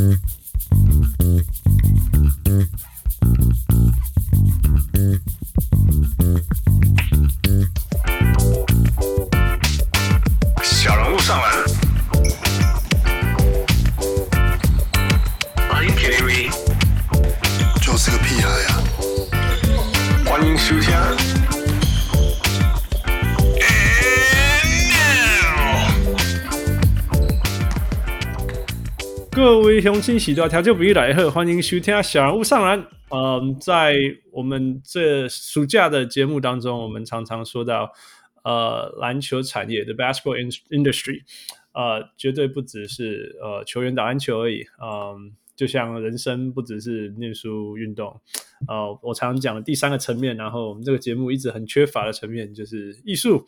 小人物上篮，欢迎 KTV， 就是个屁孩呀！ 欢迎收聽。 各位鄉親喜多調酒比喻來賀，歡迎收聽小人物上籃。在我們這暑假的節目當中，我們常常說到籃球產業的 basketball industry， 絕對不只是球員打籃球而已，就像人生不只是念書運動，我常常講的第三個層面，然後我們這個節目一直很缺乏的層面就是藝術，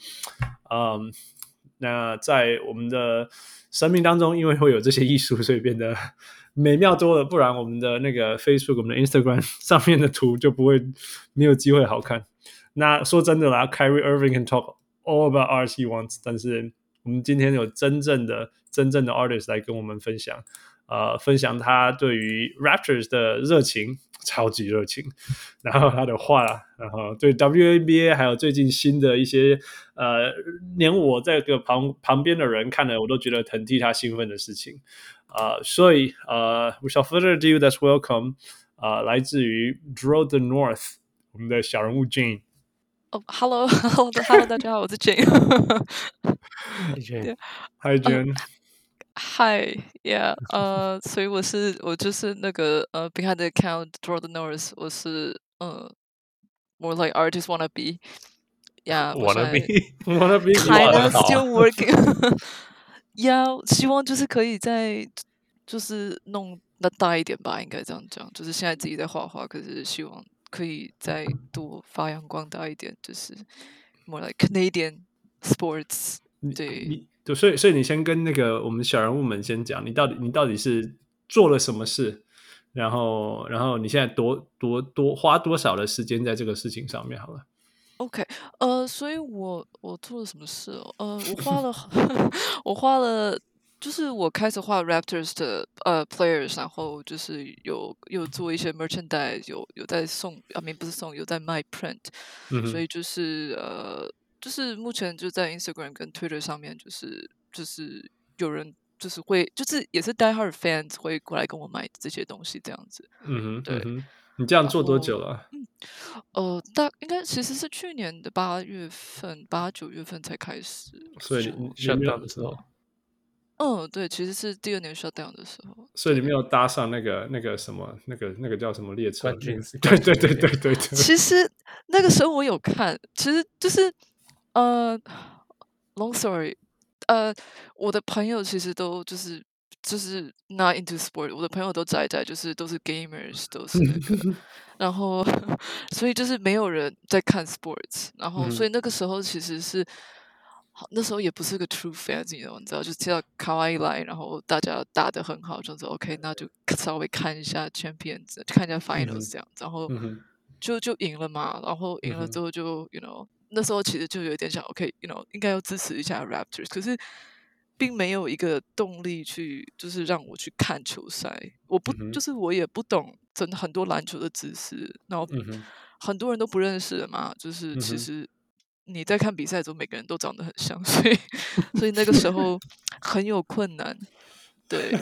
那在我們的生命當中，因為會有這些藝術，所以變得美妙多了，不然我們的那個 Facebook、我們的 Instagram 上面的圖就不會沒有機會好看。那說真的啦 ，Kyrie Irving can talk all about art he wants， 但是我們今天有真正的 artist 來跟我們分享，分享他對於 Raptors 的熱情，超級熱情，然後他的畫，然後對 WNBA 還有最近新的一些連我這個旁邊的人看了我都覺得很替他興奮的事情，所以without further ado, let's welcome 來自於 Draw the North 我們的小人物 Jane。Hello， 大家好，我是 Jane。 Hi Jane。Hi, yeah， 所以我就是那個behind the account Draw the North， 我是more like artist wanna be， yeah， wanna be kind of still working， yeah， 希望就是可以再就是弄得大一點吧，應該這樣講，就是現在自己在畫畫，可是希望可以再多發揚光大一點，就是 more like Canadian sports， 對。 所以你先跟那個我們小人物們先講，你到底是做了什麼事，然後你現在花多少的時間在這個事情上面好了。 OK， 所以我做了什麼事哦？我花了，就是我開始畫 Raptors 的players， 然後就是有做一些 merchandise， 有在送，不是送，有在賣 print，所以就是目前就在 Instagram 跟 Twitter 上面，就是有人就是會就是也是 die hard fans 會過來跟我買這些東西這樣子。對。 你這樣做多久了？ 應該其實是去年的8、9月份才開始。 所以你 shutdown 的時候。 對，其實是第2年 shutdown 的時候。 所以你沒有搭上那個什麼那個叫什麼列車？對。 其實那個時候我有看，其實就是long story， 我的朋友其實都就是 not into sport， 我的朋友都宅，就是都是 gamers， 都是那個，然後所以就是沒有人在看 sports， 然後所以那個時候其實是，那時候也不是個 true fans， 你知道，就知道卡哇伊來，然後大家打得很好，就說 OK， 那就稍微看一下 Champions， 看一下 Finals 這樣，然後就贏了嘛，然後贏了之後就you know。那時候其實就有點想 ，OK，you know， 應該要支持一下 Raptors， 可是並沒有一個動力去，就是讓我去看球賽。就是我也不懂真的很多籃球的知識，然後很多人都不認識的嘛。就是其實你在看比賽的時候，每個人都長得很像，所以那個時候很有困難。對，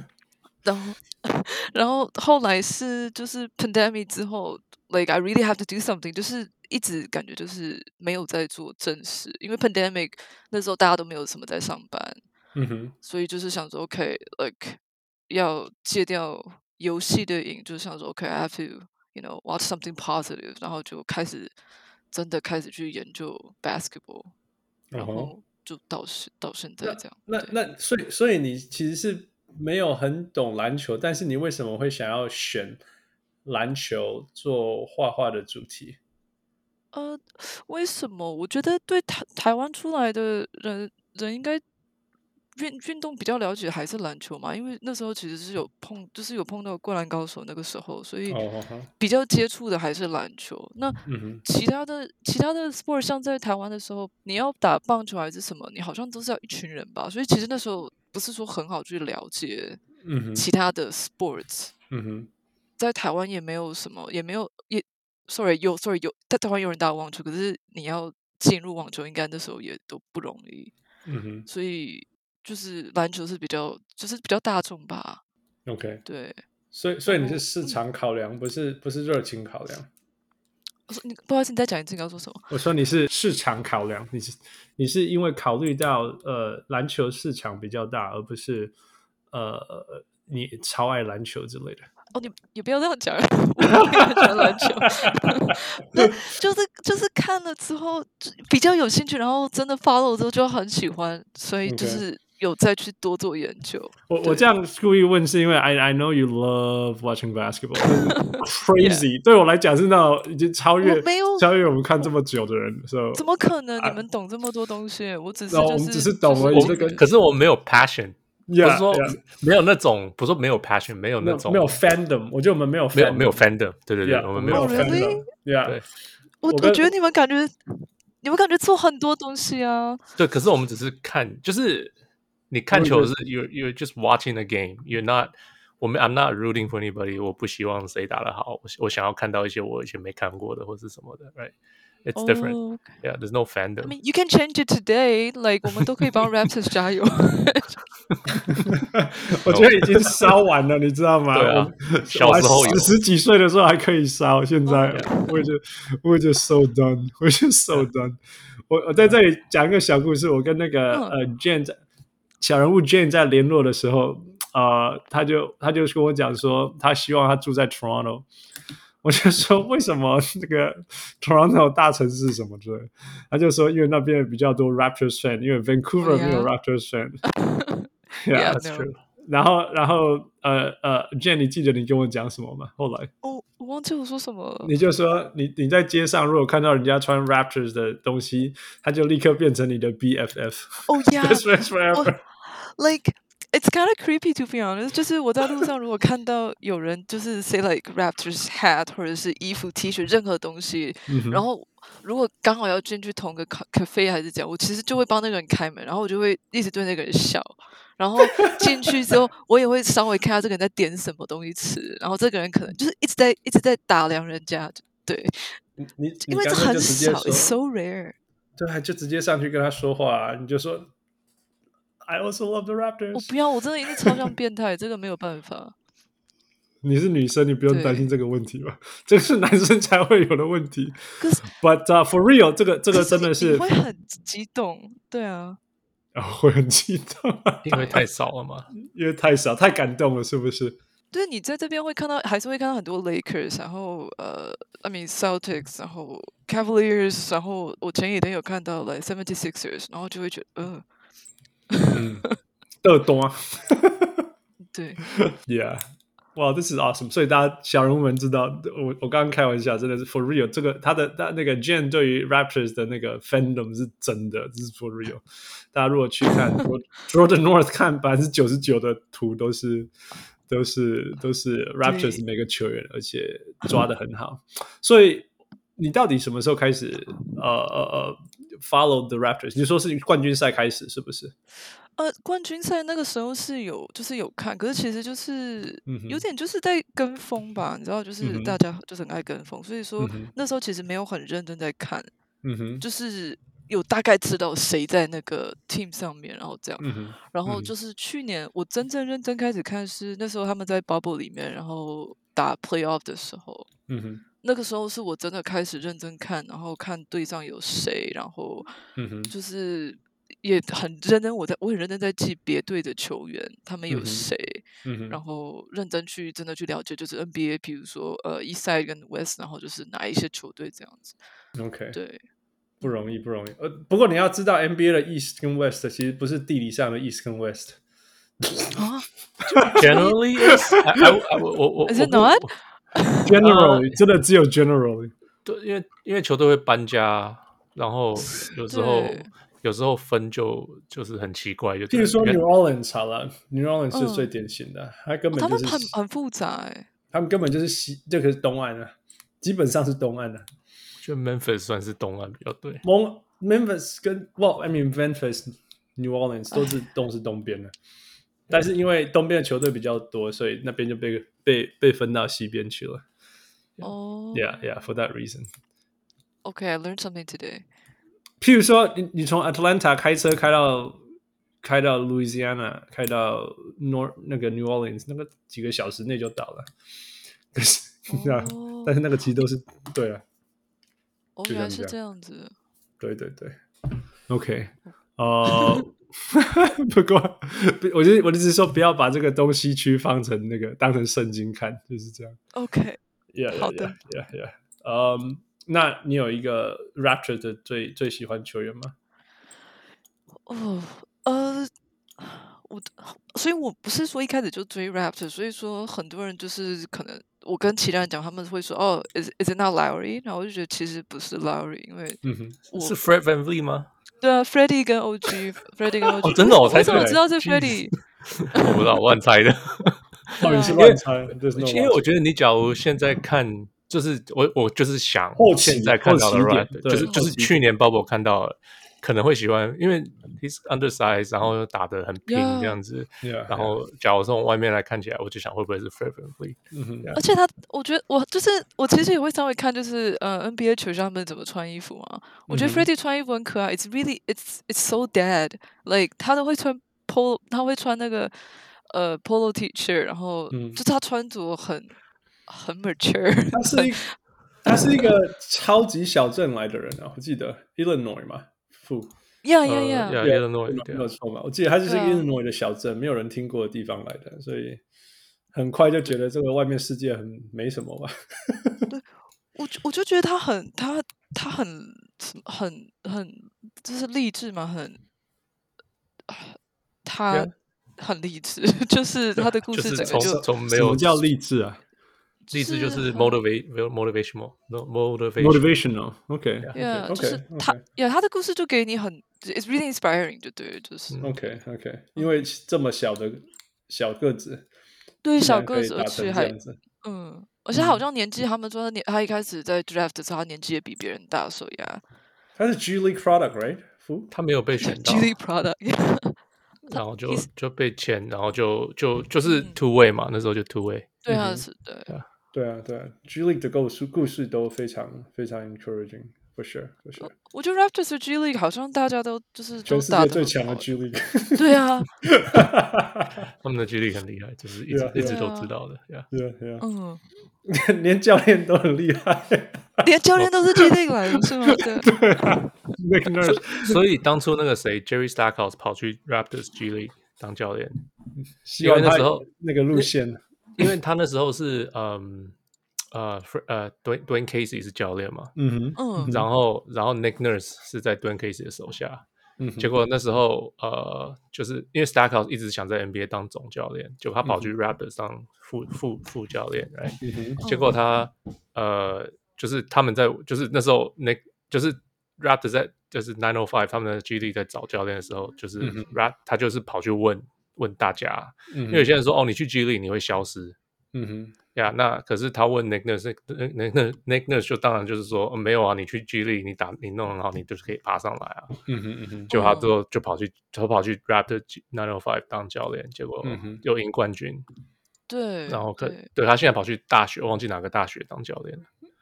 然後後來是就是 pandemic 之後 ，like I really have to do something， 就是一直感覺就是沒有在做正事，因為 pandemic 那時候大家都沒有什麼在上班，所以就是想說 OK，like 要戒掉遊戲的癮，就是想說 OK，I have to you know watch something positive， 然後就真的開始去研究 basketball， 然後就到現在這樣。 那所以你其實是沒有很懂籃球，但是你為什麼會想要選籃球做畫畫的主題？ 為什麼？我覺得對台灣出來的人應該運動比較了解還是籃球嘛，因為那時候其實是有碰到灌籃高手那個時候，所以比較接觸的還是籃球。那其他的 sport 像在台灣的時候，你要打棒球還是什麼，你好像都是要一群人吧，所以其實那時候不是說很好去了解其他的 sports。在台灣也沒有什麼，也沒有sorry 有在台灣有人打網球，可是你要進入網球，應該那時候也都不容易。所以就是籃球是比較大眾吧。 OK， 对， 所以你是市场考量，不是熱情考量。 我说不好意思，你再講一次你要說什麼？ 我說你是市場考量，你是因為考慮到籃球市場比較大，而不是你超愛籃球之類的。 哦，你不要這樣講，我也很喜歡籃球。那就是看了之後比較有興趣，然後真的 follow 之後就很喜歡，所以就是有再去多做研究。 我這樣故意問是因為 I know you love watching basketball， crazy 對我來講是那種已經超越我們看這麼久的人。 怎麼可能？你們懂這麼多東西？我只是我們只是懂而已。 可是我沒有 passion。不是說沒有那種，不是说没有 passion， 没有那种没有 fandom， 我觉得我们没有 fandom， 对，我们没有 fandom。 对， 我觉得你们感觉做很多東西啊。 对，可是我們只是看，就是你看球是 you're just watching the game，you're not。I'm not rooting for anybody， 我不希望誰打得好，我想要看到一些我以前沒看過的或是什麼的 ，right？It's different. Yeah, there's no fandom. I mean, you can change it today. Like 我們都可以幫 Raptors 加油。 我覺得已經燒完了，你知道嗎？ 對啊，小時候有十幾歲的時候還可以燒，現在我就 so done， 我就 so done。我在這裡講一個小故事，我跟那個Jane 小人物 Jane 在聯絡的時候，他就跟我講說，他希望他住在 Toronto。我就說為什麼那個 Toronto 大城市什麼之類的，他就說因為那邊比較多 Raptors fan， 因為 Vancouver 沒有 Raptors fan。Yeah, that's true. 然後Jen， 你記得你跟我講什麼嗎？後來我忘記我說什麼了。你就說你在街上如果看到人家穿 Raptors 的東西，他就立刻變成你的 BFF。Oh yeah, best friends forever. Like.It's kind of creepy to be honest. 就是我在路上如果看到有人就是 say like Raptors hat 或者是衣服 T 恤任何東西，然後如果剛好要進去同個 cafe 還是這樣，我其實就會幫那個人開門，然後我就會一直對那個人笑，然後進去之後我也會稍微看下這個人在點什麼東西吃，然後這個人可能就是一直在打量人家，對，因為這很少 ，it's so rare。 對，就直接上去跟他說話，你就說。I also love the Raptors。 我不要，我真的一定超像變態，這個沒有辦法。 你是女生，你不用擔心這個問題吧？這個是男生才會有的問題。But for real， 這個真的是你會很激動，對啊。 會很激動， 因為太少了嘛。 因為太少，太感動了，是不是？ 對，你在這邊會看到，還是會看到很多 Lakers， 然後I mean Celtics， 然後 Cavaliers， 然後我前幾天有看到 like 76ers， 然後就會覺得都多啊。 對 ，Yeah， 哇、wow, ，This is awesome！ 所以大家小人物們知道，我剛剛開玩笑，真的是 for real。這個他那個 Jen 對於 Raptors 的那個 fandom 是真的，這是 for real。大家如果去看 Jordan North 看99%的圖都是 Raptors 每個球員，而且抓得很好。所以你到底什麼時候開始follow the Raptors？ 你說是冠軍賽開始是不是？ 冠軍賽那個時候是就是有看，可是其實就是有點就是在跟風吧，你知道，就是大家就是很愛跟風，所以說那時候其實沒有很認真在看，就是有大概知道誰在那個 team 上面，然後這樣，然後就是去年我真正認真開始看是那時候他們在 bubble 裡面，然後打 playoff 的時候，那個時候是我真的開始認真看，然後看隊上有誰，然後就是也很認真，我很認真在記別隊的球員他們有誰，然後認真去真的去了解，就是 NBA， 比如說East Side 跟 West， 然後就是哪一些球隊這樣子。OK， 對， 不容易。不過你要知道 NBA 的 East 跟 West 其實不是地理上的 East 跟 West。 Generally is it not? Generally 真的只有 generally。 對，因為球隊會搬家，然後有時候分就是很奇怪， 譬如說 New Orleans 好了，New Orleans 是最典型的，他根本就是他們很複雜他們根本就是這個是東岸的，基本上是東岸的。 就 Memphis 算是東岸比較對。 Memphis 跟 I mean Memphis New Orleans 都是東邊的。 但是因為東邊的球隊比較多，所以那邊就被分到西邊去了。Yeah, for that reason. Okay, I learned something today. 譬如說，你從 Atlanta 開車開到 Louisiana， 開到那個 New Orleans， 那個幾個小時內就到了。可是，但是那個其實都是對啊。 原來是這樣子。 對 ，OK， 不過我的意思是說，不要把這個東西區放成那個當成聖經看，就是這樣。 OK， 好的。 那你有一個 Raptors 的最喜歡球員嗎？ 所以我不是說一開始就追 Raptors， 所以說很多人就是可能我跟其他人講，他們會說is it not Lowry？ 然後我就覺得其實不是 Lowry， 因為是 Fred VanVleet 嗎？ 對啊 ，Freddie 跟 OG，Freddie 跟 OG， 真的我猜对， 我知道是 Freddie， 我不知道，我亂猜的。 你是亂猜， 因為我覺得你假如現在看，就是我就是想現在看到的 Raptors， 就是去年 Bubble 看到的。可能會喜歡，因為 he's undersized， 然後又打得很拼這樣子，然後假如從外面來看起來，我就想會不會是 Fred VanVleet？ 而且我覺得我其實也會稍微看，就是 NBA 球星他們怎麼穿衣服嘛。我覺得 Freddie 穿衣服很可愛，it's so dad，like 他都會穿 polo， 他會穿那個polo T-shirt， 然後就他穿着很 mature。 他是一個超級小鎮來的人啊，我記得 Illinois 嘛。 Illinois， 沒有錯嘛？我記得他就是一個 Illinois 的小鎮，沒有人聽過的地方來的，所以很快就覺得這個外面世界很沒什麼吧。 對，我就覺得他很就是勵志嘛，他很勵志，就是他的故事整個就從沒有什麼叫勵志啊？ 勵志就是 motivational， OK， 就是他的故事就給你很 ，it's really inspiring， 就對，就是 OK， 因為這麼小的小個子， 對小個子，而且還而且他好像年紀，他們說他一開始在 draft 的時候，他年紀也比別人大，所以他是 G League product，right？ 他沒有被選到 G League product， 然後就被簽，然後就是 two way 嘛，那時候就 two way， 對啊，是的。 對啊 ，G League 的故事都非常非常 encouraging， for sure。 我覺得 Raptors 的 G League 好像大家都就是全世界最強的 G League。 對啊， 他們的 G League 很厲害，就是一直都知道的。 連教練都很厲害， 連教練都是 G League 來的，是嗎？ 對啊。 所以當初那個誰 Jerry Stackhouse 跑去 Raptors G League 當教練， 希望那時候那個路線。 因為他那時候是Dwayne Casey 是教練嘛，然後 Nick Nurse 是在 Dwayne Casey 的手下，結果那時候就是因為 Stackhouse 一直想在 NBA 當總教練，結果他跑去 Raptors 當副教練，結果他就是他們在就是那時候就是 Raptors 在就是 905 他們的 G League 在找教練的時候，就是他就是跑去問大家，因為有些人說你去 G League 你會消失，那可是他問 Nick Nurse 就當然就是說沒有啊，你去 G League 你弄很好，你就是可以爬上來啊，就他之後就跑去 Raptors 905 當教練，結果又贏冠軍， 對， 然後對他現在跑去大學，我忘記哪個大學當教練了。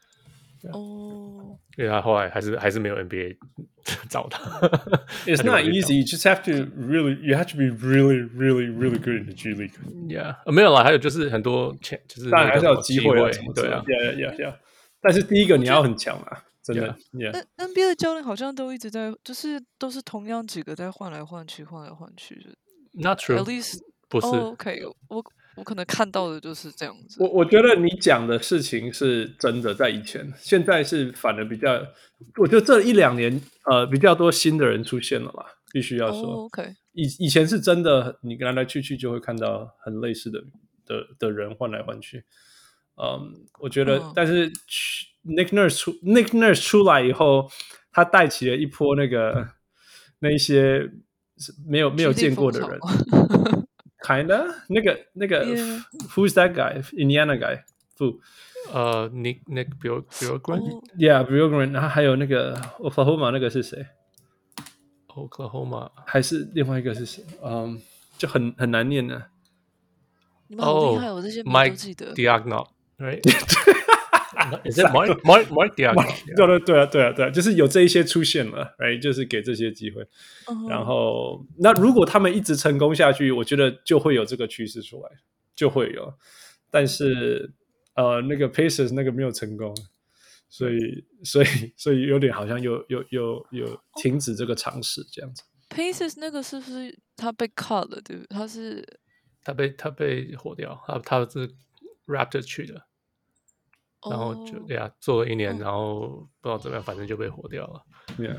因為他後來還是沒有 NBA 找他。 It's not easy. You just have to you have to be really, really, really good in the G League. Yeah， 沒有啦，還有就是很多就是當然還是有機會， 對啊 ，Yeah。但是第一個你要很強啊，真的。 NBA 的教練好像都一直在，就是都是同樣幾個在換來換去。 Not true. At least 不是。 OK， 我可能看到的就是這樣子。 我覺得你講的事情是真的，在以前，現在是反而比較，我覺得這1-2年比較多新的人出現了嘛，必須要說。 OK， 以前是真的，你來來去去就會看到很類似的人換來換去。我覺得，但是 Nick Nurse 出來以後，他帶起了一波那一些沒有見過的人。Kinda 那個 Who's that guy? Indiana guy? Who? Nick Bjorkgren? Yeah, Bjorkgren. 然後還有那個 Oklahoma 那個是誰 ？Oklahoma 還是另外一個是誰就很難念的。 你们好厲害，我这些名都記得。 Diagonal, right? Is it Mark Diagonal? 对，就是有這一些出現了 ，right？ 就是給這些機會。然後，那如果他們一直成功下去，我覺得就會有這個趨勢出來，就會有。但是，那個 Pacers 那個沒有成功，所以有點好像有停止這個嘗試這樣子。 Pacers 那個是不是他被 cut 了？對不對？他被火掉，他是 Raptors 去的。然後就做了1年，然後不知道怎麼樣，反正就被火掉了。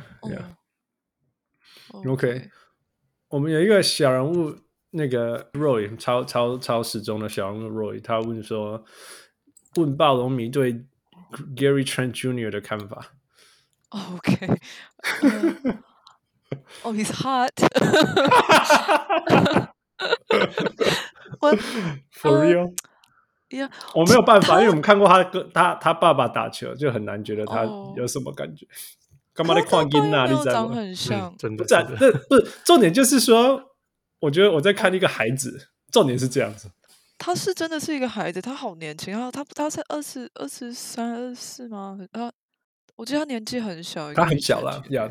OK， 我們有一個小人物，那個 Roy 超時鐘的小人物 Roy， 他問暴龍迷對 Gary Trent Jr. 的看法。 OK， he's hot 。 For real。 Yeah, 我沒有辦法，因為我們看過他爸爸打球，就很難覺得他有什麼感覺。幹嘛在看囡仔？你知道嗎？ 很像， 真的。不是重點，就是說，我覺得我在看一個孩子。重點是這樣子， 他是真的是一個孩子，他好年輕，他才23、24嗎？我記得他年紀很小， 他很小啦。Yeah.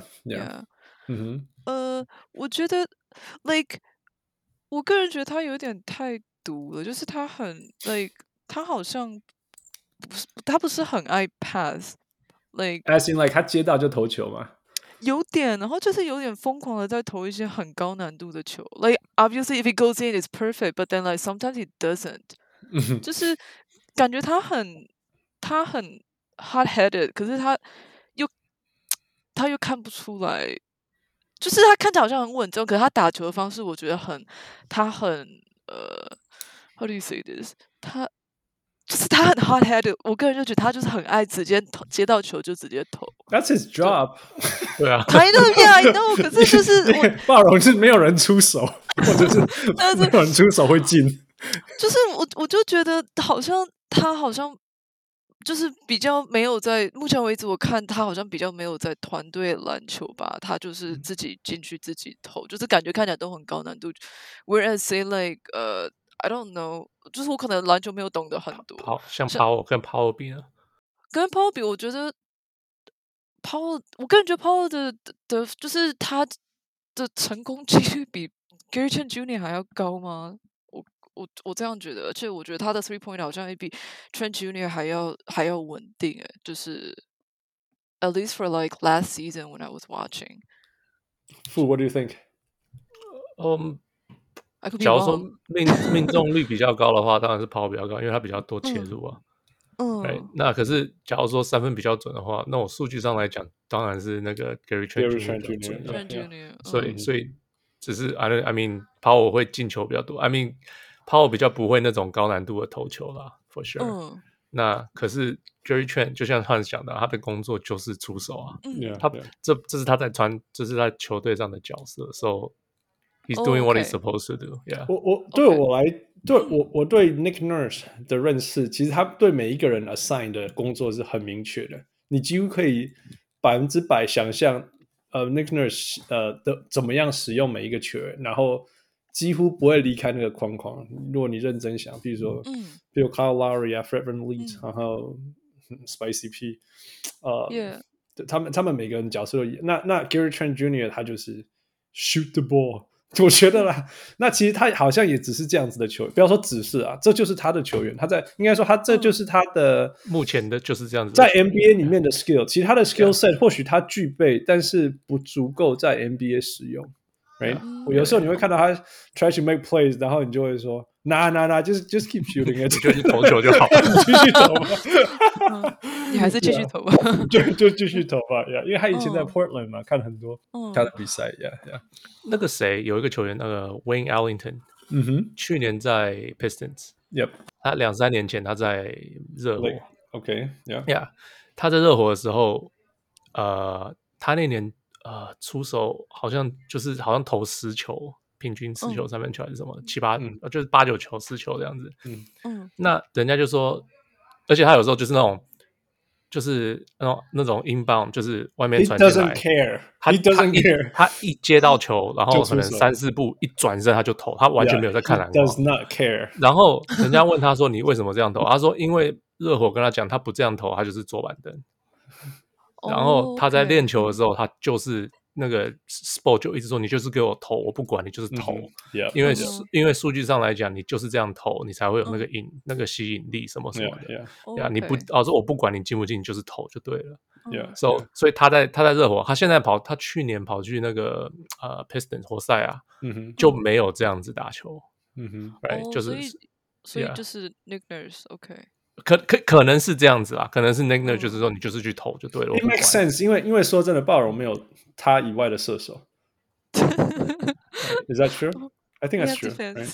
我覺得 like 我個人覺得他有點太毒了，就是他很 like。他好像他不是很愛 pass，like as in like 他接到就投球嘛， 有點，然後就是有點瘋狂的在投一些很高難度的球。Like obviously if it goes in it's perfect, but then like sometimes it doesn't 。就是感覺他很 hot-headed， 可是他又看不出來，就是他看起來好像很穩重，可是他打球的方式我覺得他很how do you say this？ 就是他很 hot-headed， 我個人就覺得他就是很愛直接接到球就直接投。 That's his job。 對啊。 I know， 可是就是暴龍是沒有人出手，或者是沒有人出手會進。 就是我就覺得他好像就是比較沒有在目前為止，我看他好像比較沒有在團隊籃球吧，他就是自己進去自己投，就是感覺看起來都很高難度。Whereas say like I don't know， 就是我可能籃球沒有懂得很多。 像 Powell 跟 Powell 比呢？ 跟 Powell 比，我覺得 Powell， 我個人覺得 Powell 的就是他的成功幾率比 Gary Trent Jr. 還要高嗎？我這樣覺得，而且我覺得他的 three point 好像也比 Trent Jr. 還要穩定，就是 at least for like last season when I was watching. What do you think? 假如說命中率比較高的話，當然是Powell比較高，因為他比較多切入啊。那可是假如說3分比較準的話，那我數據上來講，當然是那個 Gary Trent Jr. 所以只是 I mean Powell 會進球比較多 ，I mean Powell 比較不會那種高難度的投球啦 ，for sure。那可是 Gary Trent 就像他講的，他的工作就是出手啊。這是他在這是他球隊上的角色 ，so he's doing what he's supposed to do. Yeah. 我對 Nick Nurse 的認識，其實他對每一個人 assign 的工作是很明確的，你幾乎可以100%想象Nick Nurse 的怎麼樣使用每一個球員，然後幾乎不會離開那個框框。如果你認真想，比如說Kyle Lowry 啊 ，Fred VanVleet，然後 Spicy P， 他們每個人角色都一樣。那 Gary Trent Jr. 他就是 shoot the ball。我覺得啦，那其實他好像也只是這樣子的球員，不要說只是啊，這就是他的球員。應該說他這就是他的目前的就是這樣子的， 在 NBA 裡面的 skill， 其實他的 skill set 或許他具備，但是不足夠在 NBA 使用。Right？ 我有時候你會看到他 try to make plays， 然後你就會說 ，just keep shooting it， 就是投球就好， 繼續投吧。 你還是繼續投吧， 就繼續投吧。因為他以前在 Portland 嘛，看很多他的比賽。 那個誰有一個球員，那個 Wayne Ellington， 去年在 Pistons， 他2-3年前他在熱火。 OK， 他在熱火的時候，他那年出手好像投10球，平均10球3分球還是什麼7-8，就是8-9球10球這樣子。那人家就說，而且他有時候就是那種就是那種 inbound，就是外面 He 傳進 doesn't 來 care. 他 He doesn't care. 他一接到球，然后可能就出手 3-4步一轉身他就投，他完全沒有在看籃 He does 筐。 not care. 然後人家問他說：“你為什麼這樣投？”他說：“因為熱火跟他講，他不這樣投，他就是坐板凳。然後他在練球的時候，他就是那個 Sport 就一直說：“你就是給我投，我不管你就是投。因為數據上來講，你就是這樣投，你才會有那個吸引力什麼什麼的。你不說我不管你進不進，你就是投就對了。所以他在熱火，他現在他去年跑去那個Pistons 活塞啊，就沒有這樣子打球。就是所以就是 Nick Nurse OK。 可能是這樣子啦，可能是 Nick Nurse 就是說你就是去投就對了。 It makes sense， 因為說真的，暴龍沒有他以外的射手。Is that true? I think that's true.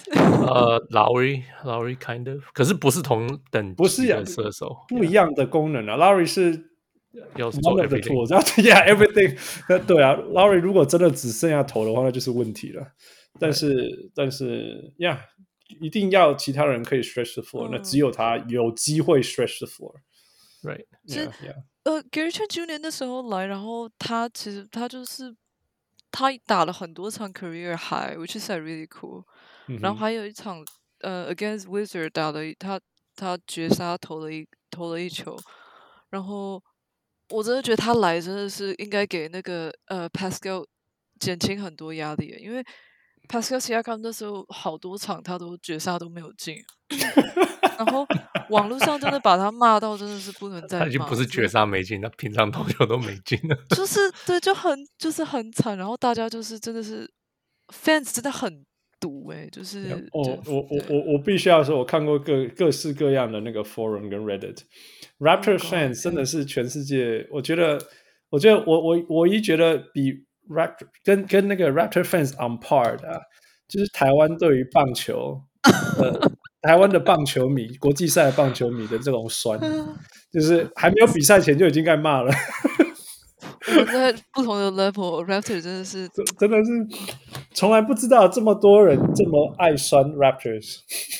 Lowry kind of， 可是不是同等级的射手， 不一樣的功能啊。Lowry 是要做 one of the tools， everything。对啊 ，Lowry 如果真的只剩下投的話，那就是問題了。但是 ，Yeah。一定要其他人可以 stretch the floor，那只有他有機會 stretch the floor。Right， Gary Trent Jr. 那時候來，然後他其實他就是他打了很多場 career high，which is really cool。然後還有一場against Wizard 打了他絕殺投了一球，然後我真的覺得他來真的是應該給那個Pascal 減輕很多壓力，因為Pascal Siakam 那時候好多場他都絕殺都沒有進，然後網絡上真的把他罵到真的是不能再罵。 他已經不是絕殺沒進，他平常投球都沒進了。 就是對，就是很慘，然後大家就是真的是 fans 真的很毒就是我必須要說，我看過各式各樣的那個 forum 跟 Reddit，Raptors fans 真的是全世界，我覺得我一覺得比Raptor 跟那個 Raptor fans on par 的就是台灣對於棒球，台灣的棒球迷，國際賽的棒球迷的這種酸，就是還沒有比賽前就已經該罵了。 我們在不同的 level，Raptor 真的是從來不知道這麼多人這麼愛酸 Raptors。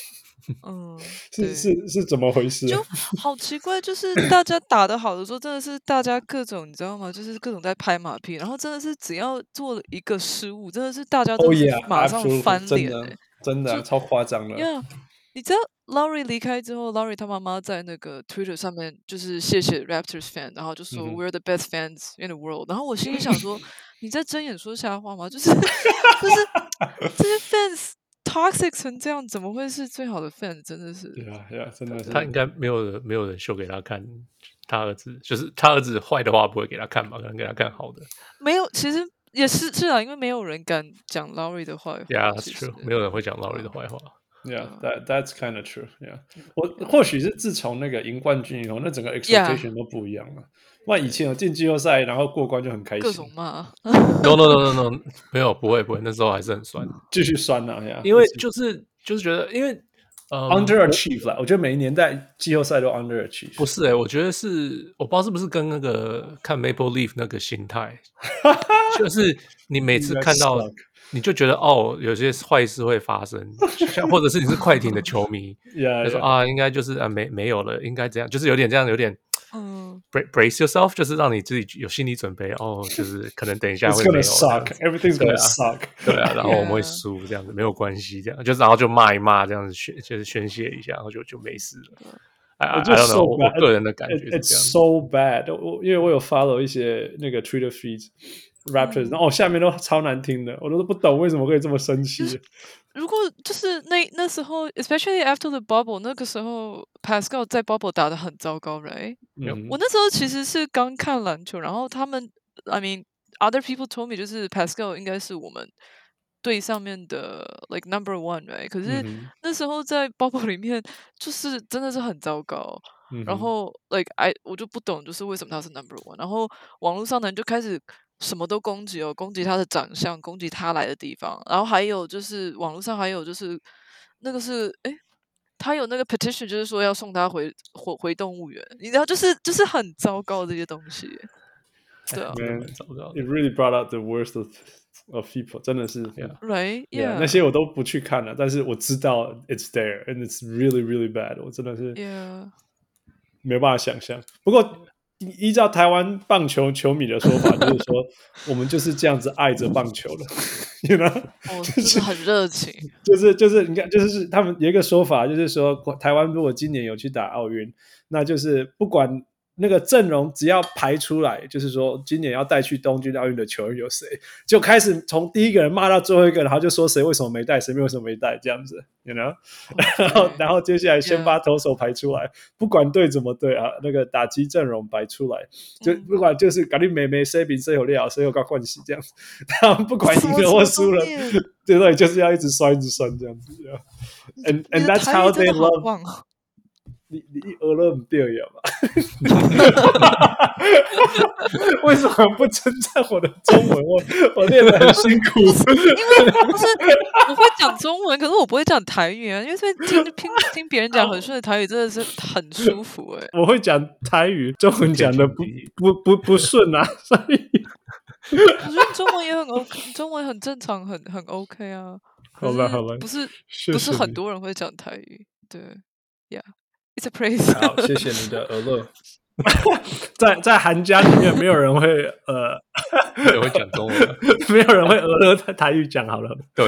是怎麼回事？ 就好奇怪，就是大家打得好的時候，真的是大家各種你知道嗎？就是各種在拍馬屁，然後真的是只要做了一個失誤，真的是大家都是馬上翻臉， 真的超誇張的。 你知道 Lowry 離開之後 ，Lowry 他媽媽在那個 Twitter 上面就是謝謝 Raptors fan， 然後就說 We're the best fans in the world。然後我心裡想說，你在睜眼說瞎話嗎？就是這些 fans。Toxic 成這樣，怎麼會是最好的 fan？ 真的是， 真的是。 他應該沒有人秀給他看，他兒子就是他兒子壞的話不會給他看吧？可能給他看好的。 沒有，其實也是啊，因為沒有人敢講 Lowry 的壞話。 Yeah, that's true。沒有人會講 Lowry 的壞話。 Yeah, that's kind of true. Yeah， 或許是自從那個贏冠軍以後，那整個 expectation 都不一樣了。那以前有進季後賽，然後過關就很開心， 各種罵。 No， 沒有，不會，那時候還是很酸， 繼續酸啊呀！ 因為就是覺得，因為 underachieve 啦，我覺得每一年在季後賽都 underachieve。 不是我覺得是我不知道是不是跟那個看 Maple Leaf 那個心態，就是你每次看到。你就覺得有些壞事會發生，像或者是你是快艇的球迷，就說應該就是沒有了，應該這樣，就是有點這樣，有點brace yourself， 就是讓你自己有心理準備，就是可能等一下會沒有 ，everything's gonna suck， 對啊，然後我們會輸這樣子，沒有關係，這樣然後就罵一罵，這樣子就是宣泄一下，然後就沒事了。I don't know， 我個人的感覺是這樣。 It's so bad， 因為我有 follow 一些那個 Twitter feeds。Raptors， 然後下面都超難聽的，我都不懂為什麼可以這麼生氣。 如果就是那時候 ，especially after the bubble， 那個時候 Pascal 在 bubble 打得很糟糕 ，right？我那時候其實是剛看籃球，然後他們 ，I mean other people told me 就是 Pascal 應該是我們隊上面的 like number one，right？ 可是那時候在 bubble 裡面就是真的是很糟糕。然後 like 我就不懂就是為什麼他是 number one， 然後網絡上的人就開始什麼都攻擊攻擊他的長相，攻擊他來的地方，然後還有就是網絡上還有就是那個是他有那個 petition 就是說要送他回動物園，你知道就是很糟糕的這些東西，對啊 Man, it really brought out the worst of people， 真的是 right yeah， 那些我都不去看了，但是我知道 it's there and it's really really bad， 我真的是没有辦法想象。不過依照台灣棒球球迷的說法，就是說我們就是這樣子愛着棒球的，you know？ 就是很熱情， 就是你看，就是他們有一個說法，就是說台灣如果今年有去打奧運，那就是不管那個陣容只要排出來，就是說今年要带去東京奧運的球员有誰，就開始從第一個人罵到最後一個，然後就說誰為什麼沒帶，誰為什麼沒帶，這樣子 ，you know？ 然後接下來先把投手排出來，不管队怎麼對啊，那個打擊陣容排出來，就不管就是搞定妹妹誰比誰有料，誰有高冠希這樣子，他們不管贏了或輸了，对对，就是要一直酸这樣子 ，and that's how they love。你俄勒不对呀嘛？为什麼不稱讚我的中文？我練得很辛苦。 因為不是我會講中文，可是我不會講台語啊。因為聽別人講很順的台語，真的是很舒服哎、欸。 我會講台語，中文講的不順啊，所以我覺得中文也很 OK， 中文很正常，很 OK 啊。 好吧， 不是很多人會講台語，對 ，Yeah。It's a praise。 好，謝謝你的俄勒。在韓家裡面，沒有人會沒有人會講中文， 沒有人會俄勒在台語講好了。對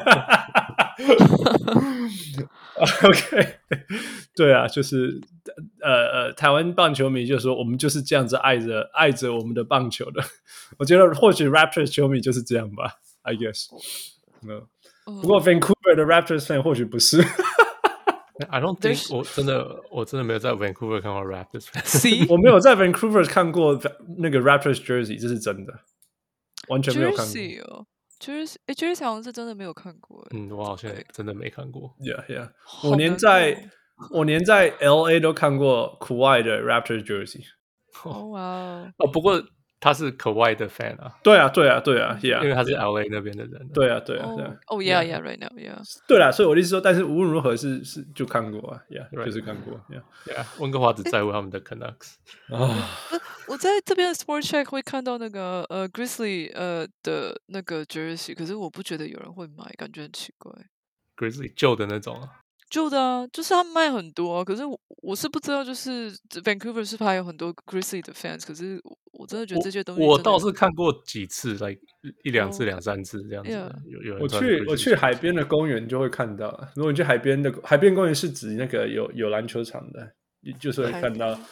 ，OK， 對啊，就是台灣棒球迷就說我們就是這樣子愛着我們的棒球的。我覺得或許 Raptors 球迷就是這樣吧 ，I guess。不過 Vancouver 的 Raptors fan 或許不是。 I don't think 我真的沒有在 Vancouver 看過 Raptors fans 我沒有在 Vancouver 看過那個 Raptors jersey， 這是真的，完全沒有看過。 jersey 好像是真的沒有看過。 我好像真的沒看過。 Yeah， 我連在 LA 都看過 Kawhi 的 Raptors jersey。 哇不過他是 Kawhi 的 fan 啊。 對啊 ，Yeah， 因為他是 LA 那邊的人。 對啊。 Yeah，right now，Yeah。 對啦，所以我的意思說，但是無論如何是就看過啊 ，Yeah， 就是看過 ，Yeah。溫哥華只在乎他們的 Canucks。 我在這邊的 Sport Check 會看到那個Grizzly 的那個 jersey， 可是我不覺得有人會買，感覺很奇怪。 Grizzly 舊的那種啊。 舊的啊，就是他們賣很多啊，可是我是不知道，就是 Vancouver 是不是還有很多 Grizzly 的 fans？ 可是我真的覺得這些東西我倒是看過幾次，一兩次、兩三次這樣子。有人我去海邊的公園就會看到，如果你去海邊公園是指那個有籃球場的，就是會看到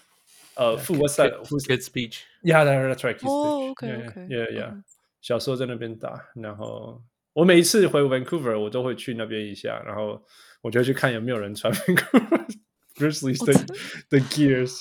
Kids Beach。Yeah，that's right。 OK。 小時候在那邊打，然後我每一次回 Vancouver， 我都會去那邊一下，然後我就會去看有沒有人穿 Vancouver Grizzlies 的 gears，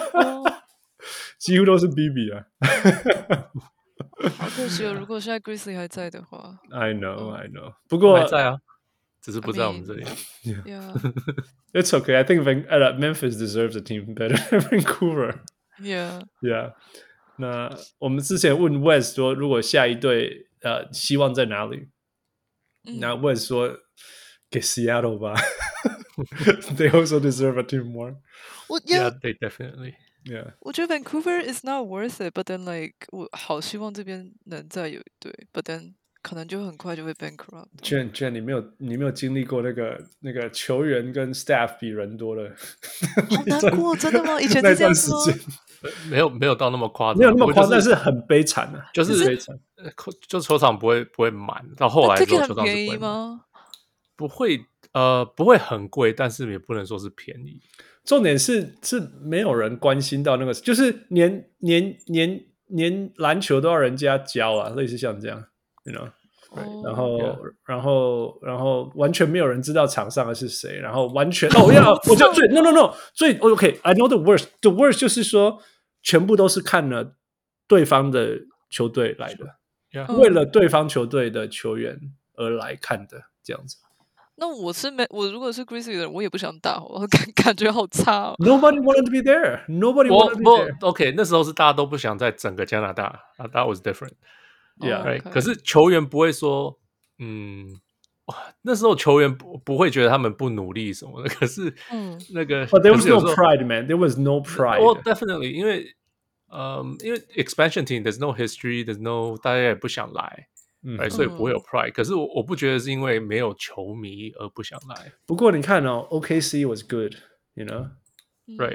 幾乎都是 BB 啊。 好可惜哦，如果現在 Grizzly 還在的話。 I know。不過還在啊，只是不在我們這裡。 It's okay. I think Memphis deserves a team better than Vancouver. Yeah. 那我們之前問 Wes 說，如果下一隊希望在哪裡？那 Wes 說給 Seattle 吧。They also deserve a team more. Yeah, they definitely. Yeah. 我覺得 Vancouver is not worth it, but then like 我好希望這邊能再有一隊 ，but then 可能就很快就會 bankrupt。 Jen， 你沒有經歷過那個球員跟 staff 比人多的， 好難過，真的嗎？以前是這樣子嗎？ 沒有到那麼誇張， 沒有那麼誇張，但是很悲慘啊， 就是悲慘，就球場不會滿，到後來之後球場是便宜嗎？ 不會很貴，但是也不能說是便宜。 重點是沒有人關心到那個，就是連籃球都要人家教啊，類似像這樣 ，you know， 然後完全沒有人知道場上的是誰，然後完全我就最 no 最 OK，I know the worst，the worst 就是說全部都是看了對方的球隊來的，為了對方球隊的球員而來看的這樣子。 那我如果是 Grizzly 的人，我也不想打，我感覺好差哦。 Nobody wanted to be there. Nobody wanted to be there. OK， 那時候是大家都不想在整個加拿大。That was different. Yeah. Right? Okay. 可是球員不會說，那時候球員不會覺得他們不努力什麼的。可是那個 ，But there was no pride, man. There was no pride. Well, definitely， 因為 expansion team, there's no history, there's no 大家也不想來。所以不會有 pride，可是我不覺得是因為沒有球迷而不想來。 不過你看哦 ，OKC was good, you know, right？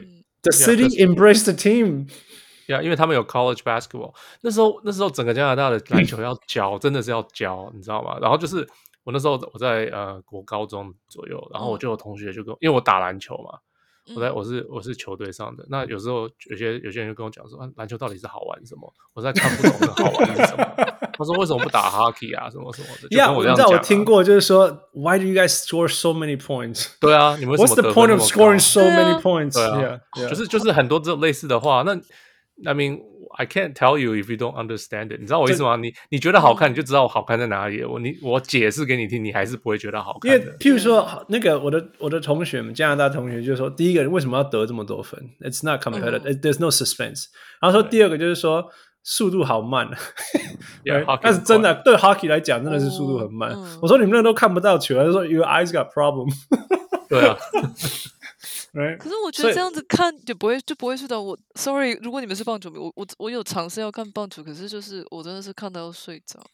The city embraced the team. 因為他们有 college basketball。那时候整個加拿大的籃球要教，真的是要教，你知道嗎？然後就是我那時候我在國高中左右，然後我就有同學就跟我，因為我打籃球嘛，我是球隊上的。那有時候有些人就跟我講說，籃球到底是好玩什麼？我實在看不懂那好玩是什麼。他說為什麼不打 hockey 啊，什麼什麼的，就跟我這樣講。 我聽過，就是說 Why do you guys score so many points？ 對啊，你們為什麼 What's the point of scoring so many points？ 對啊，就是很多這種類似的話。那 I mean I can't tell you if you don't understand it。你知道我意思嗎？你覺得好看，你就知道好看在哪裡。我解釋給你聽，你還是不會覺得好看的。 因為譬如說，那個我的同學們，加拿大同學就說，第一個為什麼要得這麼多分 ？It's not competitive. There's no suspense. 然後說第二個就是說速度好慢，但是真的對 hockey 來講，真的是速度很慢。我說你們那都看不到球，他就說 Your eyes got problem。 對啊。 可是我覺得這樣子看就不會睡着。我 sorry， 如果你們是棒球迷，我有嘗試要看棒球，可是就是我真的是看到要睡着。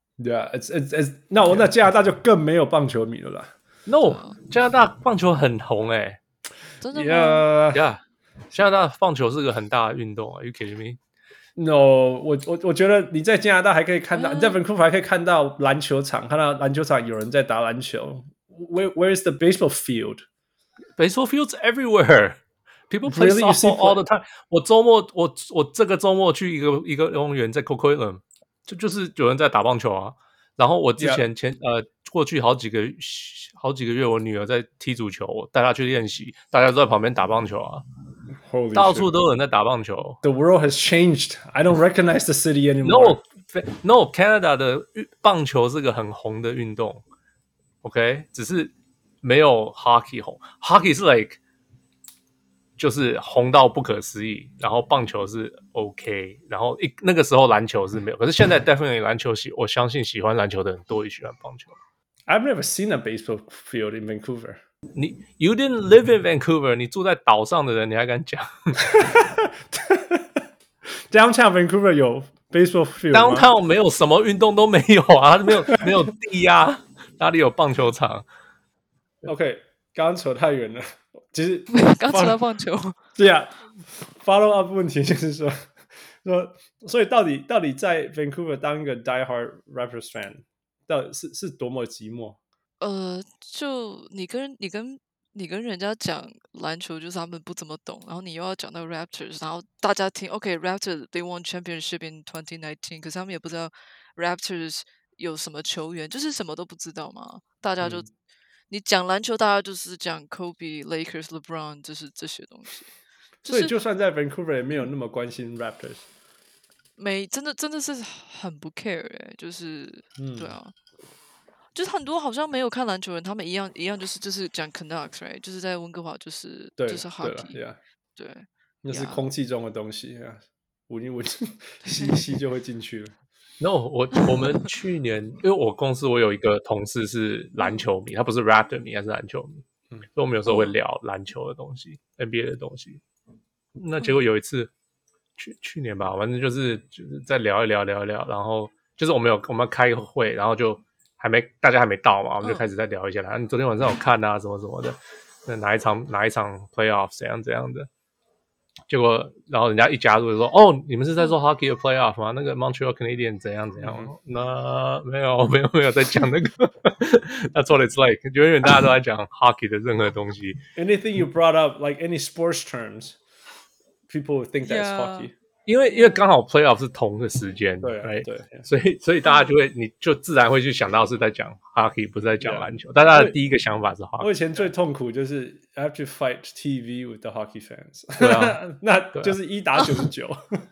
Yeah，那加拿大就更沒有棒球迷了啦。 No， 加拿大棒球很紅欸。 真的嗎 ？Yeah， 加拿大棒球是個很大的運動啊。Are you kidding me？ No， 我覺得你在加拿大還可以看到，你在 Vancouver 還可以看到籃球場，看到籃球場有人在打籃球。Where's the baseball field？Baseball fields everywhere. People play softball all the time. 我這個週末去一個公園在 Coquitlam， 就是有人在打棒球啊。然後我之前過去好幾個月，我女兒在踢足球，我帶她去練習，大家都在旁邊打棒球啊。到處都有人在打棒球。 The world has changed. I don't recognize the city anymore. No, Canada 的棒球是個很紅的運動。OK， 只是沒有 hockey 紅。hockey 是 like 就是紅到不可思議，然後棒球是 OK， 然後那個時候籃球是沒有，可是現在 definitely 籃球我相信喜歡籃球的人多於喜歡棒球。 I've never seen a baseball field in Vancouver. You didn't live in Vancouver， 你住在島上的人，你還敢講 ？Downtown Vancouver 有 baseball field 嗎？ Downtown 沒有什麼運動都沒有啊，沒有地啊，哪裡有棒球場 ？OK， 剛剛扯太遠了。其實剛扯到棒球。 對啊 ，follow up 問題就是說，所以到底在 Vancouver 當一個 diehard Raptors fan， 到底是多麼寂寞？ 就你跟人家講籃球，就是他們不怎麼懂，然後你又要講到 Raptors， 然後大家聽 OK，Raptors they won championship in 2019， 可是他們也不知道 Raptors 有什麼球員，就是什麼都不知道嘛。大家就你講籃球，大家就是講 Kobe、Lakers、LeBron， 就是這些東西。 所以就算在 Vancouver 也沒有那麼關心 Raptors。 真的是很不 care 就是對啊。就是很多好像沒有看籃球人，他們一樣就是講 Canucks， right？ 就是在溫哥華就是 hockey， 對， 那是空氣中的東西啊，聞一聞，吸就會進去了。 No， 我們去年，因為我公司我有一個同事是籃球迷，他不是 Raptor 迷，他是籃球迷，所以我們有時候會聊籃球的東西，NBA 的東西。那結果有一次，去年吧，反正就是再聊一聊，然後就是我們要開個會，然後就。大家還沒到嘛，我們就開始在聊一下啦。你昨天晚上有看啊，什麼什麼的，那哪一場 playoff 怎樣的？結果，然後人家一加入就說：“哦，你們是在做 hockey 的 playoff 嗎？那個 Montreal Canadiens 怎樣？”那沒有在講那個。That's what it's like。永遠大家都在講 hockey 的任何東西。 Anything you brought up, like any sports terms, people would think that's hockey. 因為剛好 playoff 是同個時間， 對 right? 對， 所以大家就會，你就自然會去想到是在講 hockey， 不是在講籃球。大家的第一個想法是 hockey。 我以前最痛苦就是 I have to fight TV with the hockey fans。 對啊， 那就是1打99。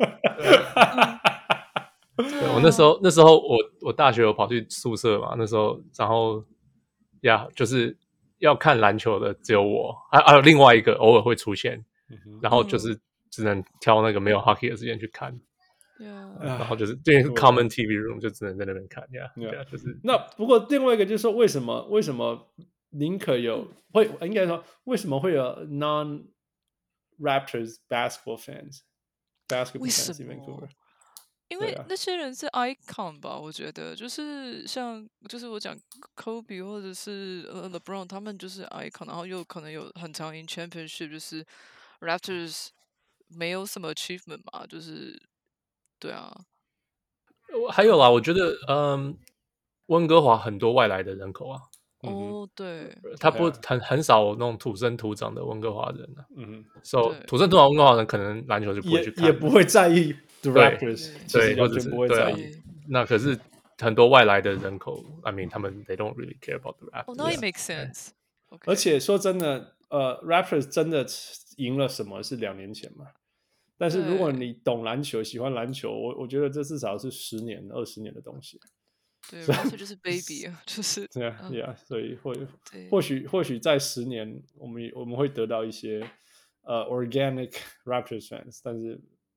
對，我那時候我大學有跑去宿舍嘛，那時候然後就是要看籃球的只有我，還有另外一個偶爾會出現，然後就是只能挑那個沒有 hockey 的時間去看，然後就是對 common TV room 就只能在那邊看就是那不過另外一個就是說為什麼寧可有應該說為什麼會有 non Raptors basketball fans in Vancouver？ 因為那些人是 icon 吧，我覺得就是就是我講 Kobe 或者是LeBron， 他們就是 icon， 然後又可能有很常贏 championship， 就是 Raptors 沒有什麼 achievement 嘛，就是對啊。 還有啦，我覺得溫哥華很多外來的人口啊。 哦，对， 他不很少那種土生土長的溫哥華人啊。 So 土生土長溫哥華人可能籃球就不會去看， 也不會在意 The Raptors， 對， 完全不會在意。 那可是很多外來的人口 ，I mean， 他們 they don't really care about the Raptors。 哦，那也 make sense。 而且說真的，Raptors 真的贏了什麼是2年前嘛？但是如果你懂籃球、喜歡籃球，我覺得這至少是10年、20年的東西。 对 ，Raptors 就是 baby 啊，就是对啊，所以或許在10年，我們會得到一些organic Raptors fans， 但是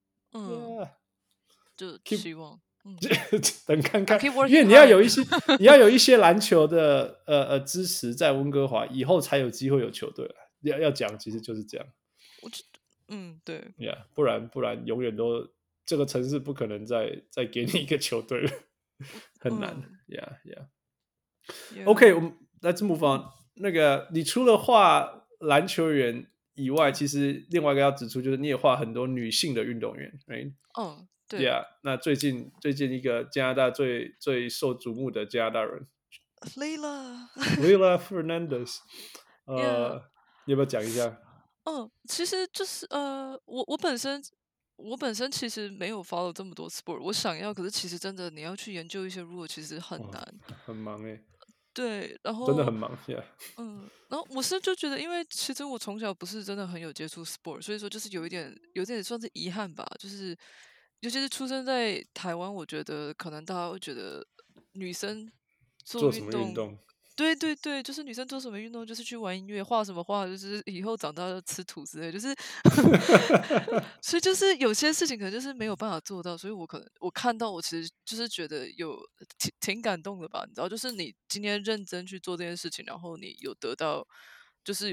就希望等看看，因為你要有一些籃球的支持在溫哥華，以後才有機會有球隊了。要講，其實就是這樣。 對 ，Yeah， 不然永遠都這個城市不可能再給你一個球隊了。很難，Yeah. OK， 我們 Let's move on。那個，你除了畫籃球員以外，其實另外一個要指出就是你也畫很多女性的運動員 ，right？ 對 ，Yeah。那最近一個加拿大最受矚目的加拿大人 ，Leylah Fernandez， 你要不要講一下？ 其實就是我本身其實沒有 follow 這麼多 sport， 我想要，可是其實真的你要去研究一些 rule， 其實很難， 很忙對，然後真的很忙然後我是就覺得，因為其實我從小不是真的很有接觸 sport， 所以說就是有點算是遺憾吧，就是尤其是出生在台灣，我覺得可能大家會覺得女生做什麼運動。 對，就是女生做什麼運動，就是去玩音樂，畫什麼畫，就是以後長大就吃土之類，就是所以就是有些事情可能就是沒有辦法做到，所以我看到我其實就是覺得挺感動的吧，你知道，就是你今天認真去做這件事情，然後你有得到就是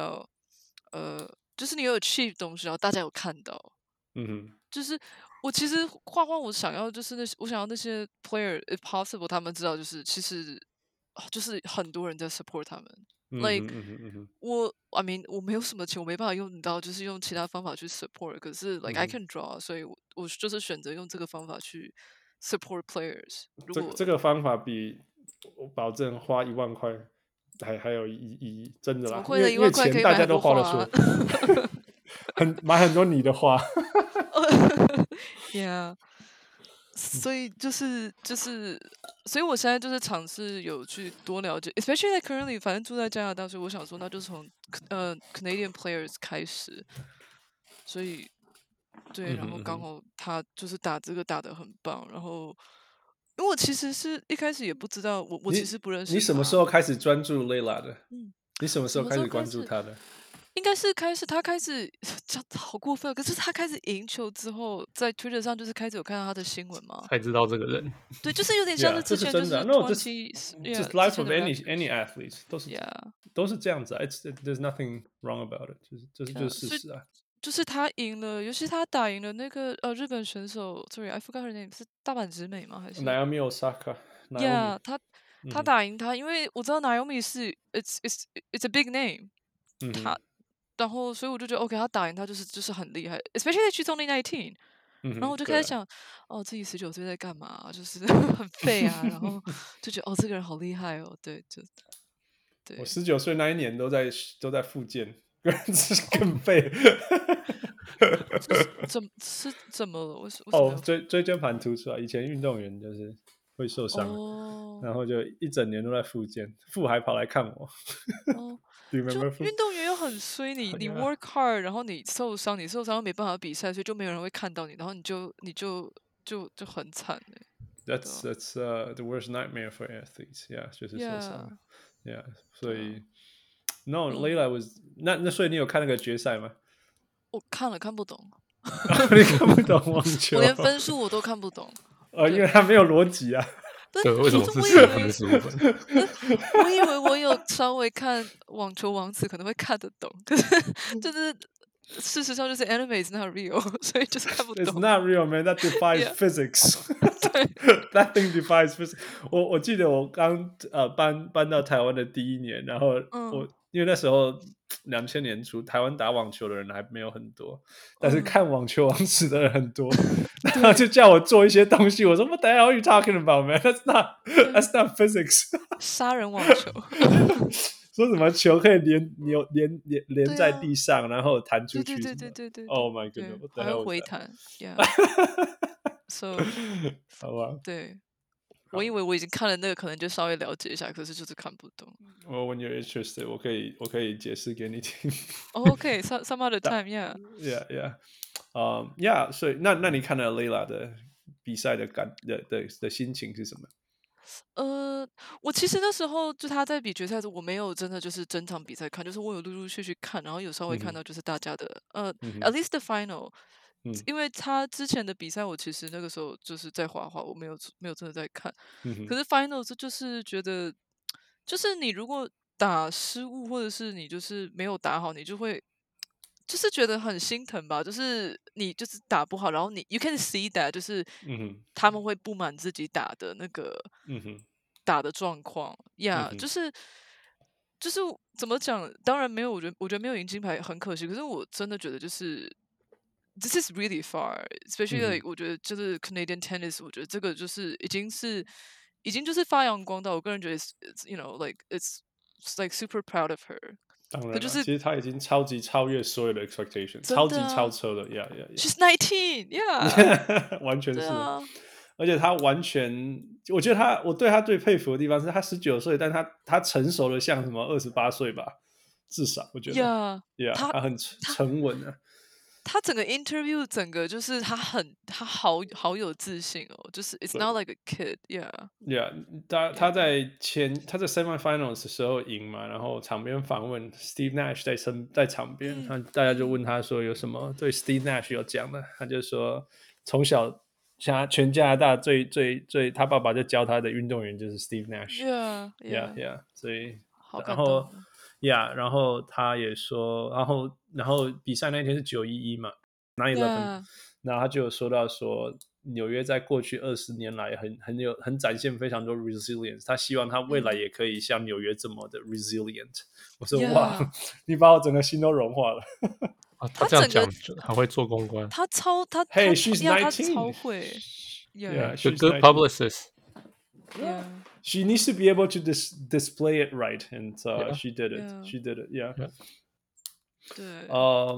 你有 achieve 東西，然後大家有看到，就是我其實畫我想要就是我想要那些 player if possible 他們知道就是其實。就是很多人在 support 他們，like I mean 我沒有什麼錢，我沒辦法用到，就是用其他方法去 support。可是 like I can draw，所以我就是選擇用這個方法去 support players。 這個方法比我保證花1萬塊還有意義，真的啦。因為錢大家都花得出，買很多你的畫。 Yeah。所以所以我現在就是嘗試有去多了解 ，especially like currently， 反正住在加拿大，所以我想說，那就從Canadian players 開始。所以對，然後剛好他就是打這個打得很棒，然後因為我其實是一開始也不知道，我其實不認識他。 你什麼時候開始專注 Leylah 的？你什麼時候開始關注他的？ 應該是他開始好過分，可是他開始贏球之後，在 Twitter 上就是開始有看到他的新聞嘛， 才知道這個人。 對，就是有點像是之前就是 just life of any athlete 都是這樣子啊。There's nothing wrong about it， 就是事實啊。 就是他贏了，尤其他打贏了那個日本選手 ，sorry I forgot her name， 是大阪直美嗎？還是 Naomi Osaka？Yeah， 他打贏他，因為我知道 Naomi 是 it's a big name，然後，所以我就覺得 ，OK， 他打贏他就是很厲害 ，especially she's only 19。然後我就開始想，自己19歲在幹嘛？就是很廢啊。然後就覺得，這個人好厲害哦。對，對。 我19歲那一年都在復健，更廢。 怎麼了？為什麼？ 椎間盤突出啊！以前運動員就是會受傷，然後就一整年都在復健，父還跑來看我。 就運動員又很衰，你 work hard， 然後你受傷又沒辦法比賽，所以就沒有人會看到你，然後你就很慘。 That's the worst nightmare for athletes. Yeah， 就是受傷。Yeah， 所以 Leylah was 那所以你有看那個決賽嗎？ 我看了，看不懂。 你看不懂網球？ 我連分數我都看不懂。 因為它沒有邏輯啊。 對，為什麼是10分15分？ 我以為我有稍微看網球王子可能會看得懂，可是就是事實上就是 anime is not real， 所以就是看不懂。 It's not real, man. That defies physics. That thing defies physics. 我記得我剛搬到台灣的第一年，然後因為那時候2000年初台灣打網球的人還沒有很多，但是看網球王子的人很多，然後就叫我做一些東西，我說 What the hell are you talking about, man? That's not physics. 殺人網球。 說什麼球可以連在地上，然後彈出去？ 对。 Oh my goodness， 還會回彈。So， 好吧。 對，我以為我已經看了那個，可能就稍微了解一下，可是就是看不懂。 When you're interested， 我可以解釋給你聽。 Okay，some other time，yeah。Yeah。 所以那你看了 Layla 的比賽的心情是什麼？ 我其實那時候就他在比決賽的時候，我沒有真的就是整場比賽看，就是我有陸陸續續看，然後有稍微看到就是大家的at least the final，因為他之前的比賽我其實那個時候就是在滑，我沒有真的在看，可是 final 就是覺得，就是你如果打失誤或者是你就是沒有打好，你就會。就是覺得很心疼吧，就是你就是打不好，然後you can see that 就是他們會不滿自己打的那個打的狀況呀，就是怎麼講？當然沒有，我覺得沒有贏金牌很可惜，可是我真的覺得就是 this is really far, especially like 我覺得就是 Canadian tennis， 我覺得這個就是已經就是發揚光大，我個人覺得 it's you know like it's like super proud of her。 當然了，其實他已經超越所有的 expectation， 超級超車了 ，She's 19, yeah， 完全是，而且他完全，我覺得我對他最佩服的地方是他19歲，但他成熟的像什麼28歲吧，至少我覺得 ，yeah， 他很沉穩啊。 他整個 interview 整個就是他好有自信哦，就是 it's not like a kid，yeah。 他在semifinals 的時候贏嘛，然後場邊訪問 Steve Nash 在場邊，大家就問他說有什麼對 Steve Nash 有講的，他就說從小全加拿大最他爸爸就教他的運動員就是 Steve Nash，yeah， 所以然後。然後他也說，然後比賽那天是911嘛 ，9/11， 然後他就有說到說，紐約在過去20年來很展現非常多 resilience， 他希望他未來也可以像紐約這麼的 resilient。我說哇，你把我整個心都融化了。 他這樣講還會做公關， 他 ，Hey, she's 19， 他超會 ，she's a good publicist。She needs to be able to display it right, and she did it. She did it. Yeah. 對。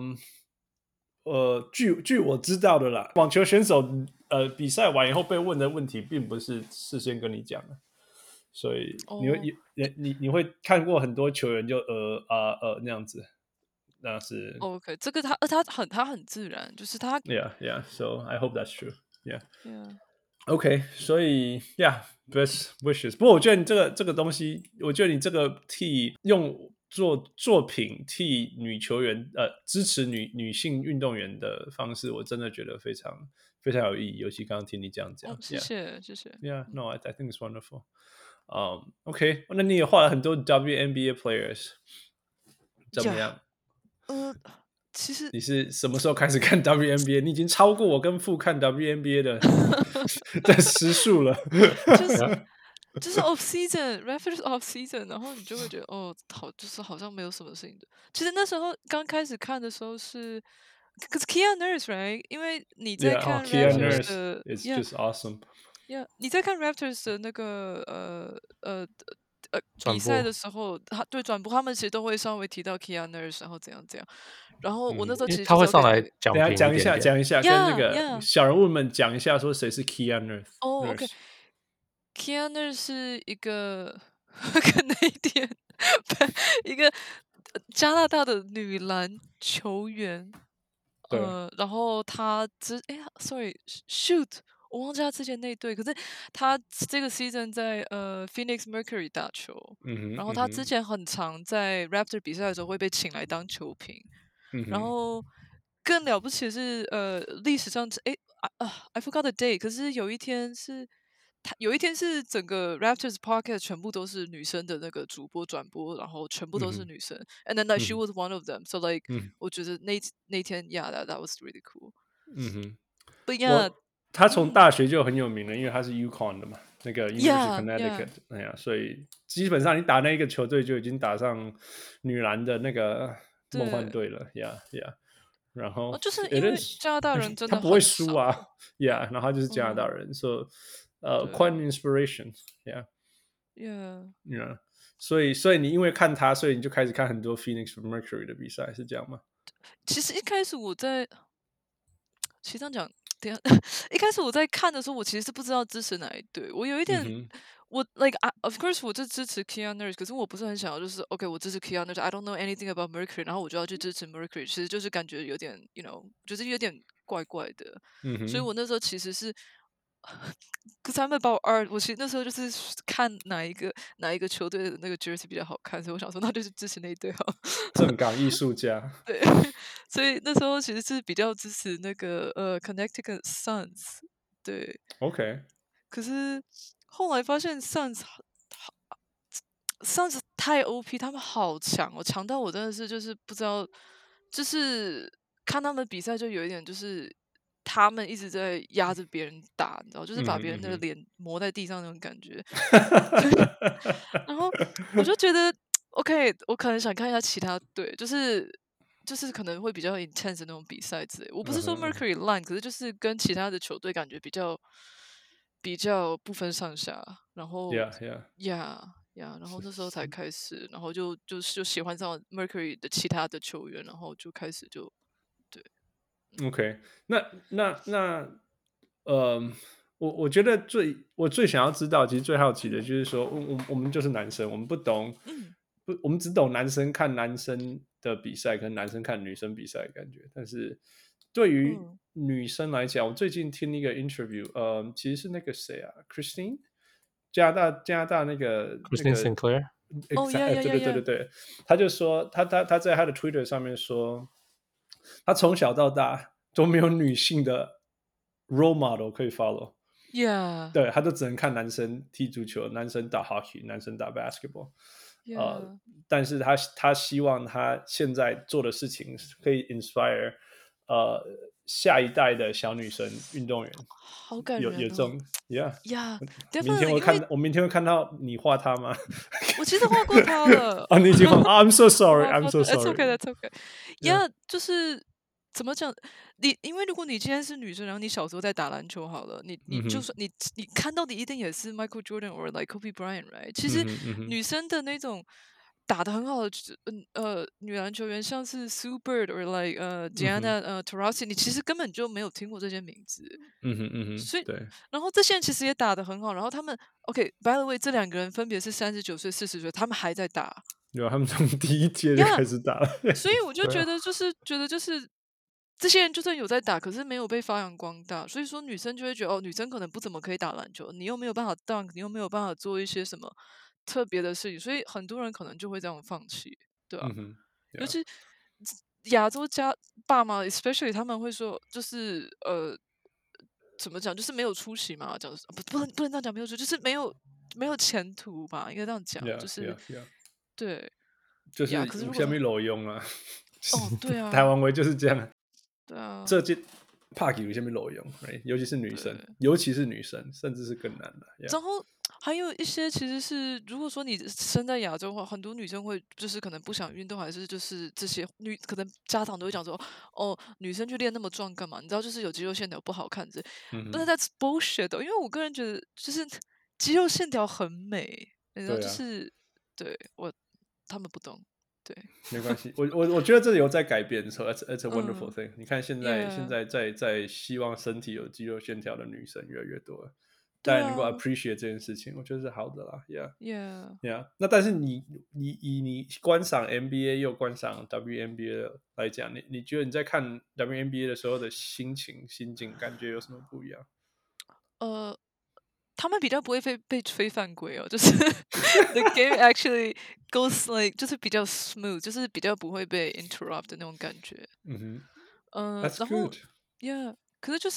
據我知道的啦，網球選手比賽完以後被問的問題，並不是事先跟你講的，所以你會看過很多球員就那樣子，那是 OK， 這個他很自然，就是他 Yeah. So I hope that's true. Yeah.OK， 所以 best wishes。不过我覺得你這個東西，我覺得你這個用做作品替女球員支持女性運動員的方式，我真的覺得非常非常有意義。尤其剛剛聽你這樣講， 謝謝。 Yeah, I think it's wonderful. OK， 那你也畫了很多 WNBA players， 怎麼樣？ 其實你是什麼時候開始看 WNBA？ 你已經超過我跟父看 WNBA 的時數了。 就是 off season Raptors off season， 然後你就會覺得就是好像沒有什麼事情的。其實那時候剛開始看的時候是，可是 Kia Nurse right， 因為你在看 Raptors 的 It's just awesome。 你在看 Raptors 的那個比賽的時候，對轉播他們其實都會稍微提到 Kia Nurse， 然後怎樣。然後我那時候其實他會上來講一下， 跟那個小人物們講一下，說誰是 Kia Nurse。OK，Kia Nurse 是一個 Canadian 一個加拿大的女籃球員。然後他shoot。我忘記他之前那隊，可是他這個 season 在Phoenix Mercury 打球，然後他之前很常在 Raptor 比賽的時候會被請來當球評，然後更了不起的是歷史上I forgot the day， 可是有一天是整個 Raptors podcast 全部都是女生的那個主播轉播，然後全部都是女生，and then like she was one of them， so like我覺得那天 that was really cool。But yeah。 他從大學就很有名了，因為他是 UConn 的嘛。 那個 University of Yeah, Connecticut， yeah. 哎呀，所以基本上你打那一個球隊就已經打上女籃的那個夢幻隊了，Yeah Yeah。然後就是因 it 为 is 加拿大人真的他不会很少， 輸啊，Yeah， 然後他就是加拿大人，so quite an inspiration，Yeah Yeah。所以你因為看他，所以你就開始看很多 Phoenix Mercury 的比賽，是這樣嗎？ 其實一開始我在，其實這樣講，等一下，一開始我在看的時候，我其實是不知道支持哪一隊，我有一點，我 of course 我就支持 Keon Nurse， 可是我不是很想要，就是 OK 我支持 Keon Nurse，I don't know anything about Mercury， 然後我就要去支持 Mercury， 其實就是感覺有點 就是有點怪怪的，所以我那時候其實是。可是 I'm about art， 我其實那時候就是看哪一個球隊的那個 jersey 比較好看，所以我想說那就是支持那一隊好。 正港藝術家。 對，所以那時候其實是比較支持那個Connecticut Suns。對 ，OK。 可是後來發現 Suns 太 OP， 他們好強哦，強到我真的是就是不知道，就是看他們比賽就有一點就是。他們一直在壓着別人打，你知道，就是把別人的臉磨在地上那種感覺。然後我就覺得 ，OK， 我可能想看一下其他隊，就是可能會比較 intense 的那種比賽之類。我不是說 Mercury 爛，可是就是跟其他的球隊感覺比較不分上下。然後 Yeah， 然後那時候才開始，然後就喜歡上 Mercury 的其他的球員，然後就開始就。 OK， 那我覺得我最想要知道，其實最好奇的就是說，我們就是男生，我們不懂，我們只懂男生看男生的比賽，跟男生看女生比賽的感覺。但是對於女生來講，我最近聽一個 interview，其實是那個誰啊 ，Christine， 加拿大那個 Christine Sinclair， 對，他就說他在他的 Twitter 上面說。他從小到大都沒有女性的 role model 可以 follow， 對，他都只能看男生踢足球，男生打 hockey， 男生打 basketball， 但是他希望他現在做的事情可以 inspire 下一代的小女生運動員， 好感人哦， 有這種 Yeah， 明天會看到你畫他嗎？ 我其實畫過他了。 啊，你已經畫？I'm so sorry. I'm so sorry. That's okay. That's okay. Yeah， 就是怎麼講？因為如果你今天是女生，然後你小時候在打籃球好了，你就算你看到的一定也是 Michael Jordan or like Kobe Bryant，right？ 其實女生的那種打得很好的女籃球員，像是 Sue Bird or like Diana Taurasi， 你其實根本就沒有聽過這些名字。所以對，然後這些人其實也打得很好，然後他們 OK，by the way， 這兩個人分別是39歲、40歲，他們還在打。 有，他們從第一屆就開始打了。 所以我就覺得就是這些人就算有在打，可是沒有被發揚光大，所以說女生就會覺得女生可能不怎麼可以打籃球，你又沒有辦法 dunk， 你又沒有辦法做一些什麼特別的事情，所以很多人可能就會這樣放棄，對吧？尤其亞洲爸媽 ，especially 他們會說，就是怎麼講，就是沒有出息嘛，講不能這樣講，沒有出息，就是沒有前途吧，應該這樣講，就是對， 就是下面裸用啊。 對啊， 台灣圍就是這樣。 對啊， 這屆帕給有下面裸用，尤其是女生，甚至是更難的。 然後還有一些其實是，如果說你生在亞洲的話，很多女生會就是可能不想運動，還是就是這些可能家長都會講說，女生去練那麼壯幹嘛？你知道，就是有肌肉線條不好看之類。但是 that's bullshit 因為我個人覺得，就是肌肉線條很美，你知道，就是對他們不懂。對， 沒關係，我覺得這有在改變，so it's a wonderful thing。你看現在在希望身體有肌肉線條的女生越來越多了，大家能夠 appreciate 這件事情，我覺得是好的啦。Yeah。那但是你觀賞 NBA 又觀賞 WNBA 來講，你覺得你在看 WNBA 的時候的心境感覺有什麼不一樣？ 他們比較不會被吹犯規就是 the game actually goes like 就是比較 smooth， 就是比較不會被 interrupt 的那種感覺。 That's good。 然後 Yeah， 可是就是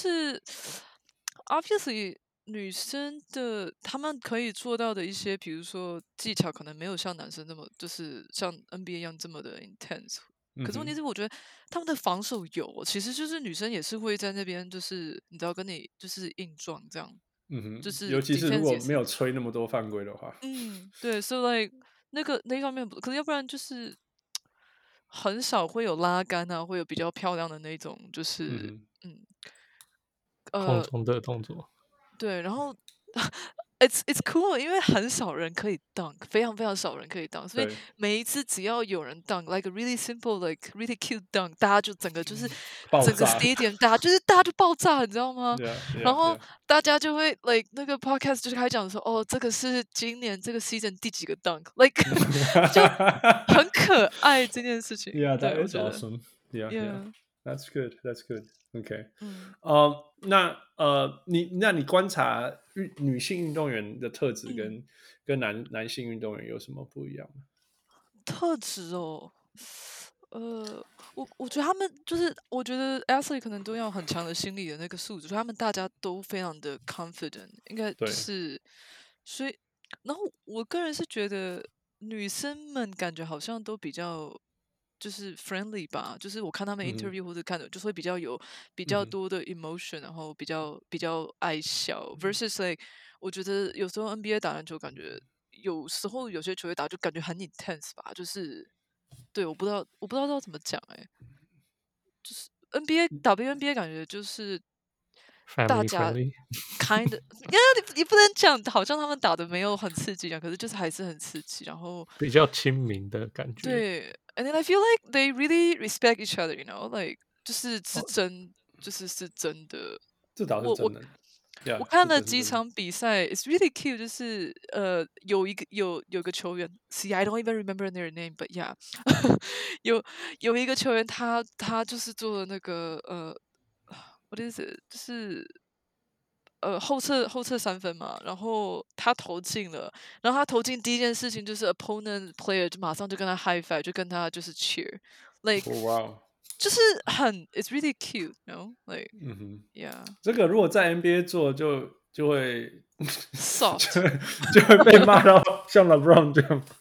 obviously 女生的他們可以做到的一些，比如說技巧，可能沒有像男生那麼就是像 NBA 一樣這麼的 intense。可是問題是，我覺得他們的防守有，其實就是女生也是會在那邊，就是你知道跟你就是硬撞這樣。 就尤是其是如果 defense 也是没有吹那么多犯規的话， 对，so like 那一方面可是要不然就是很少会有拉杆啊，会有比较漂亮的那种，就是空中的动作。 对，然后it's cool，因为很少人可以 dunk， 非常非常少人可以 dunk， 所以每一次只要有人 dunk like a really simple like really cute dunk， 大家就整个就是整个 stadium 大家就爆炸，你知道吗？然后大家就会 like 那個 podcast 就開始講說，哦，這個是今年這個 season 第幾個 dunk，like 就很可愛這件事情。 Yeah, that 對 is awesome. Yeah, that's good. That's good. OK， 那你觀察女性運動員的特質跟男性運動員有什麼不一樣嗎？ 特質哦，我覺得他們就是我覺得 athlete 可能都要很強的心理的那個素質，所以他們大家都非常的 confident， 應該是，所以然後我個人是覺得女生們感覺好像都比較。就是 friendly 吧，就是我看他們 interview 或者看的，就是會比較多的 emotion，然後比較愛笑 versus like 我覺得有時候 NBA 打籃球感覺有時候有些球隊打就感覺很 intense 吧，就是對我不知道要怎麼講就是 WNBA 感覺就是大家 kind of 你不能講好像他們打的沒有很刺激可是就是還是很刺激，然後比較親民的感覺。 對。And then I feel like they really respect each other, you know, like 就是真的。 這倒是真的。 我看了幾場比賽 ，it's really cute， 就是有個球員 ，see I don't even remember their name, but yeah， 有一個球員他就是做了那個what is it， 就是後撤三分嘛，然後他投進了，然後他投進第一件事情就是 opponent player 就馬上就跟他 high five， 就跟他就是 cheer，like， 就是很 it's really cute， you know， like， yeah， 這個如果在 NBA 做就會 soft， 就會被罵到像 LeBron 這樣。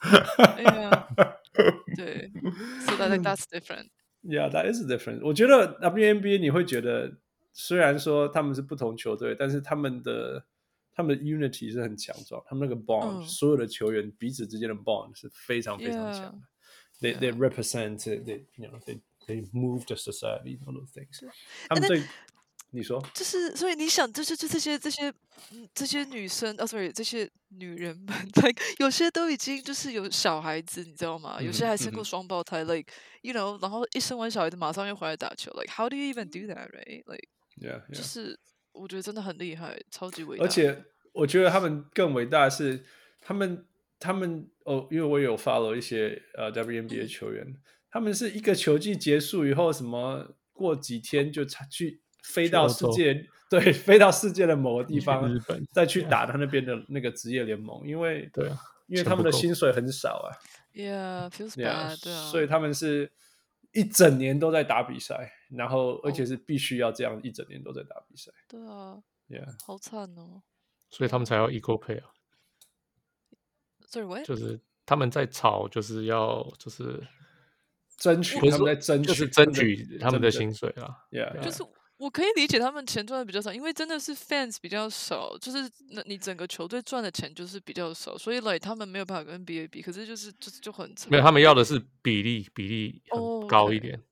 對 ，so that's different。 Yeah, that is different。我覺得 WNBA 你會覺得。雖然說他們是不同球隊，但是他們的 unity 是很強壯，他們那個 bond，所有的球員彼此之間的 bond 是非常非常強的。They represent, they move the society, all those things。他們對你說，就是所以你想，就是這些女生，sorry， 這些女人們 ，like 有些都已經就是有小孩子，你知道嗎？有些還生過雙胞胎，like you know， 然後一生完小孩子馬上又回來打球，like how do you even do that, right? Like， 就是我覺得真的很厲害，超級偉大。 而且我覺得他們更偉大的是，他們因為我有 follow 一些WNBA 球員，他們是一個球季結束以後，什麼過幾天就去。飛到世界的某個地方，再去打他那邊的那個職業聯盟，因為他們的薪水很少啊。 Yeah, feels bad. 所以他們是一整年都在打比賽，然後而且是必須要這樣一整年都在打比賽。 對啊，好慘哦。 所以他們才要 equal pay 啊。 Sorry, what? 就是他們在吵，就是要爭取，他們在爭取他們的薪水啊。 就是我可以理解他們錢賺的比較少，因為真的是 fans 比較少，就是你整個球隊賺的錢就是比較少，所以like他們沒有辦法跟 NBA 比，可是就很慘。 沒有，他們要的是比例很高一點。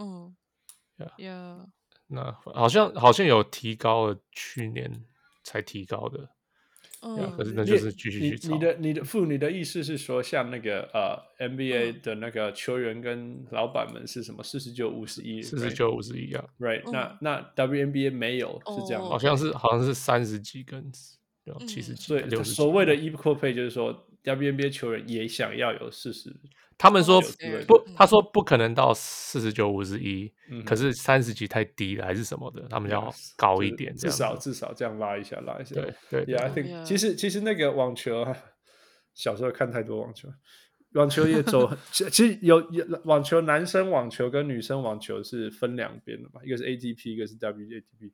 那好像有提高了，去年才提高的。可是那就是繼續去吵。 你的意思是說，像那個NBA 的那個球員跟老闆們是什麼49-51？49-51 啊 ，right？那 WNBA 沒有是這樣，好像是 30幾跟70幾， 所以所謂的 equal pay 就是說 WNBA 球員也想要有40。 他們說不，他說不可能到49-51，可是30幾太低了，還是什麼的，他們要高一點， 至少這樣拉一下。 對 ，Yeah，I think 其實那個網球，小時候看太多網球也走，其實有網球，男生網球跟女生網球是分兩邊的嘛，一個是 ATP， 一個是 WATP。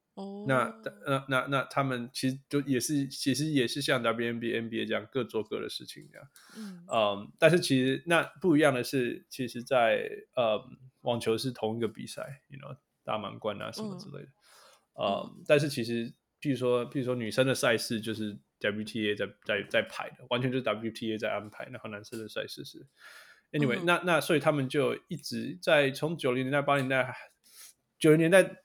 那他們其實就也是像 WNBA、NBA 這樣各做各的事情這樣。但是其實那不一樣的是，其實在網球是同一個比賽，打滿貫啊什麼之類的。但是其實譬如說女生的賽事就是 WTA 在排的，完全就是 WTA 在安排，然後男生的赛事是 anyway，那所以他们就一直在从90年代、80年代、90年代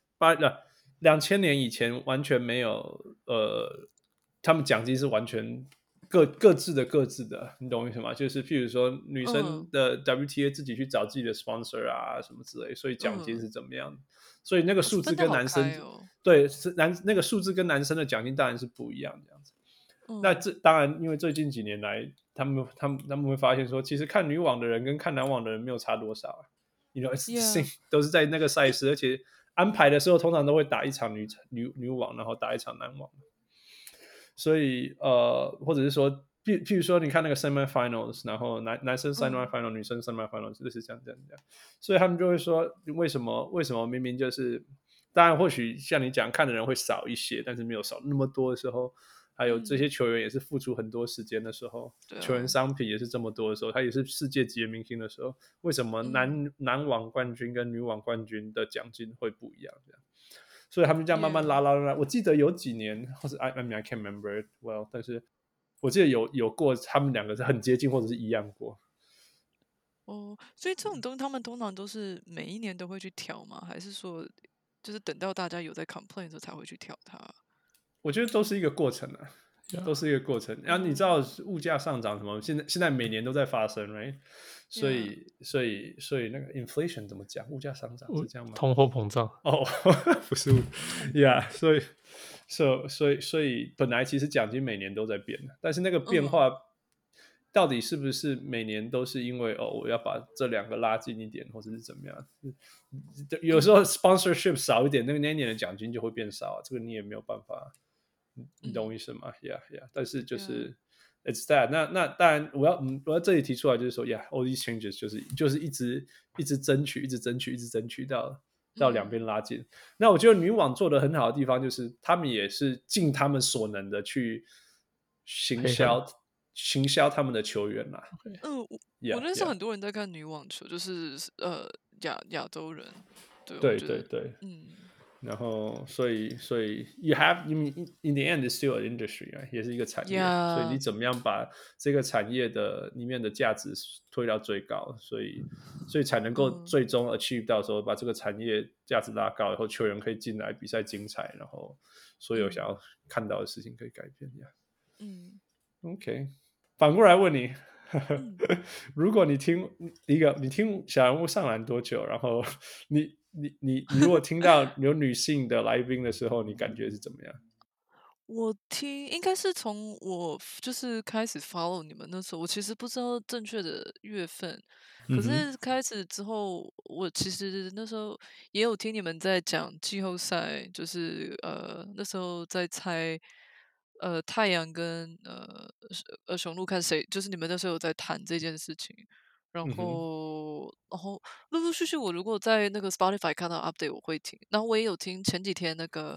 2000年以前完全没有他們獎金是完全各自的，你懂我意思嗎？就是譬如說女生的 WTA 自己去找自己的 sponsor 啊什麼之類，所以獎金是怎麼樣？所以那个数字跟男生对那个数字跟男生的獎金當然是不一樣這樣子。那這當然，因為最近幾年來，他們會發現說，其實看女網的人跟看男網的人沒有差多少啊。You know, it's the same， 都是在那個賽事，而且安排的時候通常都會打一場女網，然後打一場男網。所以或者是說，譬如說，你看那個 semifinals， 然後男生 semifinal， 女生 semifinal， 就是這樣。所以他們就會說，為什麼明明就是，當然或許像你講，看的人會少一些，但是沒有少那麼多的時候，還有這些球員也是付出很多時間的時候，球員商品也是這麼多的時候，他也是世界級的明星的時候，為什麼男網冠軍跟女網冠軍的獎金會不一樣？這樣。所以他們這樣慢慢拉，我記得有幾年，或是 I mean I can't remember it well， 但是我記得有過他們兩個是很接近或者是一樣過。 所以這種東西他們通常都是每一年都會去調嗎？還是說就是等到大家有在 complain 的時候才會去調它？ 我覺得都是一個過程啊，都是一個過程。然後你知道物價上漲什麼？現在每年都在發生 ，right？ 所以那個 inflation 怎麼講？物價上漲是這樣嗎？ 通貨膨脹不是，yeah， 所以本來其實獎金每年都在變的，但是那個變化到底是不是每年都是因為我要把這兩個拉近一點，或者是怎麼樣？有時候 sponsorship 少一點，那一年的獎金就會變少啊，這個你也沒有辦法，你懂我意思嗎？Yeah， 但是就是It's that， 那當然我要這裡提出來就是說 ，all these changes 就是一直爭取到兩邊拉近。那我覺得女網做的很好的地方就是他們也是盡他們所能的去行銷他們的球員啦。 我認識很多人在看女網球，就是亞洲人。 對，然後所以 you have in the end is still an industry， 也是一個產業，所以你怎麼樣把這個產業的裡面的價值推到最高，所以才能夠最終 achieve 到說把這個產業價值拉高，然後球員可以進來比賽精彩，然後所有想要看到的事情可以改變。OK， 反過來問你。如果你聽小人物上籃多久，然後你如果聽到有女性的來賓的時候，你感覺是怎麼樣？ 我聽應該是從我就是開始 follow 你們那時候，我其實不知道正確的月份，可是開始之後，我其實那時候也有聽你們在講季後賽，就是那時候在猜。太陽跟雄鹿看誰，就是你們那時候有在談這件事情，然後陸陸續續我如果在那個 Spotify 看到 update 我會聽，然後我也有聽前幾天那個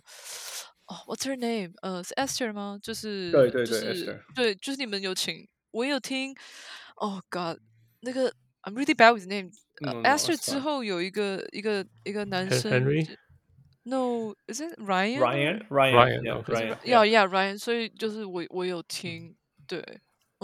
What's her name？ 是 Esther 嗎？就是對 Esther， 對，就是你們有請，我也有聽。Oh God， 那個 I'm really bad with name。Esther 之後有一個男生。No, is it Ryan? Ryan. 所以就是我有聽，對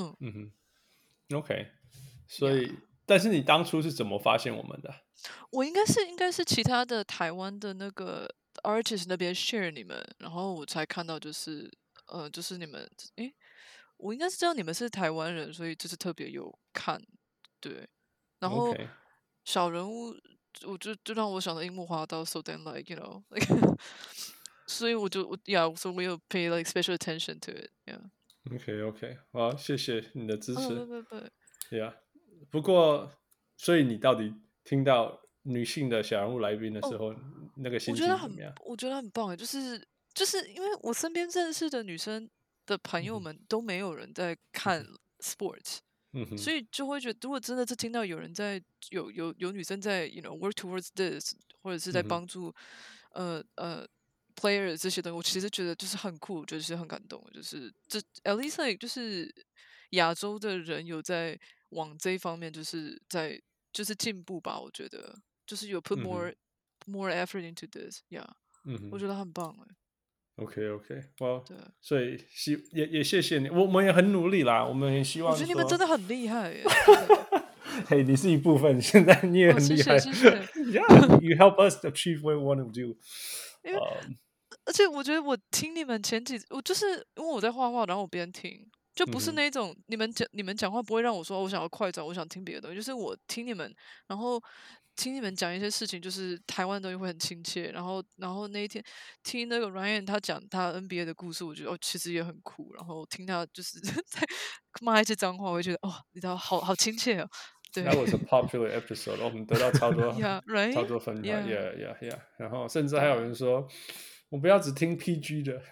，OK。所以，但是你當初是怎麼發現我們的？ 我應該是其他的台灣的那個 artist 那邊 share 你們，然後我才看到就是你們，我應該是知道你們是台灣人，所以就是特別有看，對，然後小人物。我就讓我想到櫻木花道 ，so then like you know like， 所以我所以我有 pay like special attention to it。OK， 好，謝謝你的支持。 對。 不過，所以你到底聽到女性的小人物來賓的時候，那個心情怎麼樣？ 我覺得很棒，就是因為我身邊認識的女生的朋友們都沒有人在看 sports。所以就會覺得，如果真的是聽到有人在有女生在 you know work towards this， 或者是在幫助players 這些東西，我其實覺得就是很酷，就是很感動，就是at least like 就是亞洲的人有在往這一方面就是進步吧，我覺得就是有 put more effort into this， 我覺得很棒。 OK，well， 对， 所以也謝謝你，我們也很努力啦，我們也希望我覺得你們真說， 的很厲害耶，真的。 嘿，你是一部分，現在你也很厲害， 謝謝。 Yeah，you help us achieve what we want to do。 因为而且我覺得我聽你們前幾，我就是因為我在畫畫，然後我邊聽，就不是那種你們講話不會讓我說我想要快轉，我想聽別的東西，就是我聽你們，然後聽你們講一些事情，就是台灣的東西會很親切，然後那一天聽那個 Ryan 他講他 NBA 的故事，我覺得其實也很酷，然後聽他就是在罵一些髒話，我會覺得你知道好親切哦。對 That was a popular episode， 我們得到超多 right? 超多分享 Yeah， 然後甚至還有人說，我不要只聽 PG 的。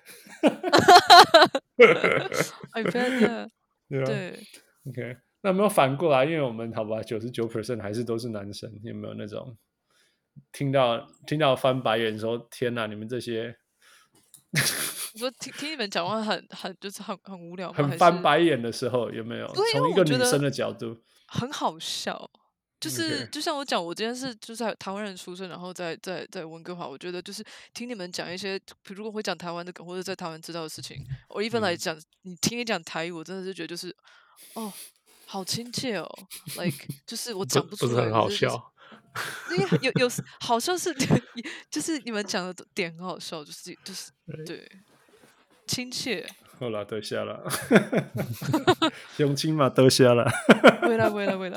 I bet 對 ，OK， 那有沒有反過來？因為我們好吧，99% 還是都是男生，有沒有那種聽到翻白眼說天哪，你們這些， 我說聽你們講話很就是很無聊嗎？ 很翻白眼的時候有沒有？從一個女生的角度， 很好笑。就是就像我講，我今天是就是台灣人出生，然後在溫哥華，我覺得就是聽你們講一些，如果會講台灣的梗或者在台灣知道的事情，我一般來講，你聽你講台語，我真的是覺得就是好親切哦 ，like 就是我講不出來， 不是很好笑。 因為有好笑是，就是你們講的點很好笑，就是對親切。 好了，得下了，鄉親嘛，得下了。 回來。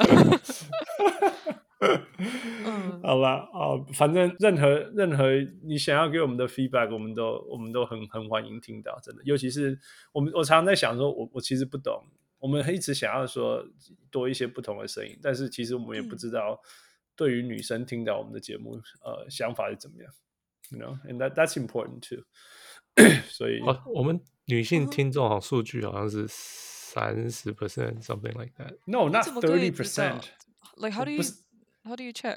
好啦，反正任何你想要給我們的 feedback， 我們都很歡迎聽到，真的。尤其是我常常在想說，我其實不懂，我們一直想要說多一些不同的聲音，但是其實我們也不知道對於女生聽到我們的節目，想法是怎麼樣。You know, and that's important too 。所以， 我們女性聽眾好像數據好像是30% something like that. No, not 30%. Like how do you check?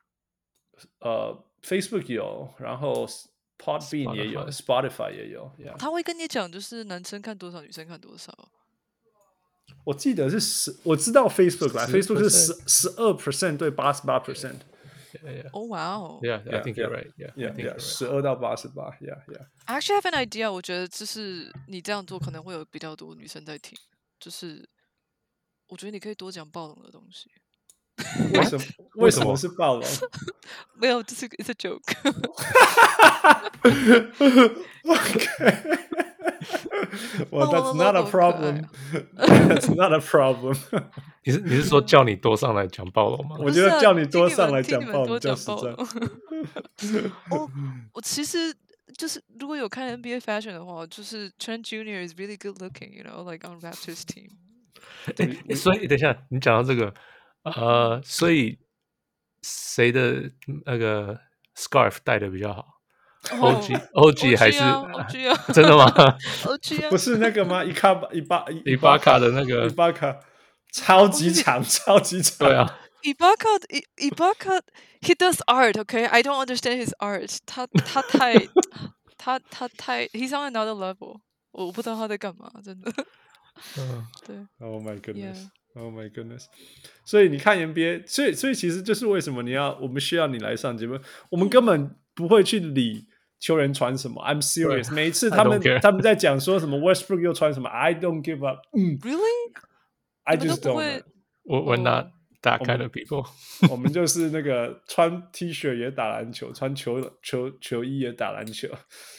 Facebook 有，然後 Podbean 也有 ，Spotify 也有。Yeah. 他會跟你講，就是男生看多少，女生看多少。 我記得是我知道 Facebook 啦 ，Facebook 是12%對88%。 Oh wow! Yeah, I think you're right. Yeah, 12到88。Yeah. I actually have an idea. 我覺得就是你這樣做可能會有比較多女生在聽。就是我覺得你可以多講暴龍的東西。 為什麼是暴龍？ 沒有，這是 it's a joke. Okay. Well, that's not a problem. That's not a problem. 你是說叫你多上來講暴龍嗎？ 我覺得叫你多上來講暴龍比較實在。 我其實就是如果有看 NBA Fashion 的話，就是 Trent Jr. is really good looking, you know, like on Raptors team. 所以等一下，你講到這個，所以誰的那個 scarf 戴的比較好？OG 還是 OG 啊？ 真的嗎 ？OG 啊？ 不是那個嗎？伊巴卡的那個伊巴卡超級長，超級長。 對啊。 Ibaka, he does art, okay? I don't understand his art. 他太 he's on another level. 我不知道他在幹嘛，真的。對。 Oh my goodness. Yeah. Oh my goodness. 所以你看 NBA， 所以其實就是為什麼我們需要你來上節目，我們根本不會去理球員穿什麼。I'm serious. 每一次他們在講說什麼 Westbrook 又穿什麼 ，I don't give up. Really? I just don't. We're not that kind of people. 我們就是那個穿 T 恤也打籃球，穿球衣也打籃球。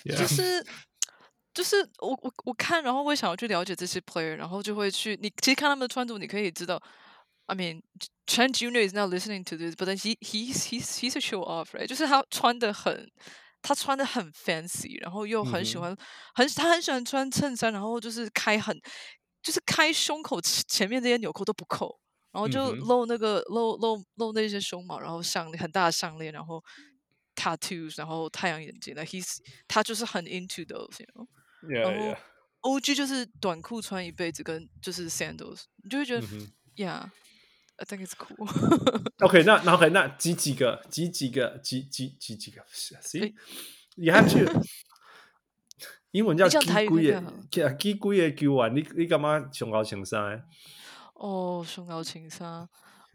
就是我看，然後我也想要去了解這些 player， 然後就會去你其實看他們的穿着，你可以知道。I mean, Trent Jr. is not listening to this, but then he's a show off, right? 就是他穿的很 fancy， 然後又很喜歡，他很喜歡穿襯衫，然後就是開胸口前面這些紐扣都不扣，然後就露那個露那些胸毛，然後很大的項鏈，然後 tattoos， 然後太陽眼鏡，他就是很 into those， you know? Yeah, 然後 OG 就是短褲穿一輩子，跟就是 sandals， 你就會覺得 ，Yeah, I think it's cool. OK， 那幾個 ？See, you have to 英文叫幾個球員，你幹嘛上高穿衫？ 上高穿衫，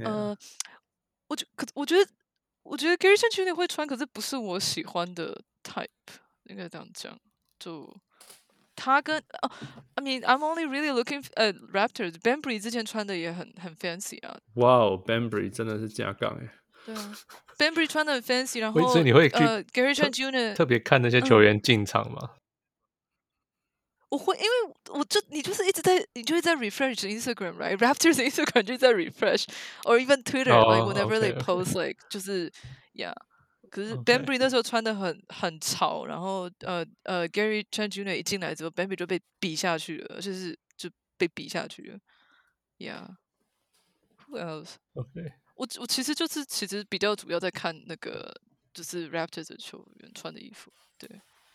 我覺得 Gary Trent Jr. 會穿，可是不是我喜歡的 type， 應該這樣講。 就他跟I mean I'm only really looking at Raptors. Bembry 之前穿的也很 fancy 啊。 哇哦 ，Bembry 真的是架杠哎。 对啊 ，Bembry 穿的很 fancy， 然后所以你会去 Gary Trent Jr. 特别看那些球员进场吗？ 我会，因为你就是一直在，你就会在 refresh Instagram, right? Raptors Instagram 就在 refresh, or even Twitter, like whenever they post, like 就是 yeah. 可是 Bembry 那時候穿的很潮，然後Gary Trent Jr. 一進來之後 ，Bembry 就被比下去了，就被比下去了。Yeah. Who else? Okay. 我其實比較主要在看那個就是 Raptors 的球員穿的衣服，對。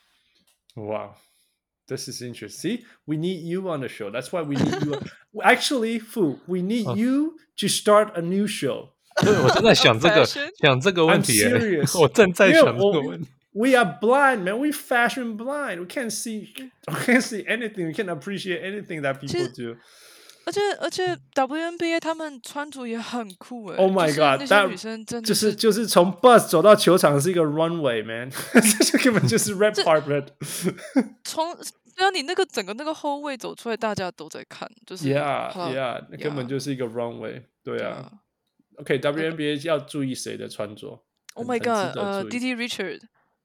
Wow.This is interesting. See, we need you on the show. That's why we need you. Actually, Fu, we need you to start a new show. 对，我正在想这個問題。 I'm serious. 我正在想這個問題。 We are blind, man. We fashion blind. We can't see anything. We can't appreciate anything that people do. 而且 WNBA 他們穿着也很酷哎。 Oh my god！ 那些女生真的就是從 bus 走到球場是一個 runway, man. 這根本就是 red carpet. 對啊，你那個整個那個後衛走出來，大家都在看，就是 yeah，那根本就是一個 runway。對啊。OK， WNBA 要注意誰的穿着 ？Oh my god！DD Richard。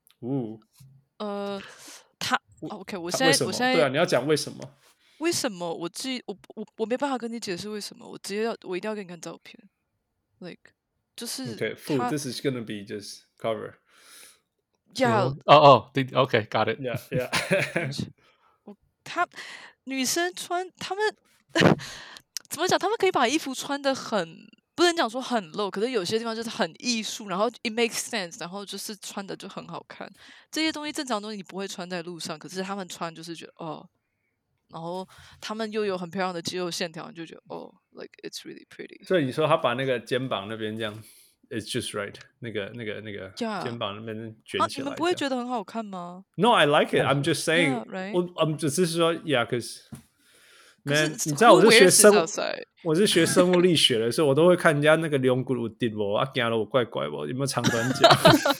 他 OK， 我現在對啊，你要講為什麼？ 為什麼我沒辦法跟你解釋為什麼，我一定要給你看照片 ，like 就是 this is gonna be just cover. Yeah. OK, got it. Yeah. 女生穿她們怎麼講？她們可以把衣服穿得很，不能講說很露，可是有些地方就是很藝術，然後 it makes sense， 然後就是穿的就很好看。這些東西正常東西你不會穿在路上，可是他們穿就是覺得哦。然後他們又有很漂亮的肌肉線條，你就覺得哦 ，like it's really pretty。 所以你說他把那個肩膀那邊這樣 ，it's just right， 那個肩膀那邊捲起來， 你們不會覺得很好看嗎 ？No, I like it. I'm just saying， 我只是說 ，yeah，cause man， 你知道我是學生物力學的，所以我都會看人家那個龍骨有滴不，啊，驚了我怪怪不，有沒有長短腳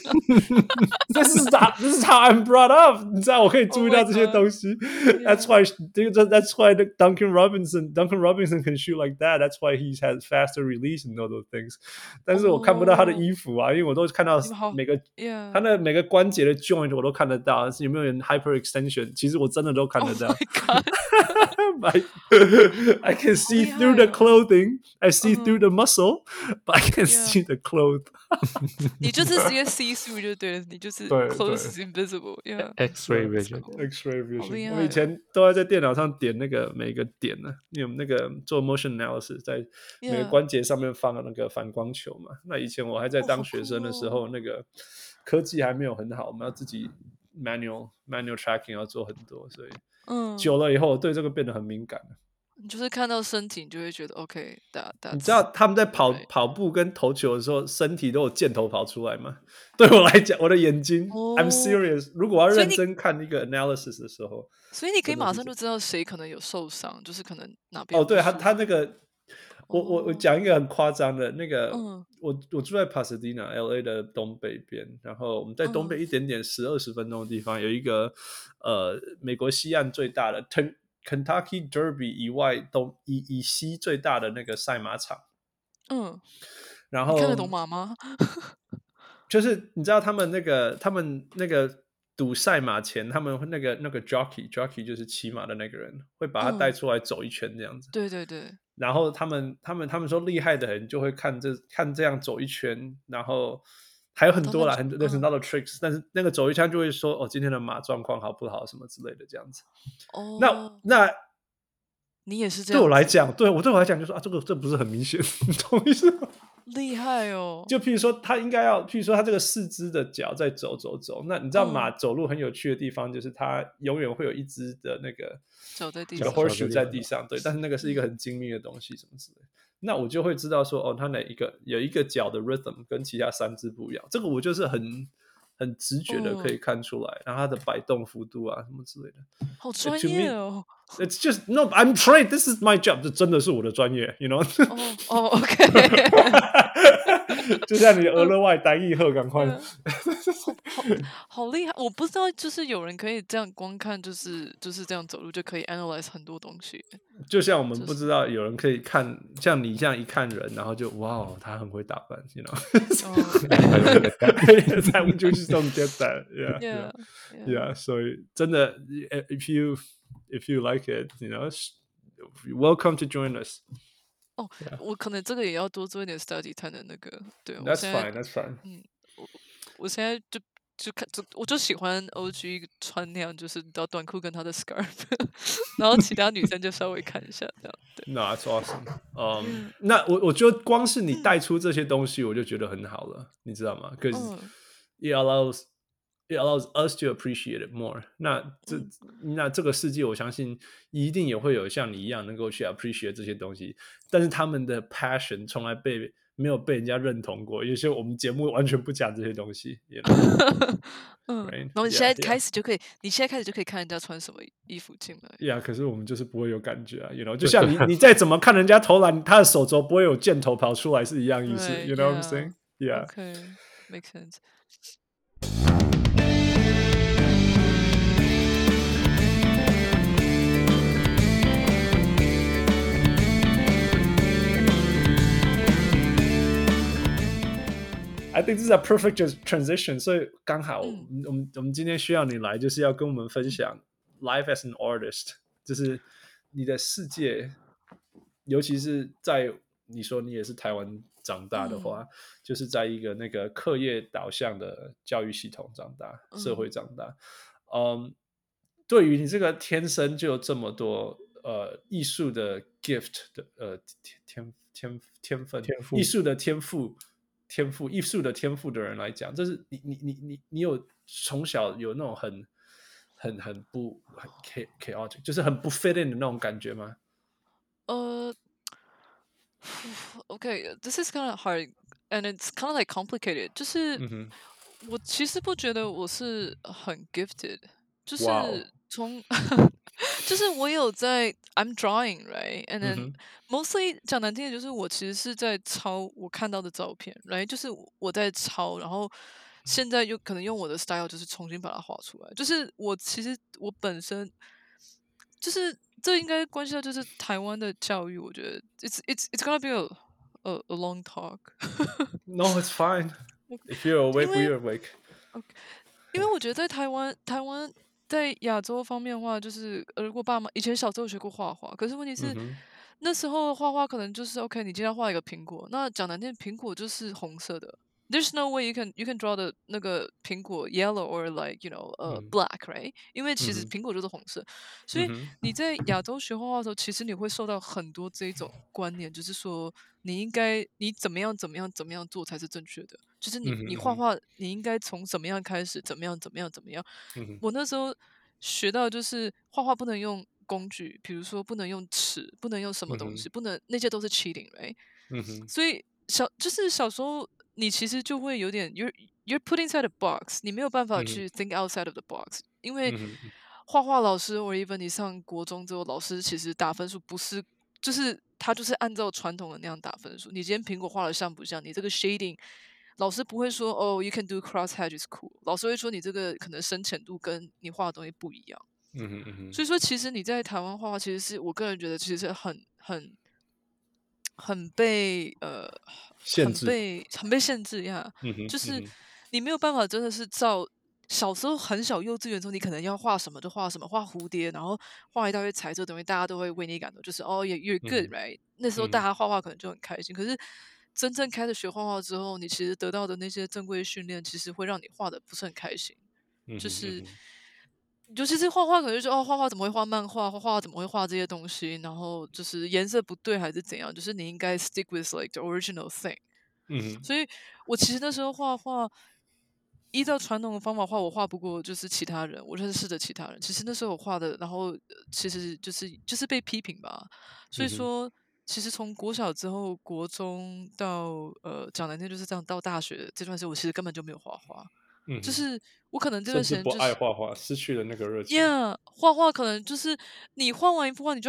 ？This is how I'm brought up， 你知道我可以注意到這些東西。That's why Duncan Robinson can shoot like that. That's why he has faster release and all those things. 但是我看不到他的衣服啊，因為我都看到他的每個關節的 joint 我都看得到，有沒有人 hyperextension？ 其實我真的都看得到。I can see through the clothing. I see through the muscle, but I can't see the cloth. 你就是直接 see through 就對了，你就是 clothes is invisible. Yeah. X-ray vision. X-ray vision. 我以前都在電腦上點那個每個點呢，因為那個做 motion analysis 在每個關節上面放那個反光球嘛。那以前我還在當學生的時候，那個科技還沒有很好，我們要自己 manual tracking 要做很多，所以久了以後對這個變得很敏感。 你就是看到身體，你就會覺得 OK。 你知道他們在跑步跟投球的時候，身體都有箭頭跑出來嗎？對我來講，我的眼睛 ，I'm serious。如果我要認真看一個 analysis 的時候， 所以你可以馬上就知道誰可能有受傷，就是可能哪邊。 對他那個，我講一個很誇張的那個，我住在 Pasadena LA 的東北邊，然後我們在東北一點點10-20分鐘的地方有一個美國西岸最大的Kentucky Derby 以外以西最大的那個賽馬場，然後你看得懂馬嗎？ 就是你知道他們那個賭賽馬前，他們那個 jockey 就是騎馬的那個人，會把他帶出來走一圈這樣子。 對對對。 然後他們說厲害的人就會看這樣走一圈，然後還有很多啦，很多的 tricks，但是那個走一圈就會說哦，今天的馬狀況好不好什麼之類的這樣子。那你也是這樣子？ 對我來講就說啊，這不是很明顯，你懂我意思嗎？ 厲害哦！ 就譬如說他應該要，譬如說他這個四肢的腳在走，那你知道馬走路很有趣的地方，就是它永遠會有一隻的那個腳在地上 ，horseshoe 在地上，對，但是那個是一個很精密的東西，什麼之類的。那我就會知道說，哦，它有一個腳的 rhythm 跟其他三隻不一樣，這個我就是很直覺的可以看出來，然後它的擺動幅度啊什麼之類的， 好專業哦。 It's just no, I'm trained. This is my job. 這真的是我的專業，you know? OK 就像你俄勒外單義賀，趕快， 好厲害！我不知道，就是有人可以這樣光看，就是這樣走路就可以 analyze 很多東西。 就像我們不知道有人可以看，像你這樣一看人，然後就哇，他很会打扮，you know？ We just don't get that. Yeah. 所以真的 ，if you like it, you know, welcome to join us. 我可能这个也要多做一點 study 才能那個。對 ，That's fine. 我現在我就喜歡 OG 穿那樣，就是到短褲跟他的 scarf， 然後其他女生就稍微看一下這樣。對 No, that's awesome. 那我覺得光是你帶出這些東西，我就覺得很好了，你知道嗎？Because it allows us to appreciate it more. 那這個世界，我相信一定也會有像你一樣能夠去 appreciate 這些東西，但是他們的 passion 從來沒有被人家認同過。有些我們節目完全不講這些東西。You know? 然後你現在開始就可以，你現在開始就可以看人家穿什麼衣服進來。 Yeah, 可是我們就是不會有感覺啊。You know, 就像你再怎麼看人家投籃，他的手肘不會有箭頭跑出來是一樣意思。You know what I'm saying? Yeah. Okay, makes sense. I think this is a perfect transition. 所以剛好我們今天需要你來，就是要跟我們分享 life as an artist， 就是你的世界，尤其是在你說你也是台灣長大的話，就是在一個那個課業導向的教育系統長大，社會長大。對於你這個天生就有這麼多藝術的 gift 的天分，藝術的天賦藝術的天賦的人來講，這是你有從小有那種很不很 chaotic， 就是很不 fit in 的那種感覺嗎 ？Okay, this is kind of hard, and it's kind of like complicated. 就是我其實不覺得我是很 gifted， 就是從就是我有在 I'm drawing, right? And then mostly 講難聽的就是我其實是在抄我看到的照片 right? 就是我在抄，然後現在又可能用我的 style 就是重新把它畫出來。就是我其實我本身就是這應該關係到就是台灣的教育，我覺得 it's gonna be a long talk. No, it's fine. If you're awake, we're awake. 因為我覺得在台灣在亞洲方面的話，就是如果爸媽以前小時候學過畫畫，可是問題是、那時候畫畫可能就是 OK， 你今天畫一個蘋果，那講難聽，蘋果就是紅色的。There's no way you can draw 的那個蘋果 yellow or like you know black, right？ 因為其實蘋果就是紅色，所以你在亞洲學畫畫的時候，其實你會受到很多這種觀念，就是說你怎麼樣做才是正確的，就是你畫畫你應該從怎麼樣開始，怎麼樣。我那時候學到就是畫畫不能用工具，比如說不能用尺，不能用什麼東西，不能那些都是 cheating, right？所以就是小時候。你其實就會有點 you're put inside a box， 你沒有辦法去 think outside of the box， 因為畫畫老師 or even 你上國中之後，老師其實打分數不是，就是他就是按照傳統的那樣打分數。你今天蘋果畫的像不像？你這個 shading， 老師不會說哦 you can do cross hatch is cool， 老師會說你這個可能深淺度跟你畫的東西不一樣。所以說其實你在台灣畫畫，其實是我個人覺得其實是很被限制呀，就是你沒有辦法真的是照小時候很小幼稚園的時候，你可能要畫什麼就畫什麼，畫蝴蝶，然後畫一大堆彩色的東西，大家都會為你感動，就是哦 you're good, right？ 那時候大家畫畫可能就很開心，可是真正開始學畫畫之後，你其實得到的那些正規訓練，其實會讓你畫的不是很開心，就是尤其是畫畫，可能就是哦，畫畫怎麼會畫漫畫？畫畫怎麼會畫這些東西？然後就是顏色不對還是怎樣？就是你應該 stick with like the original thing。所以我其實那時候畫畫，依照傳統的方法畫，我畫不過就是其他人，我認識的其他人。其實那時候我畫的，然後其實就是被批評吧。所以說，其實從國小之後，國中到講難聽就是這樣，到大學這段時間，我其實根本就沒有畫畫。就是我可能這段時間、就是、 不愛畫畫，失去了那個熱情。 畫畫可能就是你畫完一幅畫，你就要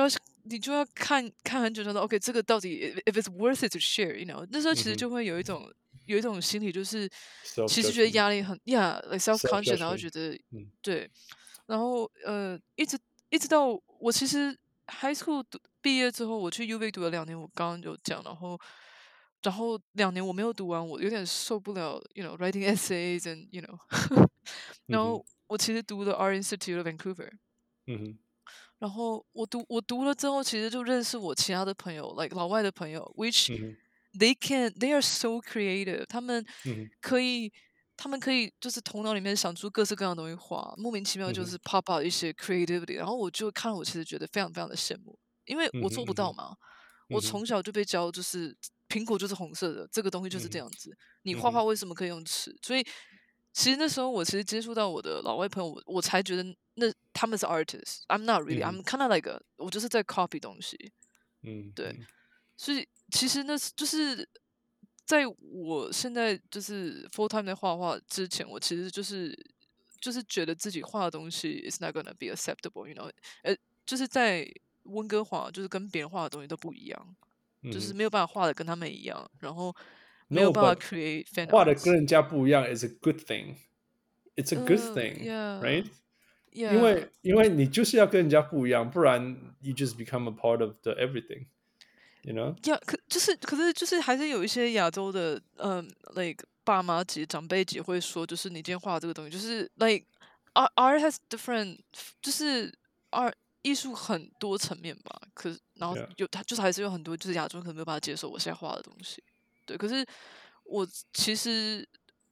你就要看很久，说 OK 这個到底 if it's worth it to share， 那時候其實就會有一種心理，就是其實覺得壓力很 like self-conscious， 然後覺得對，然後一直到我其實 high school 畢業之後，我去 UVic 讀了2年，我剛剛有講，然後2年我沒有讀完，我有點受不了writing essays and然後我其實讀了 Art Institute of Vancouver，然後我讀了之後，其實就認識我其他的朋友 like 老外的朋友 which they are so creative， 他們可以就是頭腦裡面想出各式各樣的東西畫，莫名其妙就是 pop out 一些 creativity， 然後我就看了，我其實覺得非常非常的羨慕，因為我做不到嘛，我從小就被教就是蘋果就是紅色的，這個東西就是這樣子，你畫畫為什麼可以用尺？所以其實那時候我其實接觸到我的老外朋友，我才覺得他們是 artist，I'm not really，I'm kind of like 我就是在 copy 東西，對，所以其實那就是在我現在就是 full time 在畫畫之前，我其實就是覺得自己畫的東西 is not gonna be acceptable， 就是在溫哥華就是跟別人畫的東西都不一樣，就是沒有辦法畫的跟他們一樣，然後沒有辦法 create fan arts， 畫的跟人家不一樣 is a good thing，it's a good thing，right？因為你就是要跟人家不一樣，不然 you just become a part of the everything，you know？ 可是就是還是有一些亞洲的like 爸媽級長輩級會說，就是你今天畫的這個東西，就是 like art has different， 就是 art 藝術很多層面吧，然後它就是還是有很多就是亞洲人可能沒有辦法接受我現在畫的東西，對，可是我其實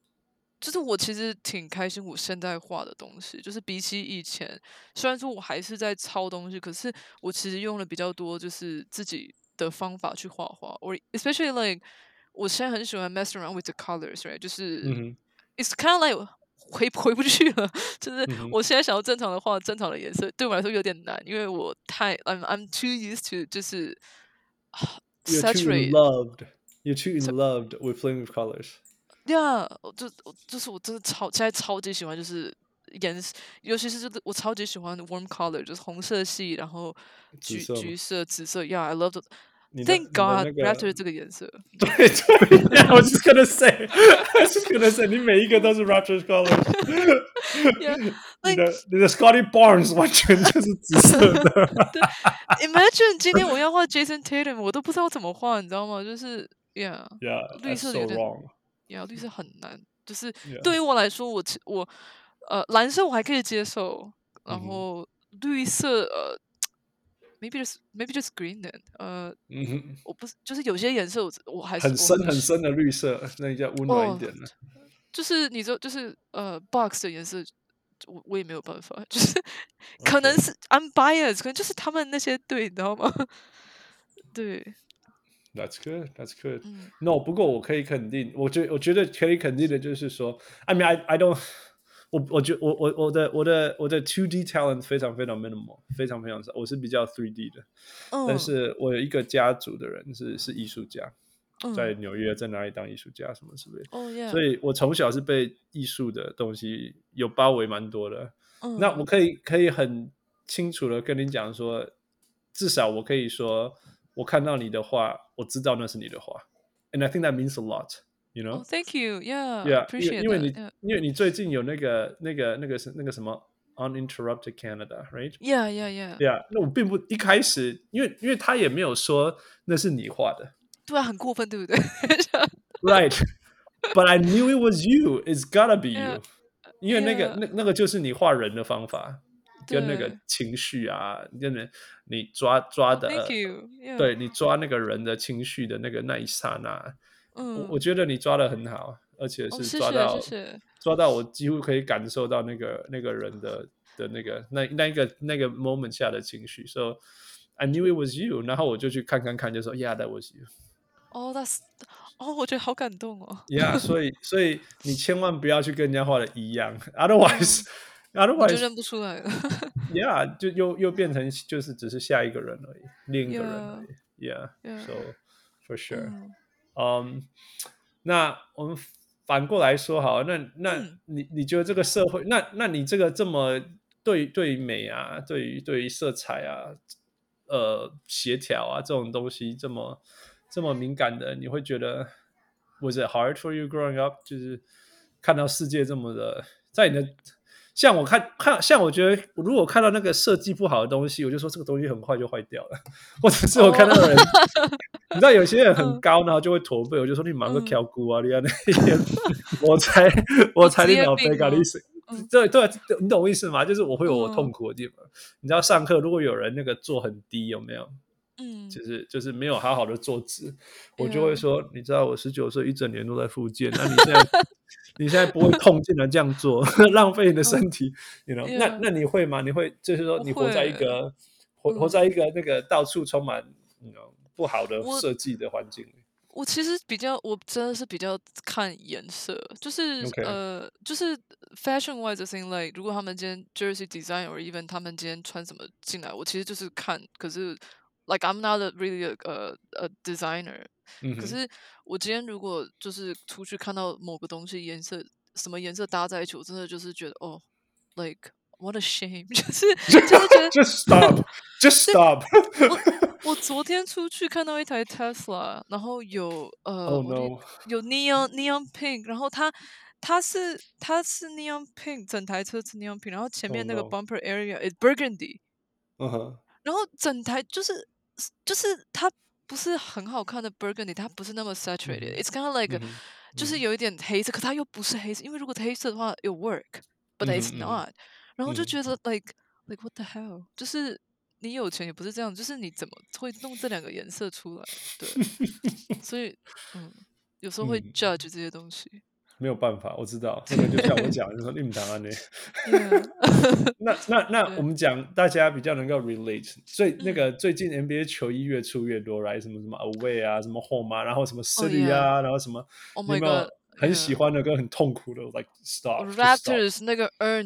挺開心我現在畫的東西，就是比起以前，雖然說我還是在抄東西，可是我其實用了比較多就是自己的方法去畫畫，or especially like 我現在很喜歡 mess around with the colors， right？ 就是、it's kind of like 回不去了，就是我現在想要正常的畫正常的顏色，對我來說有點難，因為我I'm too used to 就是 saturate。 You're too in love with playing with colors. Yeah， 就是我真的现在超級喜歡就是顏色，尤其是我超級喜歡 warm color， 就是紅色系，然後橘色、紫色。Yeah， I love it。Thank God Raptor 這個顏色。 對，I was just gonna say，你每一個都是 Raptors colors。你的 Scotty Barnes 完全就是紫色的。 對 ，Imagine 今天我要畫 Jason Tatum， 我都不知道怎麼畫，你知道嗎？就是 Yeah， 綠色有點。綠色很難，就是對於我來說，我藍色我還可以接受，然後綠色maybe just green then，我不是就是有些顏色我還是很深的綠色，那叫溫暖一點的。 就是你說就是box 的顏色，我也沒有辦法，就是可能是 I'm biased， 可能就是他們那些對，你知道嗎？對。 That's good. No， 不過我可以肯定，我覺得可以肯定的就是說 ，I mean I don't， 我覺得我的 2D talent 非常非常 minimal， 非常非常少，我是比較 3D 的，但是我有一個家族的人是藝術家，在紐約在哪裡當藝術家什麼之類的，所以我從小是被藝術的東西有包圍蠻多的。那我可以很清楚的跟你講說，至少我可以說。我看到你的畫，我知道那是你的畫 ，and I think that means a lot, you know? Thank you, yeah, appreciate that. 因為你最近有那個什麼 Uninterrupted Canada, right? Yeah. 那我並不一開始，因為他也沒有說那是你畫的， 對啊，很過分，對不對 ？Right, but I knew it was you. It's gotta be you. 因為那個就是你畫人的方法。跟那個情緒啊，跟你抓的， Thank you. Yeah. 對，你抓那個人的情緒的那一剎那，我覺得你抓得很好，而且是抓到我幾乎可以感受到那個人的那個 moment 下的情緒， so I knew it was you， 然後我就去看，就說 Yeah, that was you。 我覺得好感動哦。 Yeah， 所以你千萬不要去跟人家畫的一樣 ，otherwise。我就認不出來了。 Yeah， 就又變成就是只是下一個人而已，另一個人而已。Yeah，so for sure。那我們反過來說好，那你覺得這個社會，那你這個這麼對於美啊，對於色彩啊， 協調啊這種東西這麼敏感的，你會覺得 Was it hard for you growing up？ 就是看到世界這麼的，在你的像我像我覺得如果看到那個設計不好的東西，我就說這個東西很快就壞掉了，或者是我看到人。你知道有些人很高，然後就會駝背，我就說你忙個挑骨啊，你看那些，我才你腦袋搞你死，对，你懂我意思嗎？就是我會有我痛苦的地方。你知道上課如果有人那個坐很低，有沒有？就是沒有好好的坐直，我就會說，你知道我19歲一整年都在復健，那你現在不會痛，竟然這樣做，浪費你的身體，you know？那你會嗎？你會就是說你活在一個那個到處充滿不好的設計的環境裡。 我其實我真的是比較看顏色，就是就是 fashion wise the thing like 如果他們今天 jersey design or even 他們今天穿什麼進來，我其實就是看，可是 like I'm not really a designer，可是我今天如果就是出去看到某個東西什麼顏色搭在一起，我真的就是覺得like what a shame， 就是覺得 just stop 我昨天出去看到一台 Tesla， 然後有有 neon pink， 然後它是 neon pink， 整台車是 neon pink， 然後前面那個 bumper area is burgundy， 然后整台就是它不是很好看的 burgundy， 它不是那麼 saturated，it's kind of like 就是有一點黑色，可它又不是黑色，因為如果黑色的話it work，but it's not， 然後就覺得 like what the hell， 就是你有錢也不是這樣，就是你怎麼會弄這兩個顏色出來？對，所以有時候會 judge 這些東西。 沒有辦法，我知道，那個就像我講，就說你們答案呢。那我們講大家比較能夠 relate， 所以那個最近 NBA 球衣越出越多，來什麼 away 啊，什麼 home 啊，然後什麼 city 啊，然後什麼，有沒有很喜歡的跟很痛苦的 like stop Raptors 那個 earn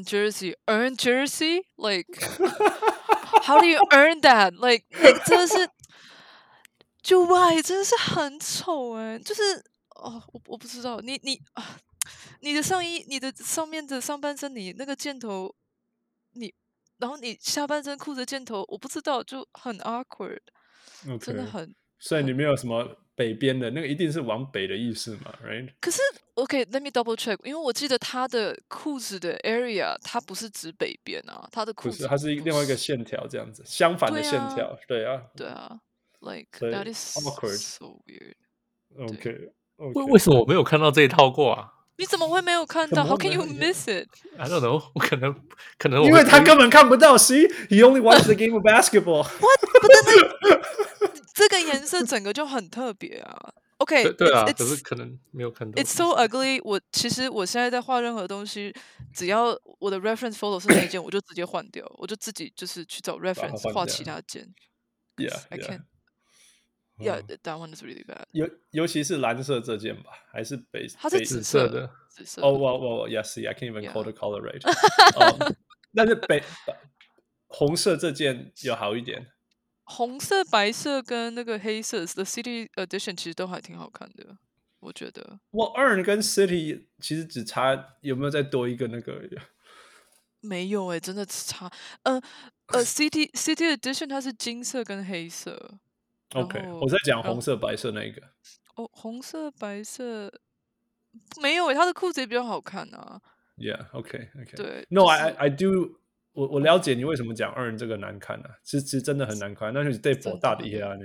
jersey like how do you earn that like 真的是就 why 真的是很醜哎，就是我不知道你的上衣，你的上面的上半身，你那個箭頭，然後你下半身褲子箭頭，我不知道，就很 awkward， 真的很。 所以你沒有什麼北邊的那個，一定是往北的意思嘛 ，right？ 可是 ，OK，let me double check， 因為我記得他的褲子的 area， 它不是指北邊啊，他的褲子不是，它是另外一個線條這樣子，相反的線條，對啊 ，like that is awkward， so weird。OK， 為什麼我沒有看到這一套過啊？ 你怎麼會沒有看到 ？How can you miss it? I don't know， 我可能因為他根本看不到。See, he only watched the game of basketball. What? 這個顏色整個就很特別啊。OK， 對啊，可是可能沒有看到。 It's so ugly。其實我現在在畫任何東西，只要我的 reference photo 是那一件，我就直接換掉，我就自己就是去找 reference 畫其他件。 Yeah，I can't。Yeah, that one is really bad. 尤其是藍色這件吧，還是它是紫色的。 Yes, I can't even call the color right. 但是紅色這件有好一點。 紅色、白色跟那個黑色 ，The City Edition 其實都還挺好看的，我覺得。 Earn 跟 City 其實只差有沒有再多一個那個？ 沒有真的只差。City Edition 它是金色跟黑色。 OK， 我在講紅色、白色那一個。 紅色、白色沒有它的褲子也比較好看啊。 Yeah, OK。 對。 No, I do。我了解你為什麼講 Earn 這個難看啊，其實真的很難看，那是對否大的一啊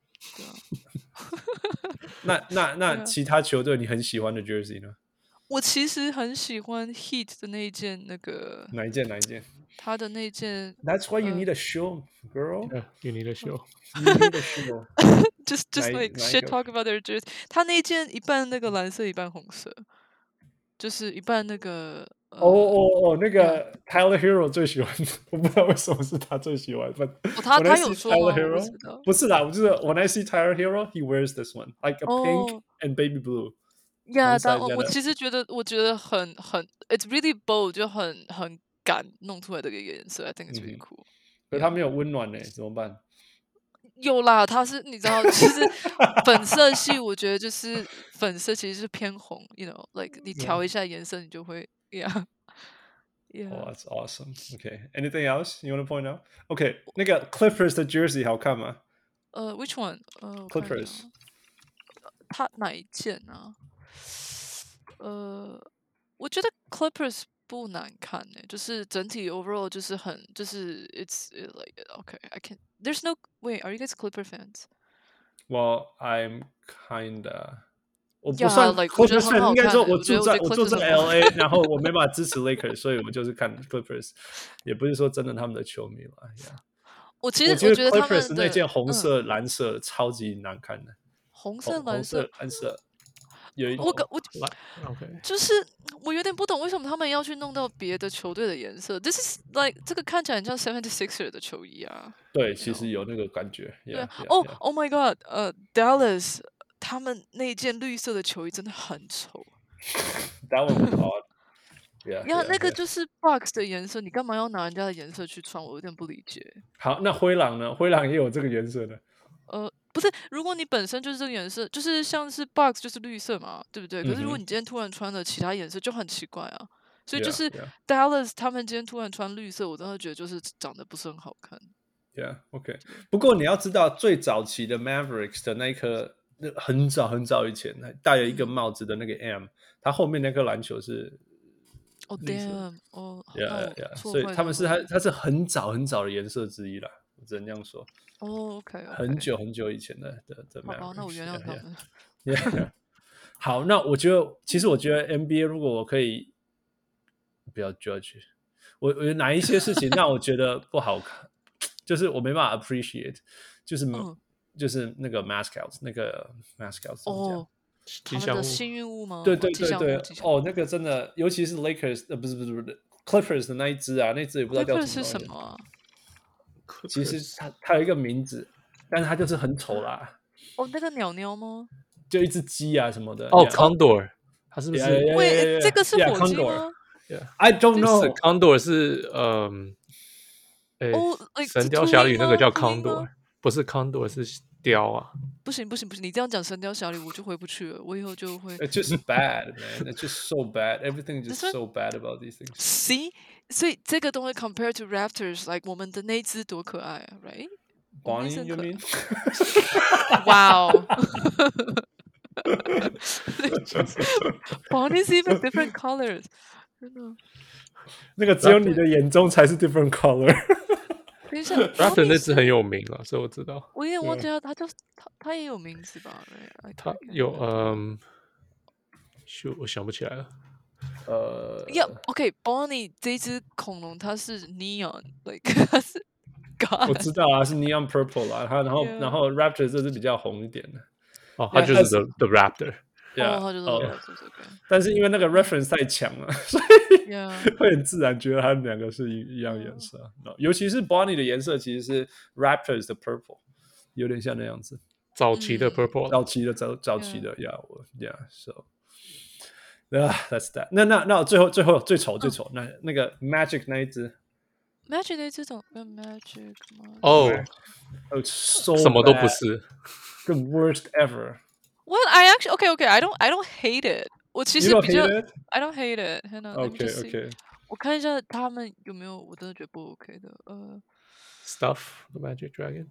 那。那其他球隊你很喜歡的 jersey 呢？ 我其實很喜歡 Heat 的那一件那個。 哪一件？ 他的那件。 That's why you need a show, girl. Yeah, you need a show. You need a show. just like shit talk about their jersey. 他那件一半那個藍色，一半紅色，就是一半那個。 那個 Tyler Hero 最喜歡，我不知道為什麼是他最喜歡。 他有說嗎？ 不是啦，我就是 When I see Tyler Hero, he wears this one, like a pink and baby blue. Yeah， 但我其實我覺得很 ，it's really bold， 就很敢弄出來的一個顏色 ，I think it's really cool。 可是他沒有溫暖呢，怎麼辦？ 有啦，他是你知道，其實粉色系，我覺得就是粉色其實是偏紅，you know，like 你調一下顏色，你就會。Yeah， Yeah. Oh, that's awesome. Okay, anything else you want to point out? Okay, 那個 Clippers 的 jersey 好看嗎 ？Which one？我看一下 ？Clippers 他哪一件啊？我觉得 Clippers 不难看呢，就是整体 overall 就是很就是 it's like okay I can there's no wait are you guys Clipper fans? Well, I'm kinda. 我不 Yeah, 算 like 我觉得 Clippers 很 fan，应该好看说我欸我觉得住在 Clippers 很好 LA，然后我没办法支持 Lakers，所以我就是看 Clippers，也不是说真的他们的球迷了。Yeah. 我其实我觉得他 Clippers 们的那件红色、蓝色超级难看的， 红色、 红蓝色， 蓝色有一我 OK， 就是我有點不懂為什麼他們要去弄到別的球隊的顏色。This is like 這個看起來很像 76er 的球衣啊。 對，其實有那個感覺。 對 Yeah, 哦 yeah. ，Oh my God，Dallas 他們那件綠色的球衣真的很醜。 That one was odd. Yeah, 那個就是 Bucks 的顏色，你幹嘛要拿人家的顏色去穿？我有點不理解。 好，那灰狼呢？灰狼也有這個顏色的。 不是，如果你本身就是這個顏色，就是像是 Bucks 就是綠色嘛，對不對？可是如果你今天突然穿了其他顏色，就很奇怪啊。所以就是 Dallas 他們今天突然穿綠色，我真的覺得就是長得不是很好看。 Yeah, OK。不過你要知道，最早期的 Mavericks 的那一顆，很早很早以前，戴了一個帽子的那個 M，它後面那顆籃球是。 哦 ，damn， 哦 ，Yeah，所以他們是它是很早很早的顏色之一啦，我只能這樣說。 哦 ，OK， 很久很久以前的 Mavericks。 好，那我原諒他們。 Yeah. 好，那其實我覺得 NBA 如果我可以不要 judge， 我有哪一些事情讓我覺得不好看，就是我沒辦法 appreciate， 就是那個 mascots 怎麼講？ 他們的幸運物嗎？ 對，哦，那個真的，尤其是 Lakers， 不是 Clippers 的那一隻啊，那隻也不知道叫什麼。 是什麼啊？ 其實它有一個名字，但是它就是很醜啦。 哦，那個鳥鳥嗎？ 就一隻雞啊什麼的。 哦 ，Condor， 它是不是？ 喂，這個是火雞嗎 ？I don't know。 Condor 是神雕俠侶那個叫 Condor， 不是 Condor 是雕啊。不行， 你這樣講神雕俠侶我就回不去了，我以後就會。 It's just bad, man. It's just so bad. Everything is just so bad about these things. See， 所以這個東西 compared to Raptors，like 我們的那隻多可愛啊 ，right？ Bonnie, you mean? Wow. Bonnie's even different colors. 真的。 那個只有你的眼中才是 different color。 等一下 ，Raptor 那隻很有名啊，所以我知道。 我有點忘記他也有名字吧？ 他有我想不起來了。 OK，Bonnie 這隻恐龍它是 neon，like 它是 God。 我知道啊，是 neon purple 啦，然後 Raptor 這是比較紅一點的。 哦，它就是 the Raptor。 它就是 Raptor。 但是因為那個 reference 太強了，所以會很自然覺得它們兩個是一樣顏色。尤其是 Bonnie 的顏色其實是 Raptors 的 purple， 有點像那樣子。 早期的 purple， 早期的 ，yeah，that's that。那最後最醜，那個 Magic 那一隻 ，Magic 那一隻怎麼 Magic 嗎？ 哦，什麼都不是 ，the worst ever。 Well, I actually okay. I don't hate it. 我其實比較 I don't hate it. Okay. 我看一下他們有沒有，我真的覺得不 OK 的。 Stuff the Magic Dragon。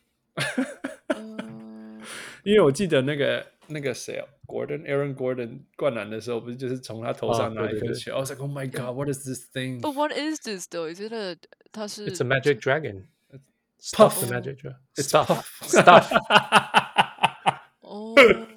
因為我記得那個誰Aaron Gordon 灌籃的時候，不是就是從他頭上拿一顆球。I was like, oh my god, what is this thing? But what is this though? Is it a? 它是 It's a Magic Dragon. Stuff the Magic Dragon. Stuff. 哦，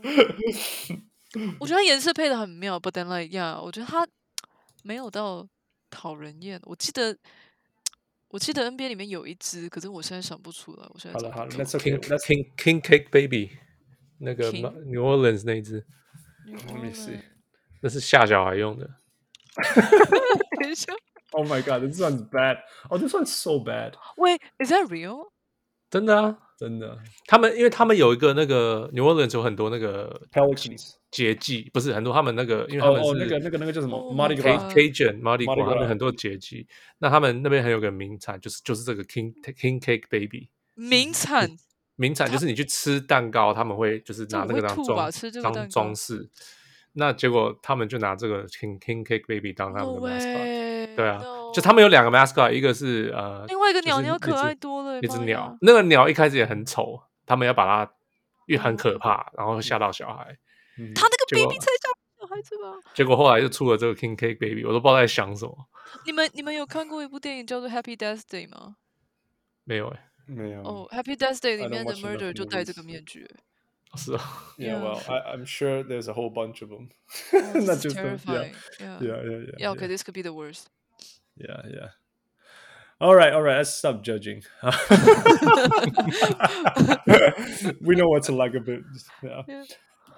我覺得它顏色配得很妙 ，but then like yeah， 我覺得它沒有到討人厭。我記得 NBA 裡面有一隻，可是我現在想不出來。我現在好了 ，King Cake Baby， 那個 New Orleans 那一隻 ，Let me see， 那是嚇小孩用的。 等一下 ，Oh my god, this one's bad. Oh, this one's so bad. Wait, is that real? 真的啊， 真的。 因為他們有一個那個 New Orleans 有很多那個 Pelicans 節氣，不是很多他們那個，因為他們是那個叫什麼 Mardi Gras Cajun Mardi Gras， 他們很多節氣。那他們那邊還有個名產，就是這個 King Cake Baby。 名產就是你去吃蛋糕，他們會就是拿那個當裝飾。那結果他們就拿這個 King Cake Baby 當他們的 mascot。 對啊， No 就他們有2個 mascot， 一个是另外一个就是鸟可爱多了， 一只鸟媽呀， 那个鸟一開始也很醜，他們要把它因為很可怕，然後嚇到小孩。 他那個結果 baby 才嚇小孩子吧？ 結果後來就出了這個 King Cake Baby， 我都不知道在想什麼。 你們有看過一部電影叫做 Happy Death Day 嗎？ 沒有沒有。 哦，Happy Death Day 裡 I don't 面的 watch enough murder 就戴這 movies. 個面具。 是啊。 Yeah, well, I'm sure there's a whole bunch of them. That's just terrifying. Yeah. Okay, this could be the worst. Yeah. All right. Let's stop judging. We know what to like a bit. Yeah.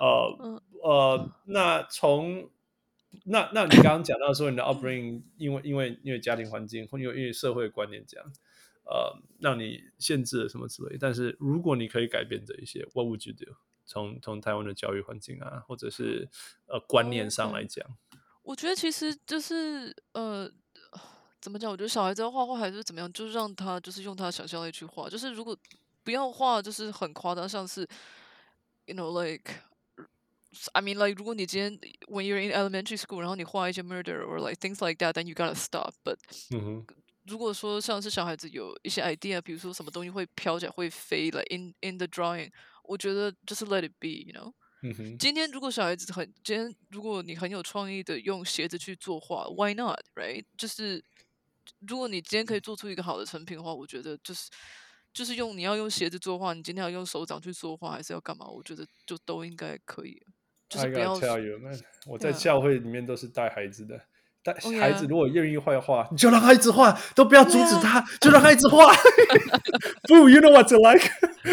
那你剛剛講到說你的 upbringing， 因為家庭環境或因為社會觀念這樣，讓你限制了什麼之類。但是如果你可以改變這一些 ，What would you do？ 從台灣的教育環境啊，或者是觀念上來講， 我覺得其實就是怎麼講？我覺得小孩子要畫畫還是怎麼樣，就是讓他就是用他想象力去畫。就是如果不要畫，就是很誇張，像是 you know like I mean like 如果你今天 when you're in elementary school， 然後你畫一些 murder or like things like that，then you gotta stop. But 如果說像是小孩子有一些 idea， 比如說什麼東西會飄起來會飛 like in the drawing， 我覺得就是 let it be，you know。今天如果小孩子今天如果你很有創意的用鞋子去作畫 ，Why not？ Right？ 就是如果你今天可以做出一個好的成品的話，我覺得就是你要用鞋子作畫，你今天要用手掌去作畫，還是要幹嘛？我覺得就都應該可以。就是不要 I gotta tell you, man， 我在教會裡面都是帶孩子的。孩子如果願意畫畫，你就讓他一直畫，都不要阻止他，就讓他一直畫。Boo, you know what to like 。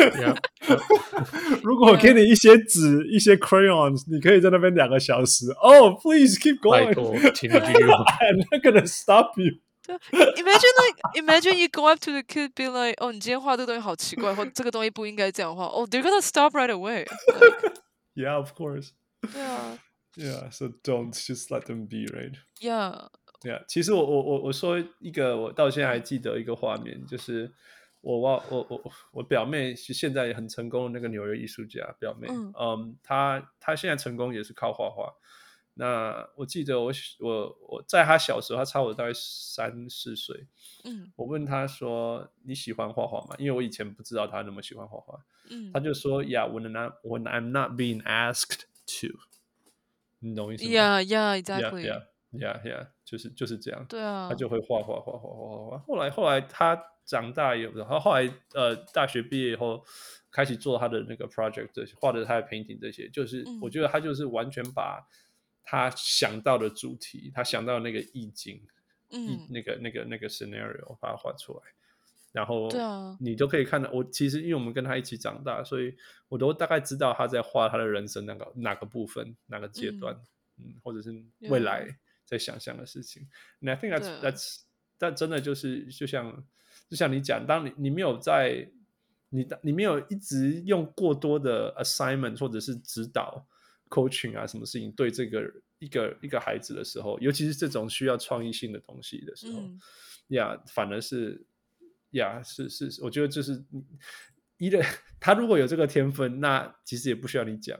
如果我給你一些紙、一些 crayons， 你可以在那邊2個小時。Oh, please keep going. 拜託，請你繼續畫。 I'm not gonna stop you. Imagine you go up to the kid, be like, 哦，你今天畫這個東西好奇怪，或這個東西不應該這樣畫。Oh, they're gonna stop right away. Yeah, of course. 對啊。 Yeah, so don't just let them be, right? Yeah. 其實我說一個我到現在還記得一個畫面，就是我表妹是現在也很成功的那個紐約藝術家表妹，她現在成功也是靠畫畫。那我記得我在她小時候，她差我大概3、4歲，我問她說你喜歡畫畫嗎？因為我以前不知道她那麼喜歡畫畫，她就說 Yeah, when I'm not being asked to。你懂意思嗎 Yeah, exactly. Yeah, 就是這樣。 對啊， 他就會畫。後來他長大以後，然後後來大學畢業以後，開始做他的那個 project， 這些畫的他的 painting 這些，就是我覺得他就是完全把他想到的主題，他想到的那個意境，那個 scenario 把它畫出來。然後你都可以看到，我其實因為我們跟他一起長大，所以我都大概知道他在畫他的人生哪個部分、哪個階段，或者是未來在想象的事情。And I think that's 真的就是就像你講，當你沒有在你沒有一直用過多的 assignment 或者是指導 coaching 啊什麼事情對這個一個孩子的時候，尤其是這種需要創意性的東西的時候，反而是。是，我覺得就是他如果有這個天分，那其實也不需要你講。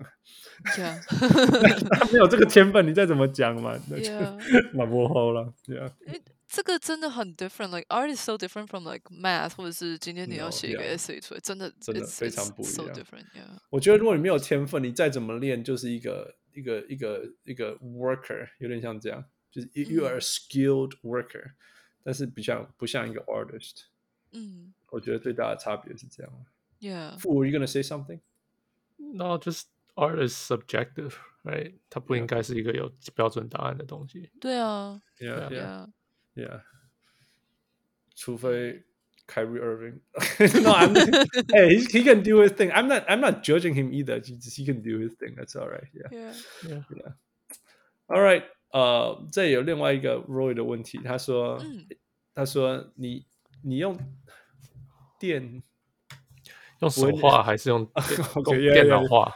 他沒有這個天分，你再怎麼講嘛，那就蠻不好了。 這個真的很 different，like art is so different from like math， 或者是今天你要寫一個 essay 出來，真的非常不一樣。 so different, yeah. 我覺得如果你沒有天分，你再怎麼練，就是一個 worker， 有點像這樣，就是 you are a skilled worker， 但是不像一個 artist。我覺得最大的差別是這樣。 Yeah. Were you gonna say something? No, just art is subjective, right? 它不應該是一個有標準答案的東西。 對啊。 Yeah. 除非 Kyrie Irving. No, hey, he can do his thing. I'm not judging him either. He can do his thing. That's all right. Yeah. All right. 這有另外一個 Roy 的問題，他說你用電用手畫還是用電腦畫？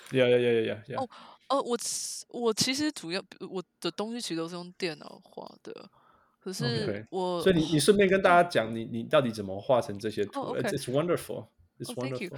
我其實主要我的東西其實都是用電腦畫的，可是所以你順便跟大家講你到底怎麼畫成這些圖。It's wonderful. It's wonderful.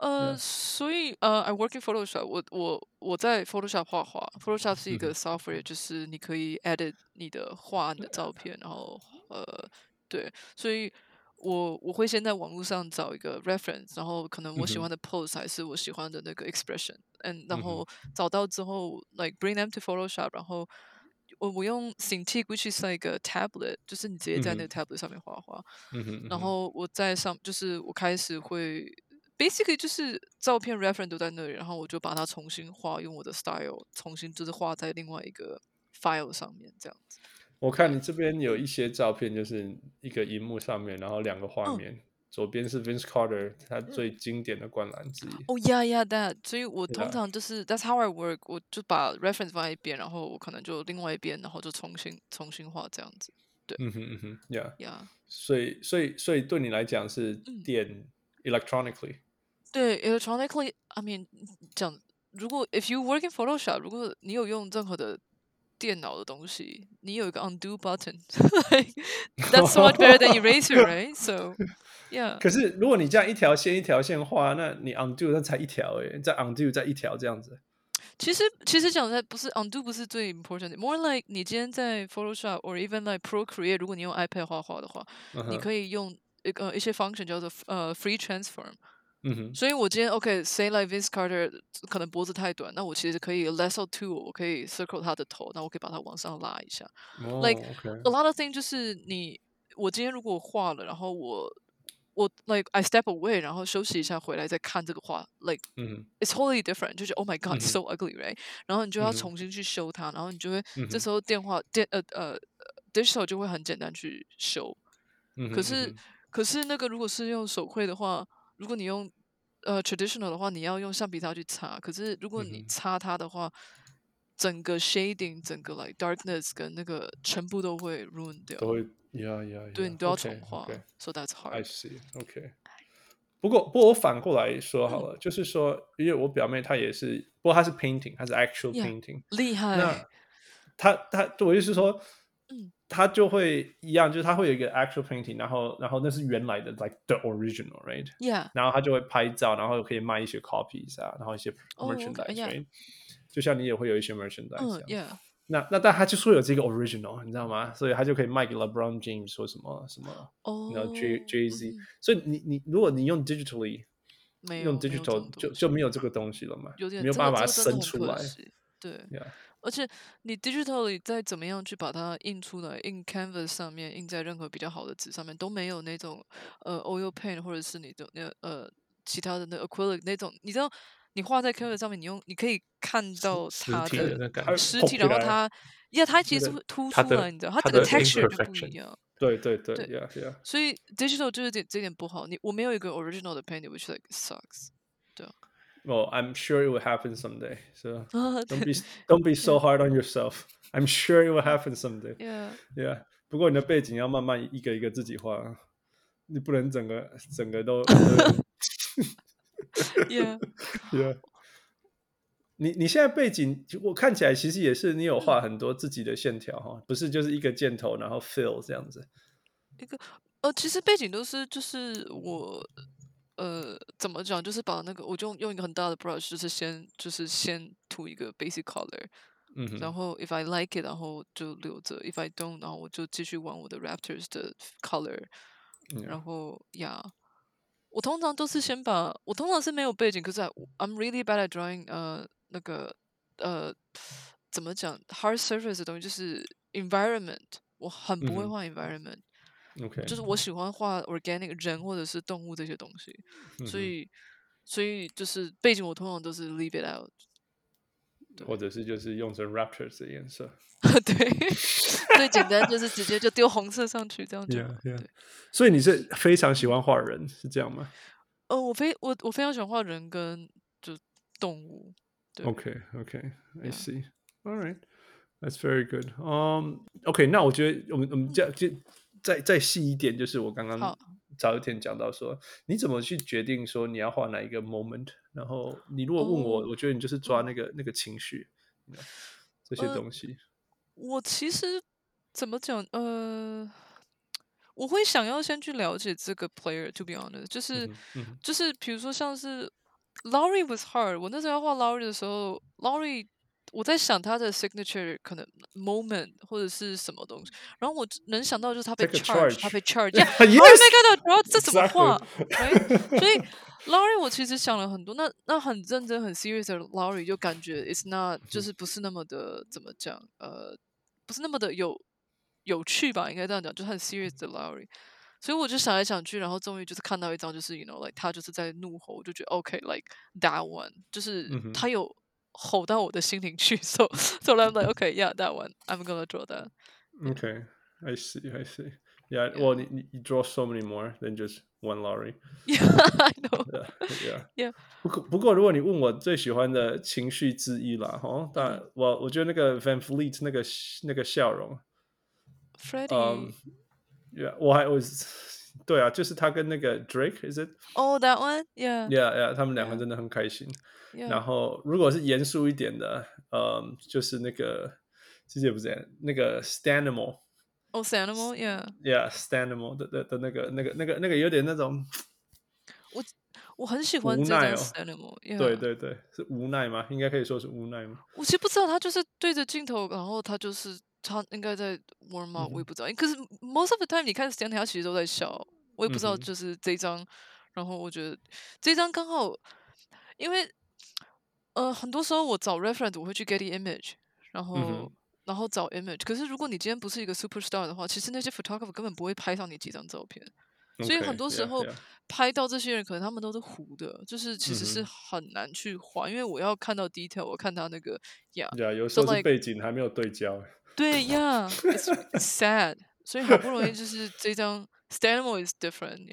所以I work in Photoshop，我在 Photoshop 畫畫，Photoshop 是一個 software，就是你可以 edit 你的畫、你的照片，然後对，所以我會先在網絡上找一個 reference，然後可能我喜歡的 pose 還是我喜歡的那個 expression，然後找到之後 like bring them to Photoshop，然後我用 Cintiq，which is like a tablet，就是你直接在那個 tablet 上面畫畫，然後我在就是我開始會。Basically 就是照片 reference 都在那裡，然後我就把它重新畫，用我的 style 重新就是畫在另外一個 file 上面，這樣子。 我看你這邊有一些照片，就是一個熒幕上面，然後兩個畫面，左邊是 Vince Carter 他最經典的灌籃之一。 Oh yeah, that。所以我通常就是 That's how I work， 我就把 reference 放在一邊，然後我可能就另外一邊，然後就重新畫這樣子。對，yeah。 所以對你來講是電 electronically。 對 ，electronically，I mean， 講如果 if you work in Photoshop， 如果你有用任何的電腦的東西，你有一個 undo button，like that's so much better than eraser，right？So yeah。 可是如果你這樣一條線一條線畫，那你 undo 那才一條誒，再 undo 再一條這樣子。 其實講在不是 undo 不是最 important，more like 你今天在 Photoshop or even like Procreate， 如果你用 iPad 畫畫的話，你可以用一些 function 叫做free transform。所以我今天 OK，say like Vince Carter 可能脖子太短，那我其實可以 lasso tool， 我可以 circle 他的頭，那我可以把它往上拉一下。Like a lot of things 就是我今天如果畫了，然後我 like I step away， 然後休息一下回來再看這個畫 ，like it's totally different， 就是 Oh my God，it's so ugly，right？ 然後你就要重新去修它，然後你就會這時候digital 就會很簡單去修。可是那個如果是用手繪的話，如果你用traditional 的話，你要用橡皮擦去擦。可是如果你擦它的話，整個 shading， 整個 like darkness 跟那個全部都會 ruin 掉。 都會 yeah， 對，你都要重畫。So that's hard. I see. OK。不過我反過來說好了，就是說，因為我表妹她也是，不過她是 painting， 她是 actual painting， 厲害。 那她我就是說。他就會一樣，就是他會有一個 actual painting， 然後那是原來的 like the original right， 然後他就會拍照，然後可以賣一些 copies 啊，然後一些 merchandise right， 就像你也會有一些 merchandise 這樣。那但他就是會有這個 original， 你知道嗎？所以他就可以賣給 LeBron James 或什麼然後 Jay-Z， 所以你如果你用 digitally， 用 digital 就沒有這個東西了嘛，沒有辦法把它生出來。 對，而且你 digitally 再怎麼樣去把它印出來，印 canvas 上面，印在任何比較好的紙上面，都沒有那種oil paint 或者是你的其他的那 acrylic 那種，你知道你畫在 canvas 上面，你可以看到它的實體，然後它其實會凸出來，你知道它整個 texture 就不一樣。 對 yeah。所以 digital 就是這點不好，我沒有一個 original 的 painting which like sucks。對。 Well, I'm sure it will happen someday. So don't be so hard on yourself. I'm sure it will happen someday. Yeah. 不過你的背景要慢慢一個一個自己畫，你不能整個都。 Yeah. 你現在背景我看起來其實也是你有畫很多自己的線條哈，不是就是一個箭頭然後 fill 這樣子。 其實背景都是就是我。怎麼講？就是把那個，我就用一個很大的 brush， 就是先塗一個 basic color，然後 if I like it， 然後就留着 ，if I don't， 然後我就繼續玩我的 Raptors 的 color，然後我通常都是我通常是沒有背景，可是 I'm really bad at drawing， 那個怎麼講 hard surface 的東西，就是 environment， 我很不會畫 environment。Okay. 就是我喜歡畫 organic 人或者是動物這些東西，所以就是背景我通常都是 leave it out， 或者是就是用成 Raptors 的顏色。 對，最簡單就是直接就丟紅色上去這樣就好。對， 所以你是非常喜歡畫人，是這樣嗎？ 我非常喜歡畫人跟就動物。對 Okay, I see. All right, that's very good. OK， 那我覺得我們這樣再細一點，就是我剛剛早一天講到說，你怎麼去決定說你要畫哪一個 moment？ 然後你如果問我，我覺得你就是抓那個情緒，這些東西。 我其實怎麼講？我會想要先去了解這個 player，to be honest， 就是比如說像是 Lowry was hard。我那時候要畫 Lowry 的时候，Lowry 我在想他的 signature 可能 moment 或者是什麼東西，然後我能想到就是他被 Take a charge，他被 charge. charge。Yeah，Lowry Yes! 没看到，然后這怎麼畫 Exactly. ？Right？所以 Lowry 我其實想了很多，那很認真很 serious 的 Lowry 就感覺 it's not 就是不是那麼的怎麼講不是那麼的有趣吧，應該這樣講，就很 serious 的 Lowry。所以我就想來想去，然後終於就是看到一張，就是 you know like 他就是在怒吼，我就覺得 OK like that one， 就是他有吼到我的心靈去，so I'm like OK yeah that one I'm gonna draw that. Okay, I see. Yeah, well, you draw so many more than just one Lowry. Yeah, I know. Yeah. 不過如果你問我最喜歡的情緒之一啦，但我覺得那個 Van Fleet 那個笑容 Freddie. Yeah, 對啊，就是他跟那個 Drake，is it? Oh, that one? Yeah. 他们两個真的很開心。 Yeah. 然後如果是嚴肅一點的，就是那個，其實也不是這樣，那個 Stanimal。Oh, Stanimal, yeah. Stanimal 的那個有點那種， 我很喜歡這張 Stanimal。 對，是無奈嗎？應該可以說是無奈嗎？ 我其實不知道，他就是對着鏡頭，然後他應該在 warm up，我也不知道。可是 most of the time 你看 Stanimal 他其實都在笑，我也不知道就是這一張。然後我覺得這一張剛好，因為很多時候我找 reference 我會去 Getty Image，然後找 image。可是如果你今天不是一個 superstar 的話，其實那些 photographer 根本不會拍上你幾張照片。所以很多時候拍到這些人，可能他們都是糊的，就是其實是很難去畫，因為我要看到 detail， 我看他那個有時候是背景還沒有對焦。 對 ，it's sad。所以好不容易就是這張 Stanimal is different，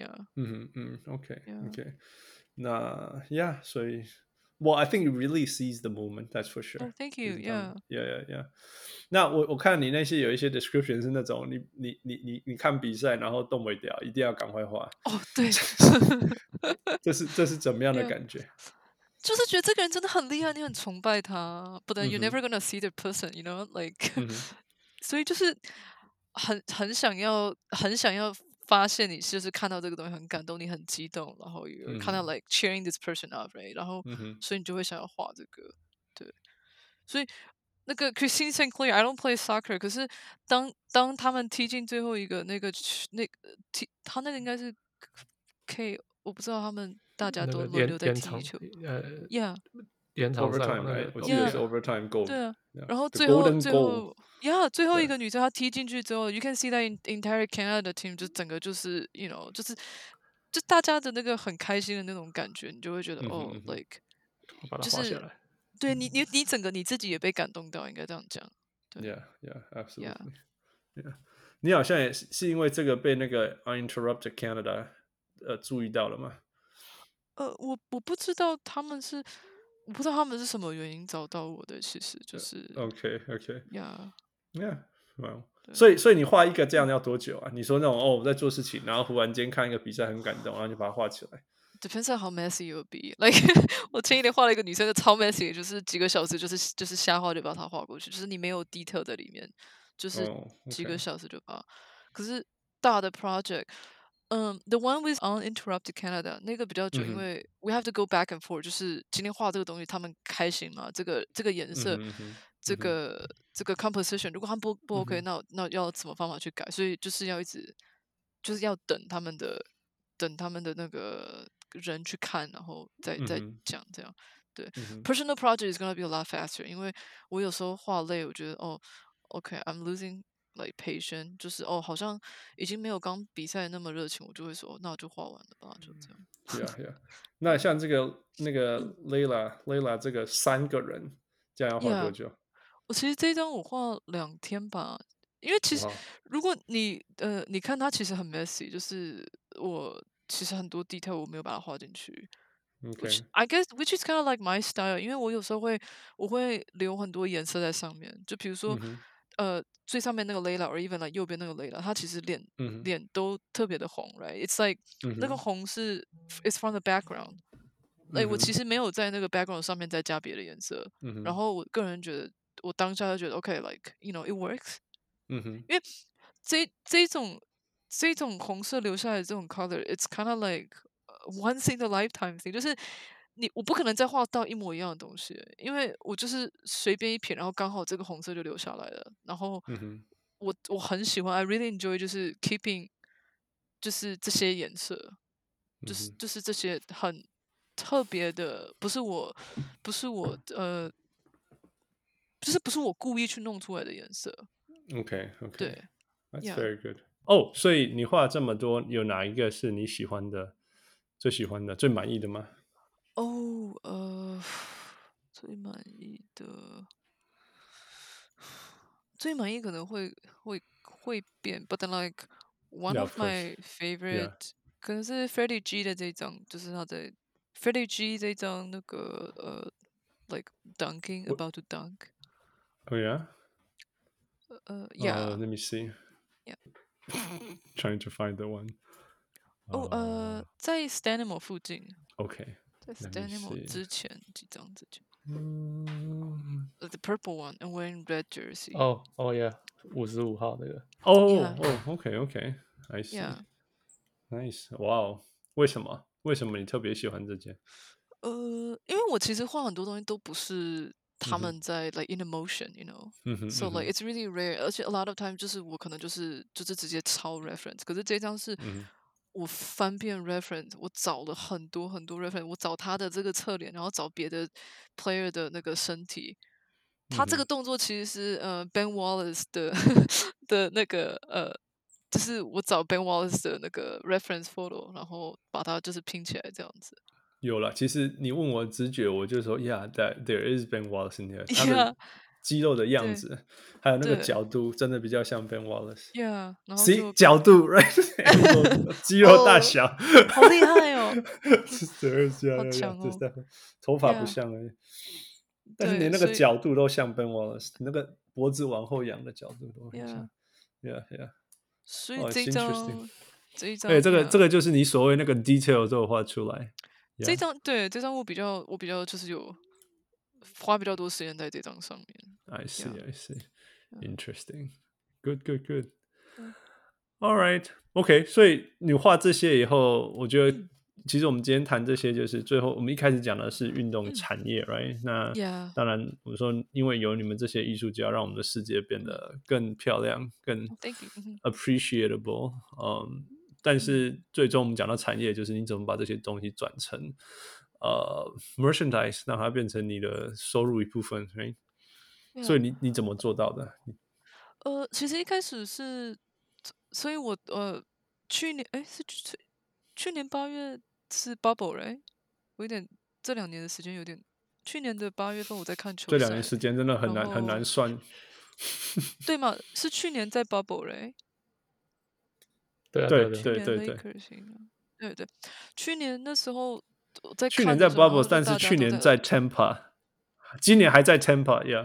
OK，那所以 Well, I think you really seize the moment, that's for sure. Oh, thank you. Yeah. 那我看你那些有一些 description 是那種你看比賽然後動不了，一定要趕快畫。 對。 這是怎麼樣的感覺？ 就是覺得這個人真的很厲害，你很崇拜他，but then you're never gonna see the person, you know, like 所以就是很想要發現你就是看到這個東西很感動，你很激動，然後有看到 like cheering this person up, right? 然後所以你就會想要畫這個，對。所以那個 Christine Sinclair, I don't play soccer， 可是當他們踢進最後一個他那個應該是 K， 我不知道他們大家都輪流在踢球，yeah， 延長賽 ，overtime， 我記得是 overtime goal， 對啊，然後最後一個女生她踢進去之後 ，you can see that entire Canada team 就整個就是，you know，就大家的那個很開心的那種感覺，你就會覺得like， 就是對你整個你自己也被感動到，應該這樣講。 Yeah, absolutely. 你好像也是因為這個被那個 Uninterrupted Canada 注意到了嗎？ 我不知道他們是什麼原因找到我的，其實就是 OK，yeah， wow。所以你畫一個這樣要多久啊？你說那種我在做事情，然後忽然間看一個比賽很感動，然後就把它畫起來。 Depends on how messy you will be. Like 我前一天畫了一個女生的超 messy， 就是幾個小時就是瞎畫就把它畫過去，就是你沒有 detail 在裡面，就是幾個小時就把。可是大的 project。The one with Uninterrupted Canada 那個比較久，因為 we have to go back and forth， 就是今天畫這個東西他們開心嗎？這個顏色，這個 composition， 如果他們不 OK，那要怎麼方法去改？所以就是要一直就是要等他們的那個人去看，然後再講這樣。對，personal project is gonna be a lot faster， 因為我有時候畫累，我覺得OK，I'm losing。like patient 就是好像已經沒有剛比賽那麼熱情，我就會說那我就畫完了吧，就這樣。 Yeah。那像那個 Layla 這個3個人，這樣要畫多久？ 我其實這一張我畫2天吧，因為其實如果你看它其實很 messy， 就是我其實很多 detail 我沒有把它畫進去。 Okay. I guess which is kind of like my style， 因為我有時候我會留很多顏色在上面，就比如說。最上面那個 Layla or even like 右邊那個 Layla， 他其實臉都特別的紅 ，right？ It's like那個紅是 it's from the background。我其實沒有在那個 background 上面再加別的顏色。然後我個人覺得，我當下就覺得 OK，like you know it works。因為這種紅色留下來的這種 color，it's kind of like once in a lifetime thing， 就是我不可能再畫到一模一樣的東西，因為我就是隨便一撇，然後剛好這個紅色就留下來了。然後我很喜歡，I really enjoy 就是 keeping 就是這些顏色，就是這些很特別的，不是我就是不是我故意去弄出來的顏色。 OK， 对 ，That's Yeah. very good。哦，所以你畫這麼多，有哪一個是你喜歡的、最喜歡的、最滿意的嗎？ 最滿意的，最滿意可能會變 ，but then like one of my favorite 可能是 Freddie G 的這一張，就是他在 Freddie G 這一張那個like dunking about to dunk。 Oh yeah. Yeah. Let me see. Yeah. Trying to find the one. 在 Stanimo 附近。 OK。 在 Stanimo 之前幾張之前。The purple one and wearing red jersey. Oh yeah. 55號那個。 OK. I see. Yeah. Nice. Wow. 為什麼你特別喜歡這件？ 因為我其實畫很多東西都不是他們在like in emotion, you know. So like it's really rare. 而且 a lot of time 就是我可能就是直接抄 reference。可是這張是我翻遍 reference，我找了很多很多 reference， 我找他的這個側臉，然後找別的 player 的那個身體。他這個動作其實是Ben Wallace 的那個就是我找 Ben Wallace 的那個 reference photo， 然後把它就是拼起來這樣子。 有了，其實你問我直覺，我就說 ，Yeah, there is Ben Wallace in here。他的肌肉的樣子，還有那個角度，真的比較像 Ben Wallace。Yeah， 然後就角度 ，right？ 肌肉大小， 好厲害哦！ 好強哦！ 頭髮不像而已，但是連那個角度都像 Ben Wallace， 那個脖子往後仰的角度都很像。Yeah。 所以這一張， 對，這個就是你所謂那個 detail 都有畫出來。 這張我比較就是有花比較多時間在這張上面。 I see. Interesting. Good. All right. OK. 所以你畫這些以後，我覺得其實我們今天談這些，就是最後我們一開始講的是運動產業，right？那當然我說，因為有你們這些藝術家，讓我們的世界變得更漂亮、更 appreciable。但是最終我們講到產業，就是你怎麼把這些東西轉成merchandise， 讓它變成你的收入一部分， right？ 所以你怎麼做到的？ 其實一開始是，所以我去年8月是 bubble， right？ 我有點這2年的時間有點，去年的8月份我在看球賽， 這2年時間真的很難算， 對嗎？是去年在 bubble， right？ 對， 去年那時候我在看， 去年在 bubble， 但是去年在 Tampa， 今年還在 Tampa，yeah。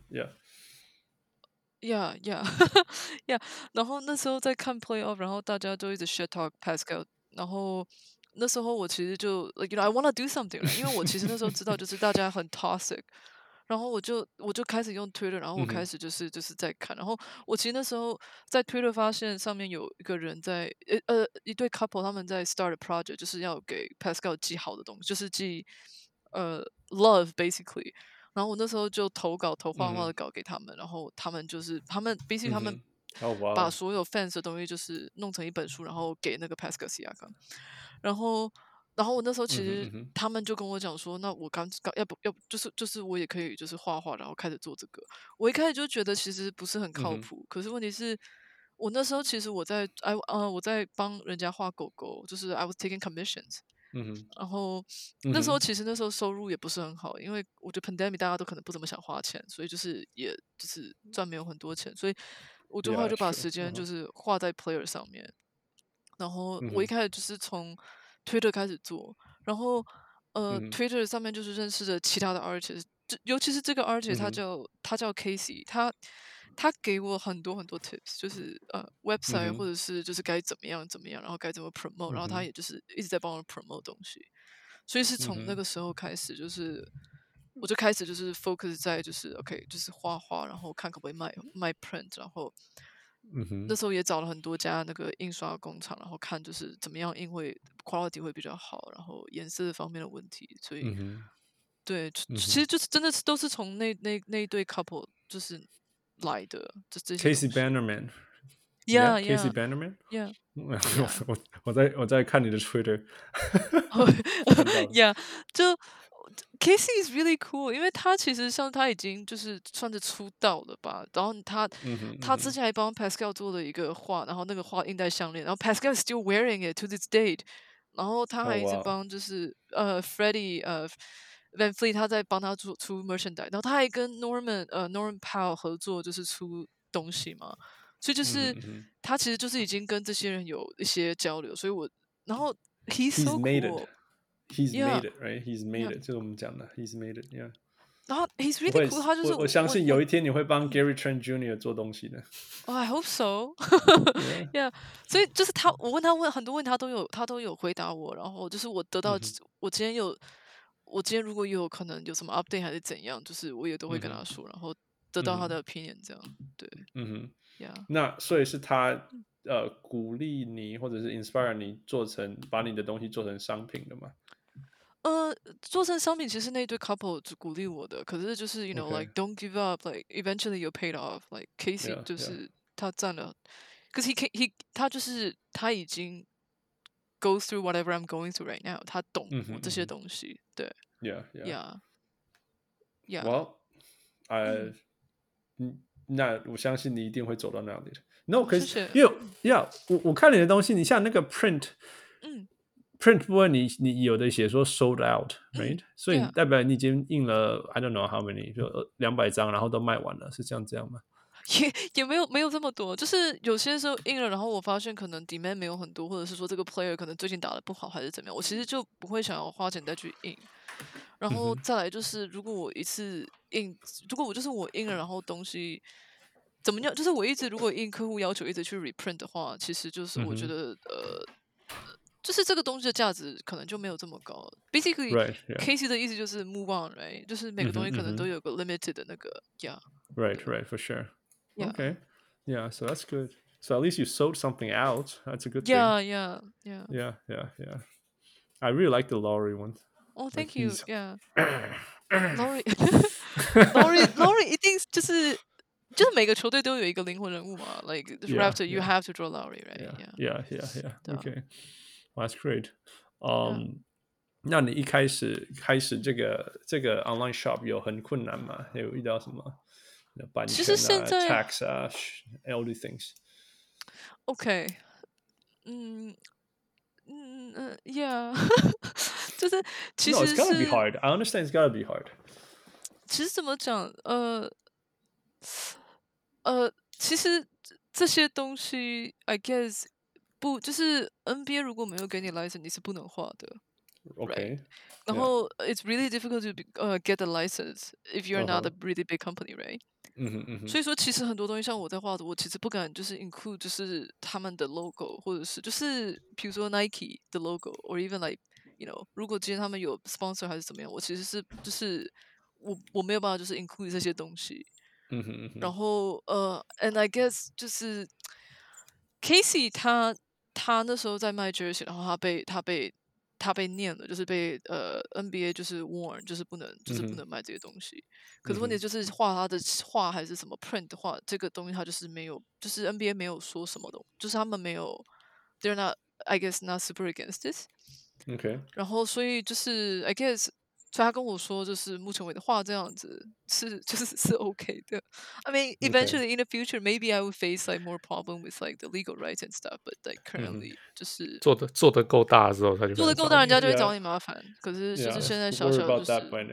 然後那時候在看 playoff， 然後大家就一直 shit talk Pascal， 然後那時候我其實就 like you know I wanna do something， 因為我其實那時候知道就是大家很 toxic。然後我就開始用 Twitter， 然後我開始就是在看，然後我其實那時候在 Twitter 發現上面有一個人在一對 couple 他們在 start a project， 就是要給 Pascal 寄好的東西，就是寄love basically。然後我那時候就投畫畫的稿給他們，然後他們 basically 他們把所有 fans 的東西就是弄成一本書，然後給那個 Pascal Siakam。然後我那時候其實他們就跟我講說，那我要不就是我也可以就是畫畫，然後開始做這個。我一開始就覺得其實不是很靠譜，可是問題是我那時候其實我在幫人家畫狗狗，就是 I was taking commissions。然後那時候其實那時候收入也不是很好，因為我覺得 pandemic 大家都可能不怎麼想花錢，所以就是也就是賺沒有很多錢，所以我後來就把時間就是花在 player 上面。然後我一開始就是從Twitter 開始做，然後Twitter 上面就是認識了其他的 artist， 尤其是這個 artist 他叫 Casey， 他給我很多很多 tips， 就是website 或者是就是該怎麼樣，然後該怎麼 promote， 然後他也就是一直在幫我 promote 東西，所以是從那個時候開始，就是我就開始就是 focus 在就是 OK 就是畫畫，然後看可不可以賣 print， 然後那時候也找了很多家那個印刷工厂，然後看就是怎麼樣印會 quality 會比較好，然後顏色方面的問題，所以對，其實就是真的是都是從那一對 couple 就是來的，這些 Casey Bannerman。Yeah, Casey Bannerman。Yeah. 我在看你的 Twitter 。 Yeah， 就 Casey is really cool， 因為他其實像他已經就是算是出道了吧，然後他之前還幫 Pascal 做了一個畫，然後那個畫印在項鏈，然後 Pascal is still wearing it to this date， 然後他還一直幫就是Freddie Van Fleet 他在幫他出 merchandise， 然後他還跟 Norman Powell 合作，就是出東西嘛。所以就是他其實就是已經跟這些人有一些交流，所以然後 he's so cool。He's yeah. made it, right? He's made it， 就是我們講的 he's made it, yeah。 然後 he's really cool， 他就是我相信有一天你會幫 Gary Trent Jr. 做東西的。 I hope so 。Yeah， 所以就是我問他很多問題，他都有回答我，然後就是我得到我今天如果有可能有什麼 update 還是怎樣，就是我也都會跟他說，然後得到他的 opinion 這樣，對。Yeah. 那所以是他鼓勵你或者是 inspire 你把你的東西做成商品的嗎？ 做成商品其實那對 couple 就鼓勵我的，可是就是 you know like don't give up, like eventually you paid off, like Casey 就是他佔了，cause他就是他已經 go through whatever I'm going through right now， 他懂我這些東西，對。Yeah. Well, 那我相信你一定會走到那裡的。No， 可是因為我看你的東西，你像那個 print 部分，你有的寫說 sold out，right？所以代表你已經印了 I don't know how many， 就200張，然後都賣完了，是這樣嗎？ 也沒有這麼多，就是有些時候印了，然後我發現可能 demand 沒有很多，或者是說這個 player 可能最近打得不好，還是怎麼樣，我其實就不會想要花錢再去印。然後再來就是如果我一次印，如果我印了，然後東西怎麼樣，就是我一直如果印客戶要求一直去 reprint 的話，其實就是我覺得就是這個東西的價值可能就沒有這麼高。Basically, Casey 的意思就是 move on, right？ 就是每個東西可能都有個 limited 的那個 Right, for sure. Okay, yeah, so that's good. So at least you sold something out. That's a good thing. Yeah. I really like the Laurie one. Oh, thank you. Yeah. Laurie 一定就是每個球隊都有一個靈魂人物嘛。Like Raptor, you have to draw Laurie, right? Yeah. Okay, well, that's great. 那你一開始這個 online shop 有很困難嗎？有遇到什麼版權tax all these things? Okay. Yeah. 就是其實 No, it's gotta be hard. I understand it's gotta be hard. 其實怎麼講？其實這些東西 I guess 不就是 NBA 如果沒有給你 license， 你是不能畫的。 Okay. Right? 然後 it's really difficult to get the license if you're not a really big company, right? 所以說其實很多東西像我在畫的，我其實不敢就是 include 就是他們的 logo， 或者是就是比如說 Nike 的 logo，or even like you know， 如果今天他們有 sponsor 還是怎麼樣，我其實是就是我沒有辦法就是 include 這些東西。然後and I guess 就是 Casey 他那時候在賣 jersey， 然後他被念了，就是被NBA 就是 warn， 就是不能賣這些東西。可是問題就是畫他的畫還是什麼 print 的話，這個東西他就是沒有，就是 NBA 沒有說什麼的，就是他們沒有 ，they're not I guess not super against this。Okay。然後所以就是 I guess。所以他跟我說，就是目前為止畫這樣子是 OK 的。I mean, eventually in the future, maybe I would face like more problem with like the legal rights and stuff. But like currently, 就是做得夠大的時候，他就做得夠大，人家就會找你麻煩。可是就是現在小小就是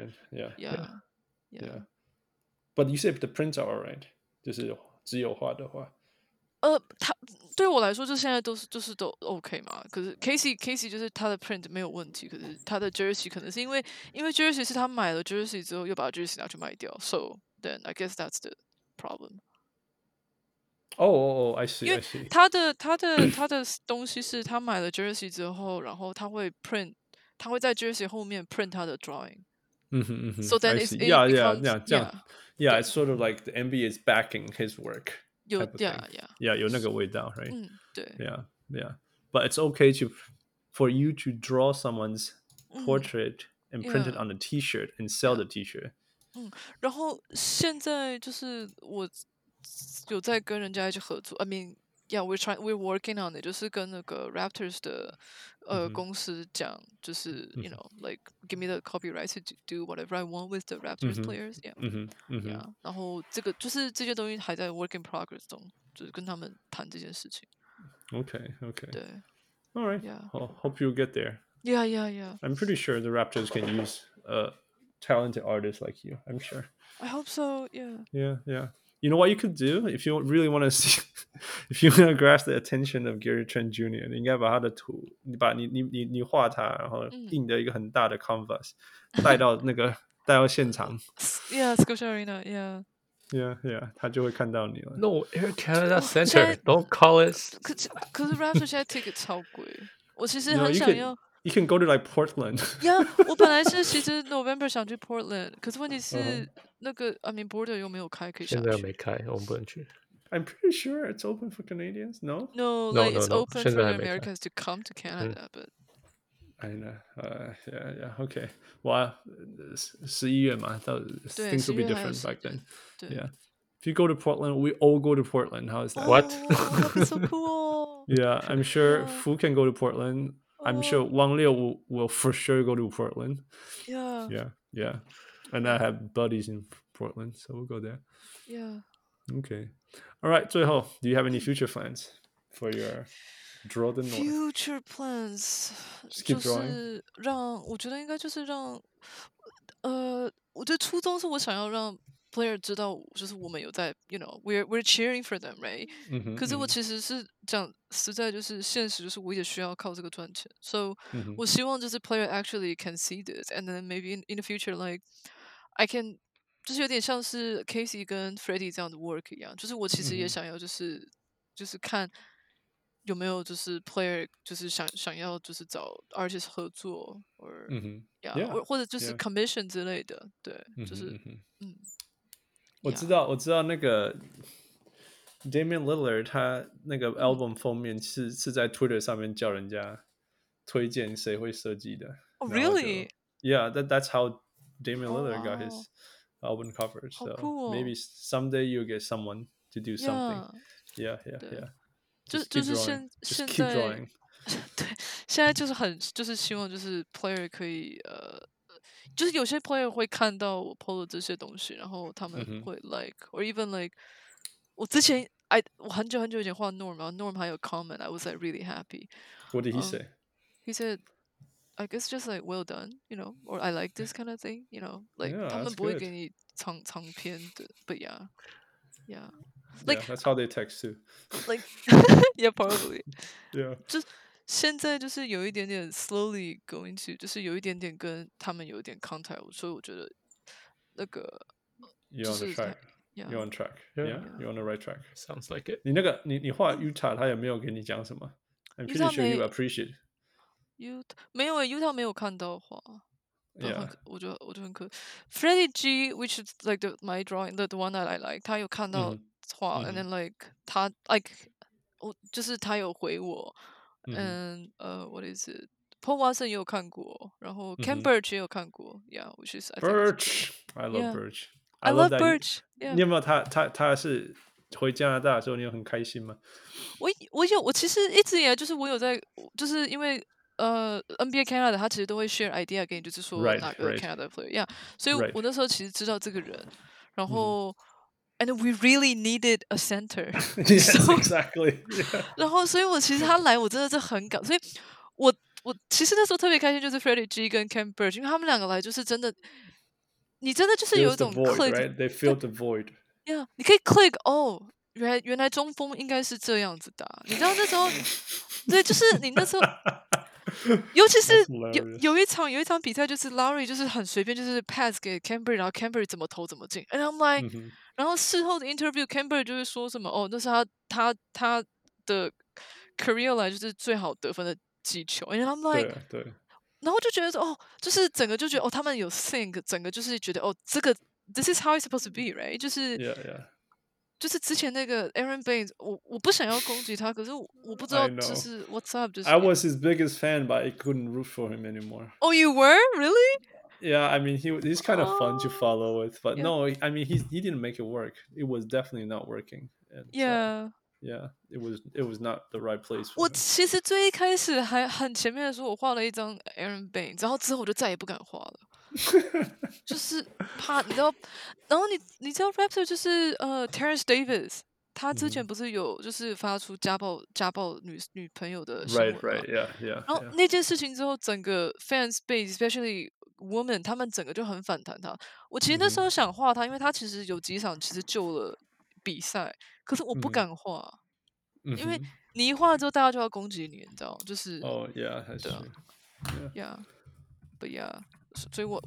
Yeah. But you said the prints are alright， 就是只有畫的話。 他對我來說，就現在都都 OK 嘛。可是 Casey 就是他的 print 沒有問題，可是他的 jersey 可能是因為 jersey 是他買了 jersey 之後又把 jersey 拿去賣掉 ，so then I guess that's the problem。 I see。 因為他的東西是他買了 jersey 之後，然後他會 print， 他會在 jersey 後面 print 他的 drawing。So then it becomes yeah. It's sort of like the NBA is backing his work. 有 type of thing. yeah Yeah, 有那个味道 right? 对 Yeah. But it's okay for you to draw someone's portrait and print it on a T-shirt and sell the T-shirt. 然后现在就是我有在跟人家一起合作 I mean yeah we're working on it 就是跟那个 Raptors 的公司講就是 you know like give me the copyright to do whatever I want with the Raptors players yeah 然後这個就是這些東西還在 work in progress 中就是跟他們談這件事情 Okay. 對 All right. Yeah. Hope you'll get there. Yeah. I'm pretty sure the Raptors can use a talented artist like you. I'm sure. I hope so. Yeah. Yeah. You know what you could do if you really want to see, if you want to grasp the attention of Gary Trent Jr.， 你应该把他的图，你畫他，然後印的一個很大的 canvas，帶到現場。 Yeah, Scotia Arena. Yeah. 他就會看到你了。 No, Air Canada Center. Don't call it. 可是 Raptors 現在 ticket 超貴，我其實很想要。 You can go to like Portland. Yeah, 我本來是其實 November 想去 Portland， 可是問題是那個 I mean border 又沒有開，可以下去。 現在沒開，我們不能去。 I'm pretty sure it's open for Canadians. No, like it's open for the Americans to come to Canada, but I know. Yeah. Okay. Well, 11月嘛，到 things will be different back then. Yeah. If you go to Portland, we all go to Portland. How is that? What? That'd be so cool. Yeah, I'm sure Fu can go to Portland. I'm sure Wang Liu will for sure go to Portland. Yeah. And I have buddies in Portland, so we'll go there. Yeah. Okay. All right, 最後 do you have any future plans for your Draw the North? Future plans Just keep 就 drawing. 是我觉得應該就是讓我覺得初衷是我想要讓 player 知道就是我們有在 you know we're cheering for them right 可是我其實是講實在就是現實就是我也需要靠這個賺錢 so 我希望就是 player actually can see this and then maybe in the future like I can 就是有點像是 Casey 跟 Freddie 這樣的 work 一樣就是我其實也想要就是看有沒有就是 player 就是想要就是找 artist 合作 or yeah 或者就是 commission 之類的對就是我知道那個 Damian Lillard 他那個 album 封面是在 Twitter 上面叫人家推薦誰會設計的 Oh really? Yeah, that's how Damian Lillard got his album cover. So cool. maybe someday you'll get someone to do something. Yeah. Just keep drawing. Just keep drawing. 对，现在就是就是希望就是 player 可以就是有些 player 會看到我 PO 的這些東西，然後他們會 like or even like 我之前我很久以前畫 Norm 然後 Norm 還有 comment I was like really happy. What did he say? He said I guess just like well done, you know, or I like this kind of thing, you know, like 他們不會給你長篇的 but yeah like that's how they text too. Like yeah probably. Yeah. 就現在就是有一點點 slowly going to 就是有一點點跟他們有一點 contact 所以我覺得那個 You're on the track. Yeah. You're on track. Yeah. You're on the right track. Sounds like it. 你畫 Utah 他有沒有給你講什麼 I'm pretty sure you appreciate. Utah 沒有Utah 沒有看到畫 Yeah. 我覺得很可 Freddie G which is like my drawing the one that I like 他有看到畫and then like 他 like 就是他有回我and what is it Paul Watson 也有看過然後 Ken Birch 也有看過 yeah which is Birch I love Birch I love Birch 你有沒有他是回加拿大的時候你有很開心嗎我其實一直以來就是我有在就是因為NBA Canada 他其實都會 share idea 給你就是說哪個 Canada player yeah 所以我那時候其實知道這個人然後And we really needed a center. Yes, exactly. 然後，所以我其實他來，我真的是很感，所以我其實那時候特別開心，就是 Freddie G 跟 Ken Birch， 因為他們兩個來就是真的，你真的就是有一種 click， right? They filled the void. Yeah， 你可以 click 哦，原來中鋒應該是這樣子打，你知道那時候，對，就是你那時候。尤其是有一場比賽，就是 Lowry 就是很隨便，就是 pass 給 Canberra， 然後 Canberra 怎麼投怎麼進。And I'm like，然後事後的 interview，Canberra 就會說什麼哦，那是他的 career 來就是最好得分的擊球。And I'm like，對，然後就覺得說哦，就是整個就覺得哦，他們有 think， 整個就是覺得哦，這個 this is how it's supposed to be，right？ 就是就是之前那個 Aaron Baines，我不想要攻擊他，可是我不知道 I 就 know. 是 What's up， 就是 I was his biggest fan, but I couldn't root for him anymore. Oh, you were really? Yeah, I mean he's kind of fun to follow with, but Yeah. no, I mean he didn't make it work. It was definitely not working. And, Yeah. yeah, it was not the right place for 我 him. 其實最一開始還很前面的時候，我畫了一張 Aaron Baines，然後之後我就再也不敢畫了，就是怕你知道，然後你知道 Raptor 就是Terrence Davis，他之前不是有就是發出家暴女朋友的新聞嗎 Right, yeah. 然後那件事情之後，整個 fans base especially women 他們整個就很反彈他。我其實那時候想畫他，因為他其實有幾場其實救了比賽，可是我不敢畫。因為你一畫了之後，大家就要攻擊你，你知道，就是。 Oh yeah, that's true. Yeah, but yeah， 所以我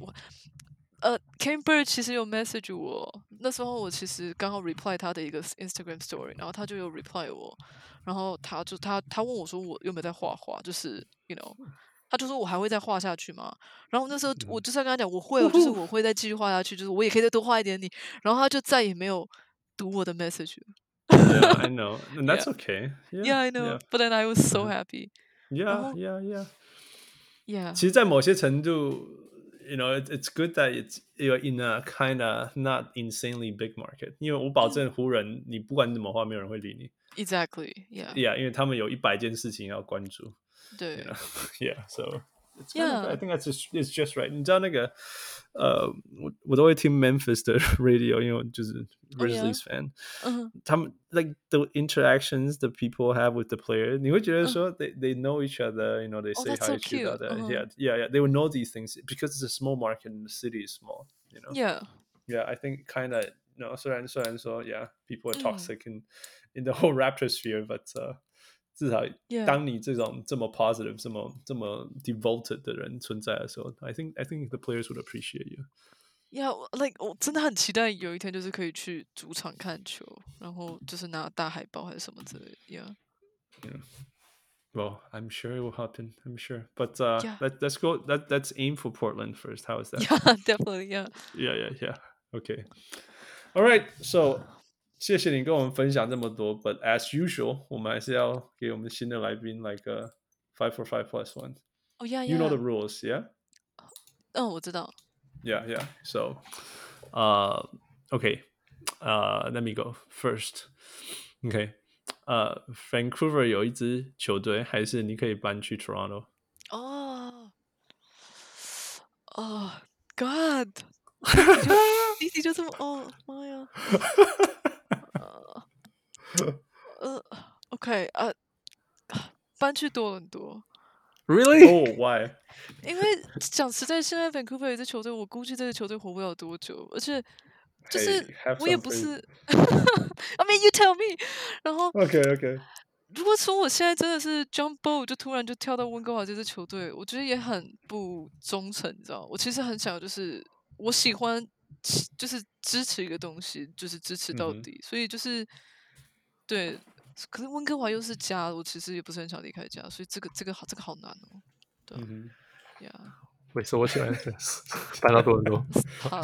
Ken Bird 其實有 message 我，那時候我其實剛好 reply 他的一個 Instagram story， 然後他就有 reply 我，然後他問我說我有沒有在畫畫，就是 you know， 他就說我還會再畫下去嗎？然後那時候我就是要跟他講我會，就是我會再繼續畫下去，就是我也可以再多畫一點你，然後他就再也沒有讀我的 message 了。 Yeah, I know, and that's okay. Yeah, I know. But then I was so happy. Yeah. 其實，在某些程度，you know, it's good that you're in a kind of not insanely big market. 因為我保證湖人，你不管怎麼畫，沒有人會理你。 Exactly. Yeah. Yeah, 因為他們有100件事情要關注。 對。 You know? Yeah, so. I think it's just right. 你知道那個我都會聽 Memphis 的 radio， 因為我就是 Grizzlies fan。他們 like the interactions the people have with the player， 你會覺得說they know each other, you know, they say hi to each other. Yeah, they will know these things because it's a small market and the city is small, you know. Yeah, I think kind of, you know, 雖然說 yeah, people are toxic in the whole Raptor sphere, but 至少當你這種這麼 positive 這麼 devoted 的人存在的時候 I think the players would appreciate you. Yeah, like 我真的很期待有一天就是可以去主場看球，然後就是拿大海報還是什麼之類的。Yeah. Well, I'm sure it will happen. I'm sure. But let's go. Let's aim for Portland first. How is that? Yeah, definitely. Yeah. Yeah. Okay. All right. So. 謝謝你跟我們分享這麼多 but as usual 我們還是要給我們新的來賓來個 5 for 5 plus 1 Oh yeah, You know the rules, yeah? 我知道 Yeah, so okay, let me go first. Okay, Vancouver 有一支球隊還是你可以搬去 Toronto? Oh God 你就這麼媽呀OK 搬去多倫多 Really? Oh, why? 因為講實在，現在 Vancouver 有一支球隊，我估計這個球隊活不了多久，而且就是我也不是 I mean, you tell me. 然後 OK. 如果說我現在真的是 jump boat 就突然就跳到溫哥華這支球隊，我覺得也很不忠誠，你知道？我其實很想就是我喜歡就是支持一個東西，就是支持到底，所以就是對。可是溫哥華又是家，我其實也不是很想離開家，所以這個好難哦。對，Yeah。 為什麼我喜歡搬到多倫多？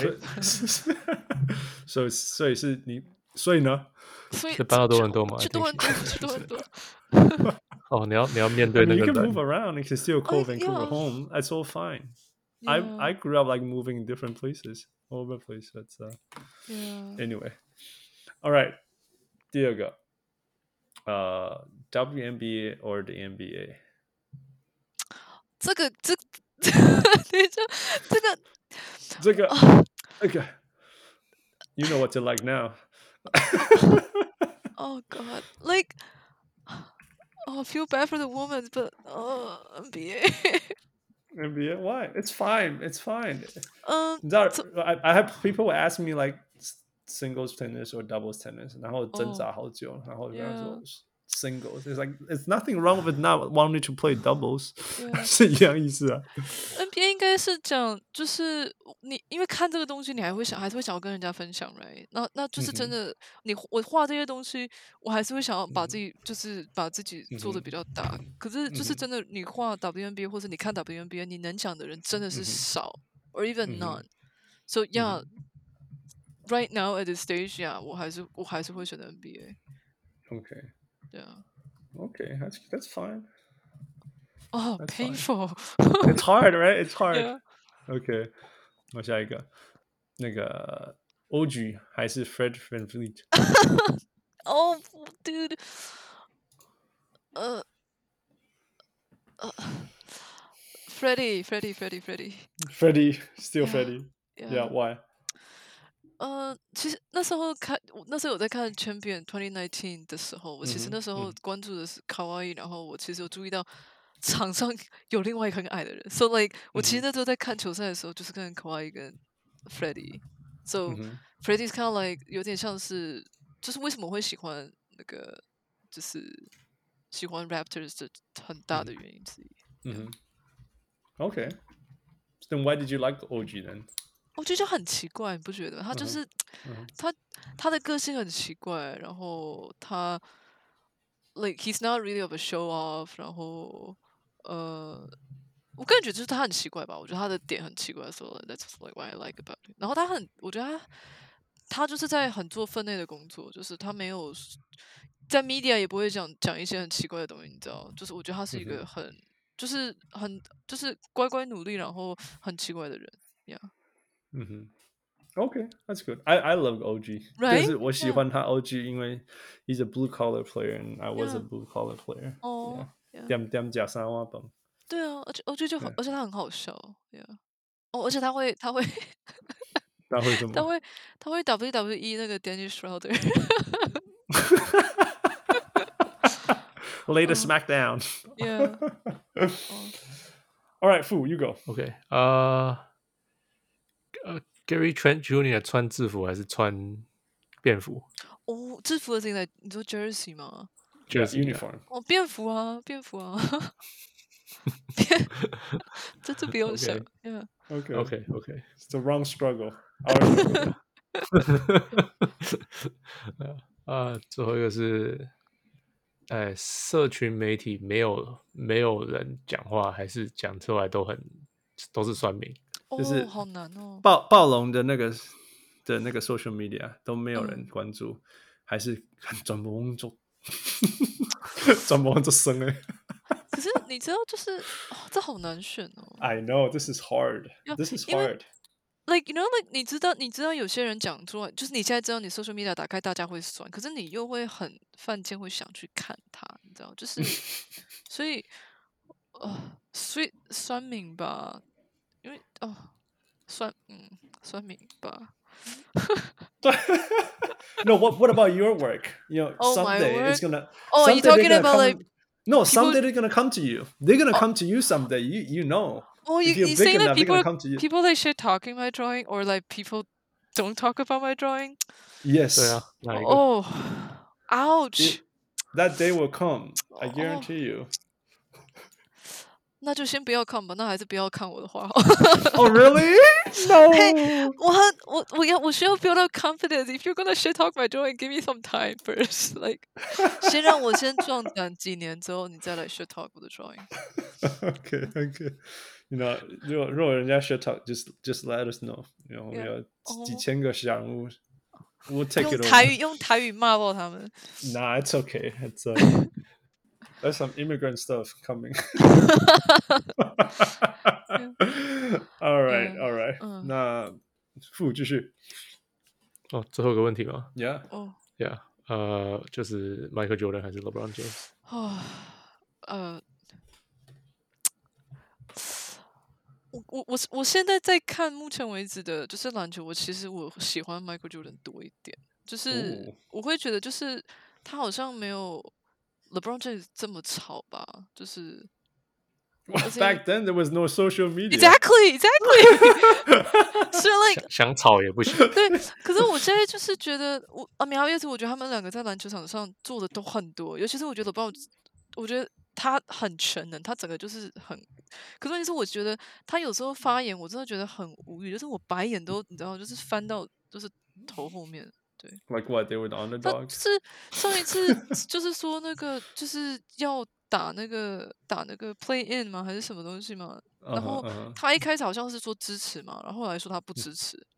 所以是你，所以呢？ 是搬到多倫多嗎？ 去多倫多。 哦，你要面對那個人。 You can move around. You can still call Vancouver home. That's all fine. I grew up like moving in different places, all over the place. But anyway, all right. 第二個。WNBA or the NBA？ 這個 ，You know what you like now. Oh God, like, I feel bad for the women, but NBA. NBA? Why? It's fine. It's fine. 你知道 I have people ask me like singles tennis or doubles tennis， 然後掙扎好久，然後跟他說 singles. It's like it's nothing wrong with not wanting to play doubles， 是一樣意思啊。 NBA 應該是講，就是你因為看這個東西，你還是會想要跟人家分享 ，right？ 那就是真的，我畫這些東西，我還是會想要把自己就是把自己做的比較大。可是就是真的，你畫 WNBA 或者你看 WNBA， 你能講的人真的是少，or even none。So yeah。 right now at this stage， yeah， 我还是会選擇 NBA。 Okay. 对啊。 Okay, that's fine. Oh, That's painful. It's hard, right? It's hard. Yeah. Okay. 我下一个，那个 OG 還是 Fred VanVleet？ Oh, dude. Freddie. Freddie, still Yeah, Freddie. Yeah, why? 其實那時候有在看 Champion 2019的時候，我其實那時候關注的是 Kawhi， 然後我其實有注意到場上有另外一個很矮的人 ，so like 我其實那時候在看球賽的時候，就是跟 Kawhi 跟 Freddie，so Freddie's kind of like 有點像是，就是為什麼我會喜歡那個，就是喜歡 Raptors 的很大的原因之一。 Okay. Then why did you like OG then? 我覺得就很奇怪，你不覺得？他就是他的個性很奇怪，然後他 like he's not really of a show off， 然後我個人覺得就是他很奇怪吧，我覺得他的點很奇怪，所以 that's like what I like about it。然後我覺得他就是在很做分內的工作，就是他沒有在 media 也不會講一些很奇怪的東西，你知道？就是我覺得他是一個就是乖乖努力，然後很奇怪的人 ，yeah。 Okay, that's good. I love OG. Right? 就是我喜歡他 OG， 因為 he's a blue collar player and I was a blue collar player. 點加三瓦崩。 對啊，而且他很好笑 ，yeah。而且他會他會什麼？ 他會 WWE 那個 Dennis Schroeder。 Later SmackDown. Yeah. All right, Fu, you go. Okay. Gary Trent Jr. 穿制服還是穿便服？ 制服的是你說 jersey 嗎 ？Jersey uniform。 便服啊。這不用想。 Okay. It's the wrong struggle. 最後一個是，社群媒體沒有人講話，還是講出來都是酸民。 就是好難哦。 暴龍的那個 social media 都沒有人關注，還是轉播做生欸。 可是你知道，就是這好難選哦。 I know this is hard. This is hard. Like you know, like 你知道有些人講出來，就是你現在知道你 social media 打開，大家會酸，可是你又會很犯賤，會想去看它，你知道？就是所以酸民吧。因為酸民吧。 No, what about your work? You know, someday it's gonna. Oh, you talking about like? No, someday they're gonna come to you. They're gonna come to you someday. You know. Oh, you saying that people like shit talking my drawing, or like people don't talk about my drawing? Yes. Oh, ouch. That day will come. I guarantee you. 那就先不要看吧，那還是不要看我的畫。 Oh really? No. Hey, 我需要 build up confidence. If you're gonna shit talk my drawing, give me some time first. Like, 先讓我先壯膽幾年之後，你再來 shit talk 我的 drawing. Okay. You know, 如果人家 shit talk, just let us know. You know, 我們有幾千個小人物 ，we'll take it over. 用台語罵爆他們。 Nah, it's okay. It's there's some immigrant stuff coming. All right. 那Fu繼續。 最後一個問題嗎 ？Yeah. Yeah. 就是 Michael Jordan 還是 LeBron James？ 我現在在看目前為止的，就是籃球，其實我喜歡 Michael Jordan 多一點，就是我會覺得，就是他好像沒有 LeBron James 這麼吵吧，就是。 Back then there was no social media. Exactly. So like 想吵也不行。 對，可是我現在就是覺得，obviously我覺得他們兩個在籃球場上做的都很多，尤其是我覺得 LeBron， 我覺得他很全能，他整個就是很。可是問題是，我覺得他有時候發言，我真的覺得很無語，就是我白眼都你知道，就是翻到就是頭後面。對 Like what? They were the underdogs. 就是上一次就是說那個就是要打那個 play in 嗎？還是什麼東西嗎？然後他一開始好像是說支持嘛，然後後來說他不支持。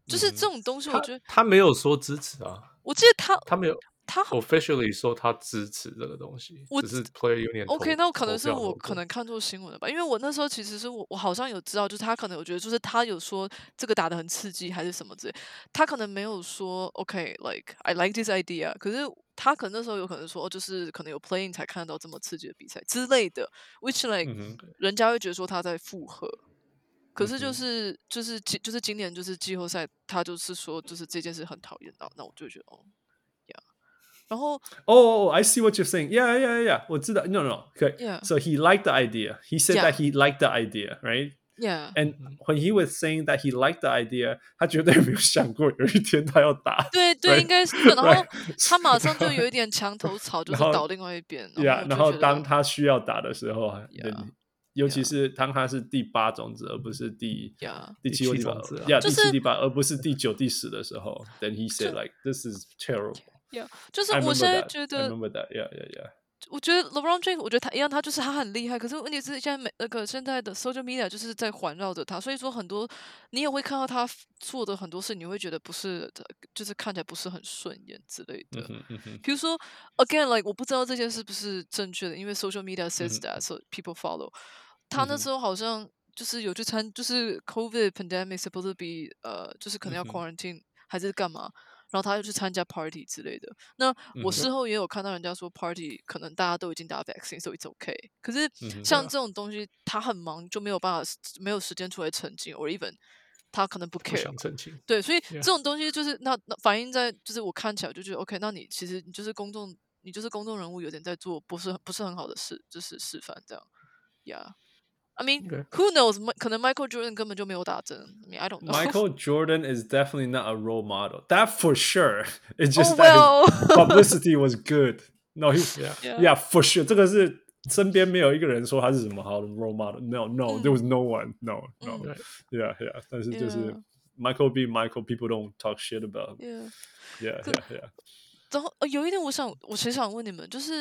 就是这种東西，我觉得他没有說支持啊， 我记得他没有他 officially 说他支持这个東西，只是 Player Union OK， 那可能是我投可能看錯新聞了吧，因為我那時候其實是我好像有知道，就是他可能有覺得，就是他有說這個打得很刺激還是什麼之類，他可能沒有說 OK，like I like this idea， 可是他可能那時候有可能說，就是可能有 playing 才看到這麼刺激的比賽之類的 ，which like、人家會覺得說他在附和。可是就是今年就是季後賽，他就是說就是這件事很討厭，那我就覺得哦 ，yeah， 然後 I see what you're saying. Yeah. 我知道 No. Okay. Yeah. So he liked the idea. He said that he liked the idea, right? Yeah. And when he was saying that he liked the idea, 他絕對沒有想過有一天他要打。 對， right? 應該是。然後他馬上就有一點牆頭草，就是倒另外一邊。 然後當他需要打的時候， 尤其是當他是第8種子，而不是第7或第8，第7、第8，而不是第9、第10的時候 ，then he said like this is terrible. Yeah， 就是我現在覺得 I remember that. Yeah. 我覺得 LeBron James， 我覺得他一樣，他就是他很厲害。可是問題是，現在現在的 social media 就是在環繞着他，所以說很多你也會看到他做的很多事，你會覺得不是，就是看起來不是很順眼之類的。比如說 ，again，like 我不知道這件事是不是正確的，因為 social media says that，so people follow。他那時候好像就是有去就是 COVID pandemic supposed to be 就是可能要 quarantine 還是幹嘛。然後他又去參加 party 之類的。那我事後也有看到人家說 party 可能大家都已經打 vaccine， so it's okay。可是像這種東西，他很忙，就沒有辦法，沒有時間出來澄清 ，or even 他可能不 care。 不想澄清。 對，所以這種東西就是那反映在，就是我看起來就覺得 OK， 那你其實你就是公眾人物，有點在做不是很好的事，就是示範這樣。Yeah。I mean, who knows? 可能 Michael Jordan 根本就沒有打針。I mean, I don't know. Michael Jordan is definitely not a role model. That for sure. It's just that his publicity was good. No, yeah, for sure. 這個是身邊沒有一個人說他是什麼好的 role model. No, there was no one. No. Yeah. 但是就是 Michael being Michael, people don't talk shit about him. Yeah. 然後有一點我其實想問你們，就是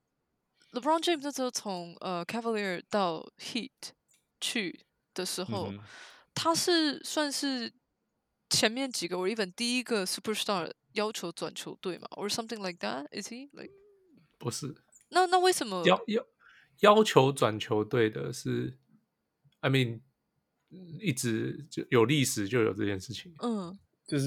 LeBron James 那時候從Cavalier 到 Heat 去的時候，他是算是前面幾個，or even 第一個 superstar 要求轉球隊嘛 ，or something like that? Is he like？ 不是。 那為什麼要求轉球隊的是 ？I mean， 一直就有歷史就有這件事情。 就是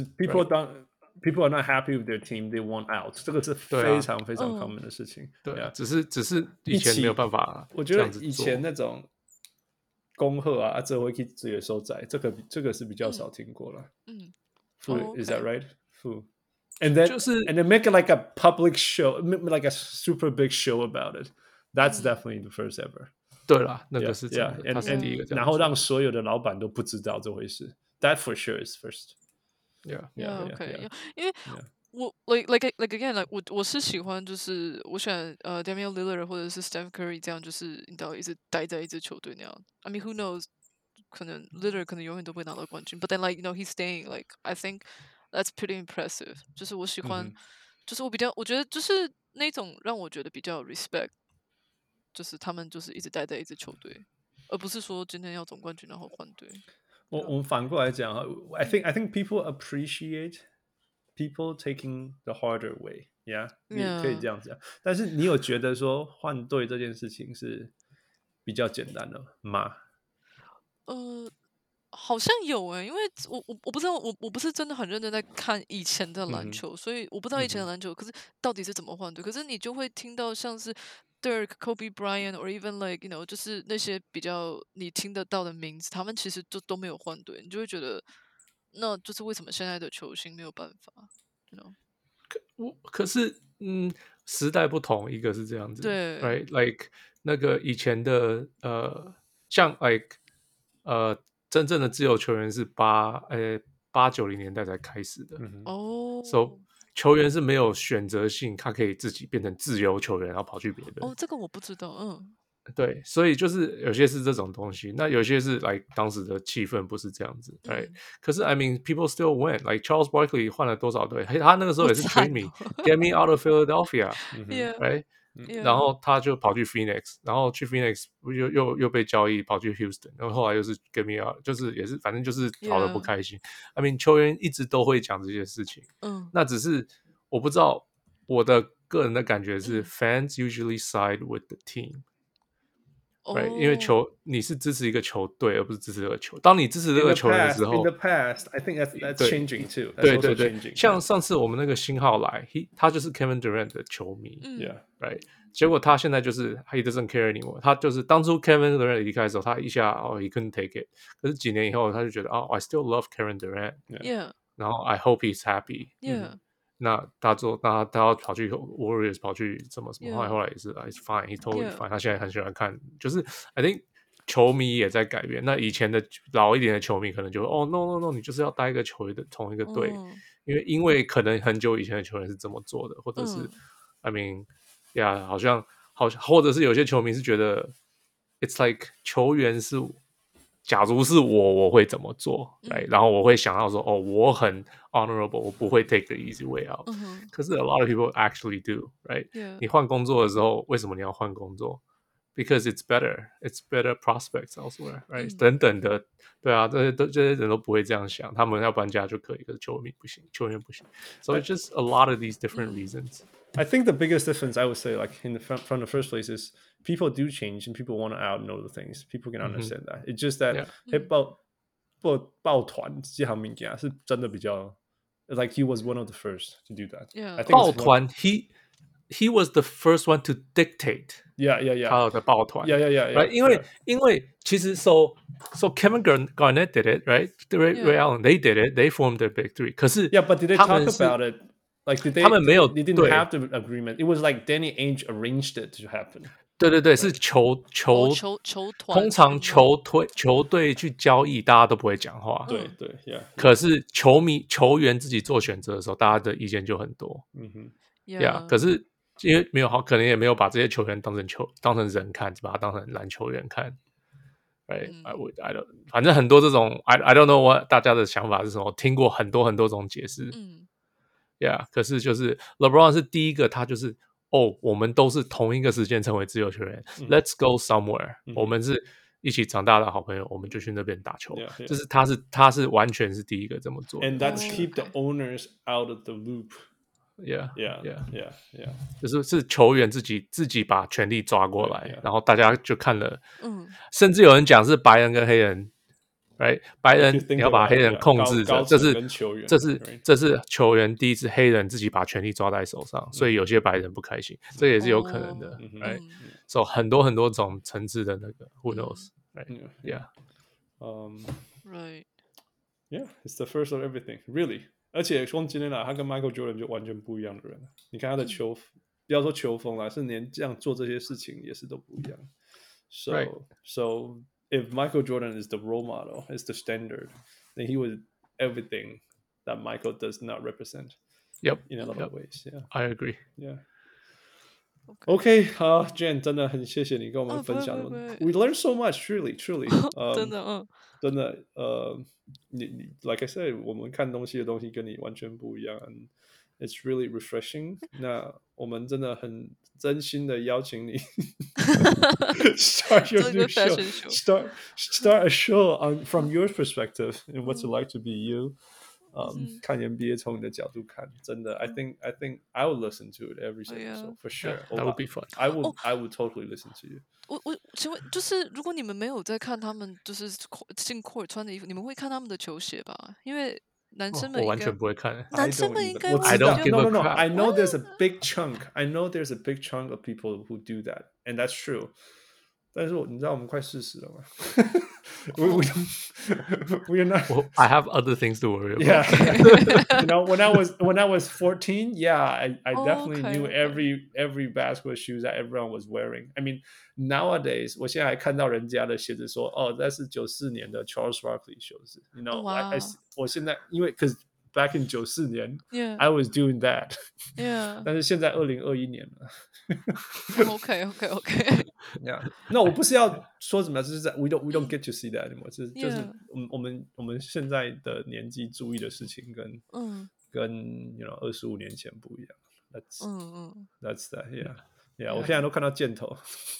people are not happy with their team, they want out。這個是非常非常 common 的事情。 對，只是以前沒有辦法。 我覺得以前那種恭賀啊，這回去自己收窄，這個是比較少聽過了。Is that right? And then make it like a public show, like a super big show about it. That's definitely the first ever. 對啦，那個是這樣的，他是第一個這樣。 然後讓所有的老闆都不知道這回事。That for sure is first. Yeah. 因為我 like again， 我是喜歡，就是我喜歡Damian Lillard 或者是 Steph Curry 這樣，就是你知道一直待在一支球隊那樣。I mean, who knows？ 可能 Lillard 可能永遠都會拿到冠軍。But then like he's staying. Like I think that's pretty impressive。就是我喜歡，就是我覺得就是那種讓我覺得比較 respect， 就是他們就是一直待在一支球隊，而不是說今天要總冠軍然後換隊。 我們反過來講 I think people appreciate people taking the harder way. Yeah. 你可以這樣講。但是你有覺得說換隊這件事情是比較簡單的嗎？ 好像有因為我不知道，我不是真的很認真在看以前的籃球，所以我不知道以前的籃球，可是到底是怎麼換隊？可是你就會聽到像是 Dirk、Kobe Bryant，or even like就是那些比較你聽得到的名字，他們其實就都沒有換隊，你就會覺得，那就是為什麼現在的球星沒有辦法可是時代不同，一個是這樣子，對 ，right like 那個以前的像 like 真正的自由球員是80-90年代才開始的，so 球員是沒有選擇性，他可以自己變成自由球員，然後跑去別的。 這個我不知道， 對，所以就是有些是這種東西，那有些是來當時的氣氛不是這樣子，可是 I mean people still win， like Charles Barkley 換了多少隊，他那個時候也是 trade me，get me out of Philadelphia，right？ 然後他就跑去 Phoenix， 然後去 Phoenix 又被交易跑去 Houston， 然後後來又是 Get Me Out， 就是也是反正就是吵得不開心。I mean 球員一直都會講這些事情，那只是我不知道，我的個人的感覺是fans usually side with the team。Right， 因為你是支持一個球隊，而不是支持這個球。當你支持這個球員的時候 ，in the past, I think that's changing too. 對，像上次我們那個星號來，他就是 Kevin Durant 的球迷，right， 結果他現在就是 he doesn't care anymore。他就是當初 Kevin Durant 離開的時候，他一下he couldn't take it， 可是幾年以後他就覺得I still love Kevin Durant， 然後 I hope he's happy，那他要跑去 Warriors， 跑去什麼，後来也是 it's fine， he totally fine， 他現在很喜歡看，就是 I think 球迷也在改變。那以前的老一點的球迷可能就no， 你就是要待一個球队同一個隊，因為可能很久以前的球员是這麼做的，或者是I mean好像或者是有些球迷是覺得 it's like 球員是。假如是我會怎麼做，然後我會想到說，我很 honorable， 我不會 take the easy way out。可是 a lot of people actually do， right？ 你換工作的時候，為什麼你要換工作 ？Because it's better prospects elsewhere， right？等等的，對啊，這些人都不會這樣想，他們要搬家就可以，可是球员不行。So it's just a lot of these different reasons. I think the biggest difference I would say, like from the first place, is people do change and people want to know the things. People can understand that. It's just that 抱團這項物件是真的比較 like he was one of the first to do that. I think 抱團 he was the first one to dictate. Yeah. 他的抱團 Yeah. 因為其實 so Kevin Garnett did it, right? Ray Allen, they did it. They formed their big three. 可是 but did they talk about it? Like did they? 他們沒有 They didn't have the agreement. It was like Danny Ainge arranged it to happen. 對，是球團，通常球隊去交易，大家都不會講話。 對， 可是球員自己做選擇的時候，大家的意見就很多。可是因為沒有可能也沒有把這些球員當成人看，只把他當成籃球員看。Right， I don't， 反正很多這種 I don't know what 大家的想法是什麼，聽過很多種解釋。可是就是 LeBron 是第一個，他就是我們都是同一個時間成為自由球員，Let's go somewhere，我們是一起長大的好朋友，我們就去那邊打球。就是他是完全是第一個這麼做的。 And that's keep the owners out of the loop. Yeah. 就是球員自己把权力抓過來，然後大家就看了。甚至有人講是白人跟黑人。Right， 白人你要把黑人控制着，這是球員第一次黑人自己把權力抓在手上，所以有些白人不開心，這也是有可能的。Right， so 很多種層次的那個 ，Who knows？ Right， Right， Yeah， it's the first of everything, really。而且从今天来，他跟 Michael Jordan 就完全不一樣的人。你看他的球，不要說球風啦，是連這樣做這些事情也是都不一樣。So。If Michael Jordan is the role model, is the standard, then he was everything that Michael does not represent. In a lot of ways. Yeah, I agree. Yeah. Okay, Jen, 真的很謝謝你跟我們分享。We learned so much, truly. 真的，你 like I said， 我們看東西跟你完全不一樣。And it's really refreshing. 那我們真的很真心的邀請你start your new show. Start a show from your perspective and what's it like to be you. 看 NBA 從你的角度看，真的 I think I would listen to it every single episode for sure. That would be fun. I would totally listen to you. 我请問，就是如果你們沒有在看他們就是進 court 穿的衣服，你們會看他們的球鞋吧？因為男生們我完全不會看。 男生們應該會。 I don't give a crap. No. I know there's a big chunk. I know there's a big chunk of people who do that, and that's true. 但是你知道我們快40了嗎？We are not. Well, I have other things to worry about. Yeah. You know, when I was 14, yeah, I definitely knew every basketball shoes that everyone was wearing. I mean, nowadays, 我現在還看到人家的鞋子說，那是94年的 Charles Barkley 鞋子。You know,我現在因為 because back in 94年 I was doing that. Yeah. 但是現在2021年了。 OK. Yeah. No, 我不是要說什麼，就是在 we don't get to see that anymore. 就是我們現在的年紀注意的事情跟you know 25年前不一樣。That's that. Yeah. Yeah， 我現在都看到箭頭。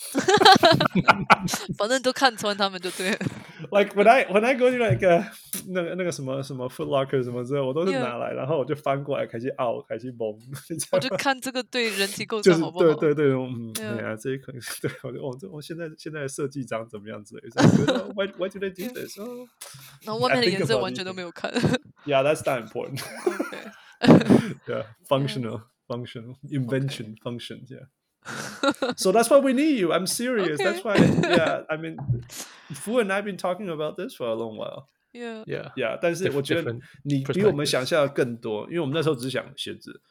反正都看穿他們就對了。 Like when I go to like 那個什麼 Foot Locker 什麼之類，我都是拿來，然後我就翻過來開始拗，開始蒙。 我就看這個對人體構造好不好？ 對，對啊，這一可能對我現在的設計長怎麼樣之類的。Why do they do this？ 然後外面的顏色完全都沒有看。 Yeah, that's not important. Okay. Yeah, functional invention, functions. Yeah. So that's why we need you. I'm serious. Okay. That's why. Yeah, I mean, Fu and I've been talking about this for a long while. Yeah. 但是我覺得你比我們想象的更多，因為我們那時候只想鞋子。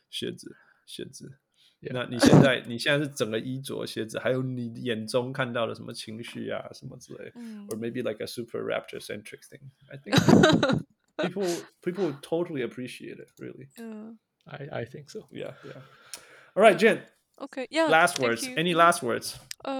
那你現在是整個衣着鞋子，還有你眼中看到的什麼情緒啊，什麼之類，or maybe like a super rapture centric thing. I think people totally appreciate it. Really. I think so. Yeah. All right, Jen. Okay. Yeah. Last words. Any last words?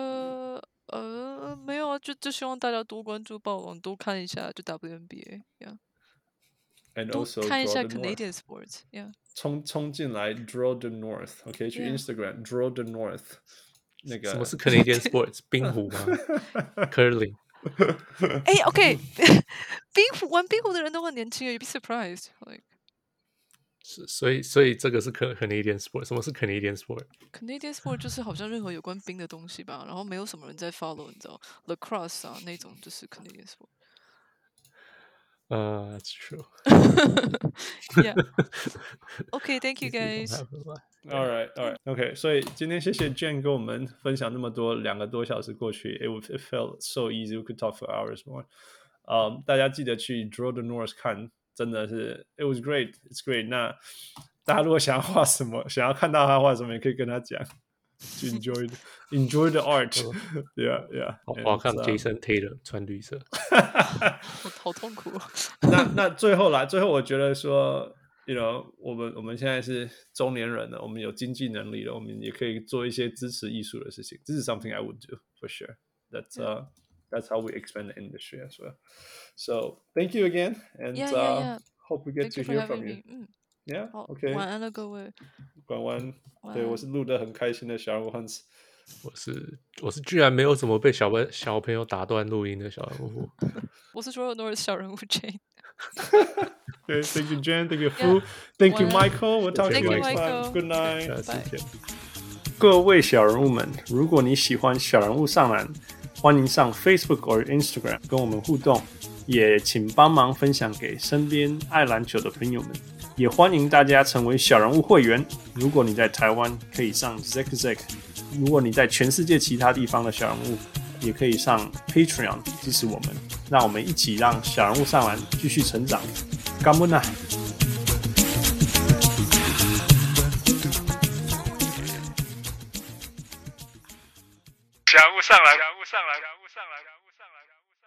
沒有啊，就希望大家多關注暴龍，多看一下就 WNBA。 And 多 also 看一下 Canadian sports。 衝進來 Draw the North。OK， 去 Instagram Draw the North。那個什麼是 Canadian sports？ 冰壺嗎？Curling。 OK， 玩冰壺的人都很年輕，you'd be surprised。 所以這個是 Canadian sport。什麼是 Canadian sport？Canadian sport 就是好像任何有關冰的東西吧，然後沒有什麼人在 follow， 你知道 lacrosse 啊那種就是 Canadian sport。 That's true. Yeah. Okay, thank you guys. All right. Okay, 所以今天謝謝 Jen 跟我們分享那麼多，2個多小時過去 ，it felt so easy. We could talk for hours more. 大家記得去 Draw the North 看。真的是 ，it was great, it's great. 那大家如果想要畫什麼，想要看到他畫什麼，也可以跟他講，去 enjoy the art. Yeah. 我看 Jason Taylor 穿綠色， 好痛苦。 那最後我覺得說 ，you know， 我們現在是中年人了，我們有經濟能力了，我們也可以做一些支持藝術的事情。This is something I would do for sure. That's how we expand the industry as well. So thank you again, and hope we get to hear from you. Yeah, OK. 晚安了各位。 晚安。对，我是錄得很開心的小人物 Hans。 我是居然沒有怎麼被小朋友打斷錄音的小人物。 我是說 North 小人物 Jane。 Okay, thank you, Jen. Thank you, Fu. Thank you, Michael. We'll talk to you next time. Good night. 各位小人物們，如果你喜歡小人物上籃，歡迎上 Facebook 或 Instagram 跟我們互動，也請幫忙分享給身邊愛籃球的朋友們。也歡迎大家成為小人物會員。如果你在台灣，可以上 Zack； 如果你在全世界其他地方的小人物，也可以上 Patreon 支持我們。讓我們一起讓小人物上籃繼續成長。感恩啊！ 小人物上籃。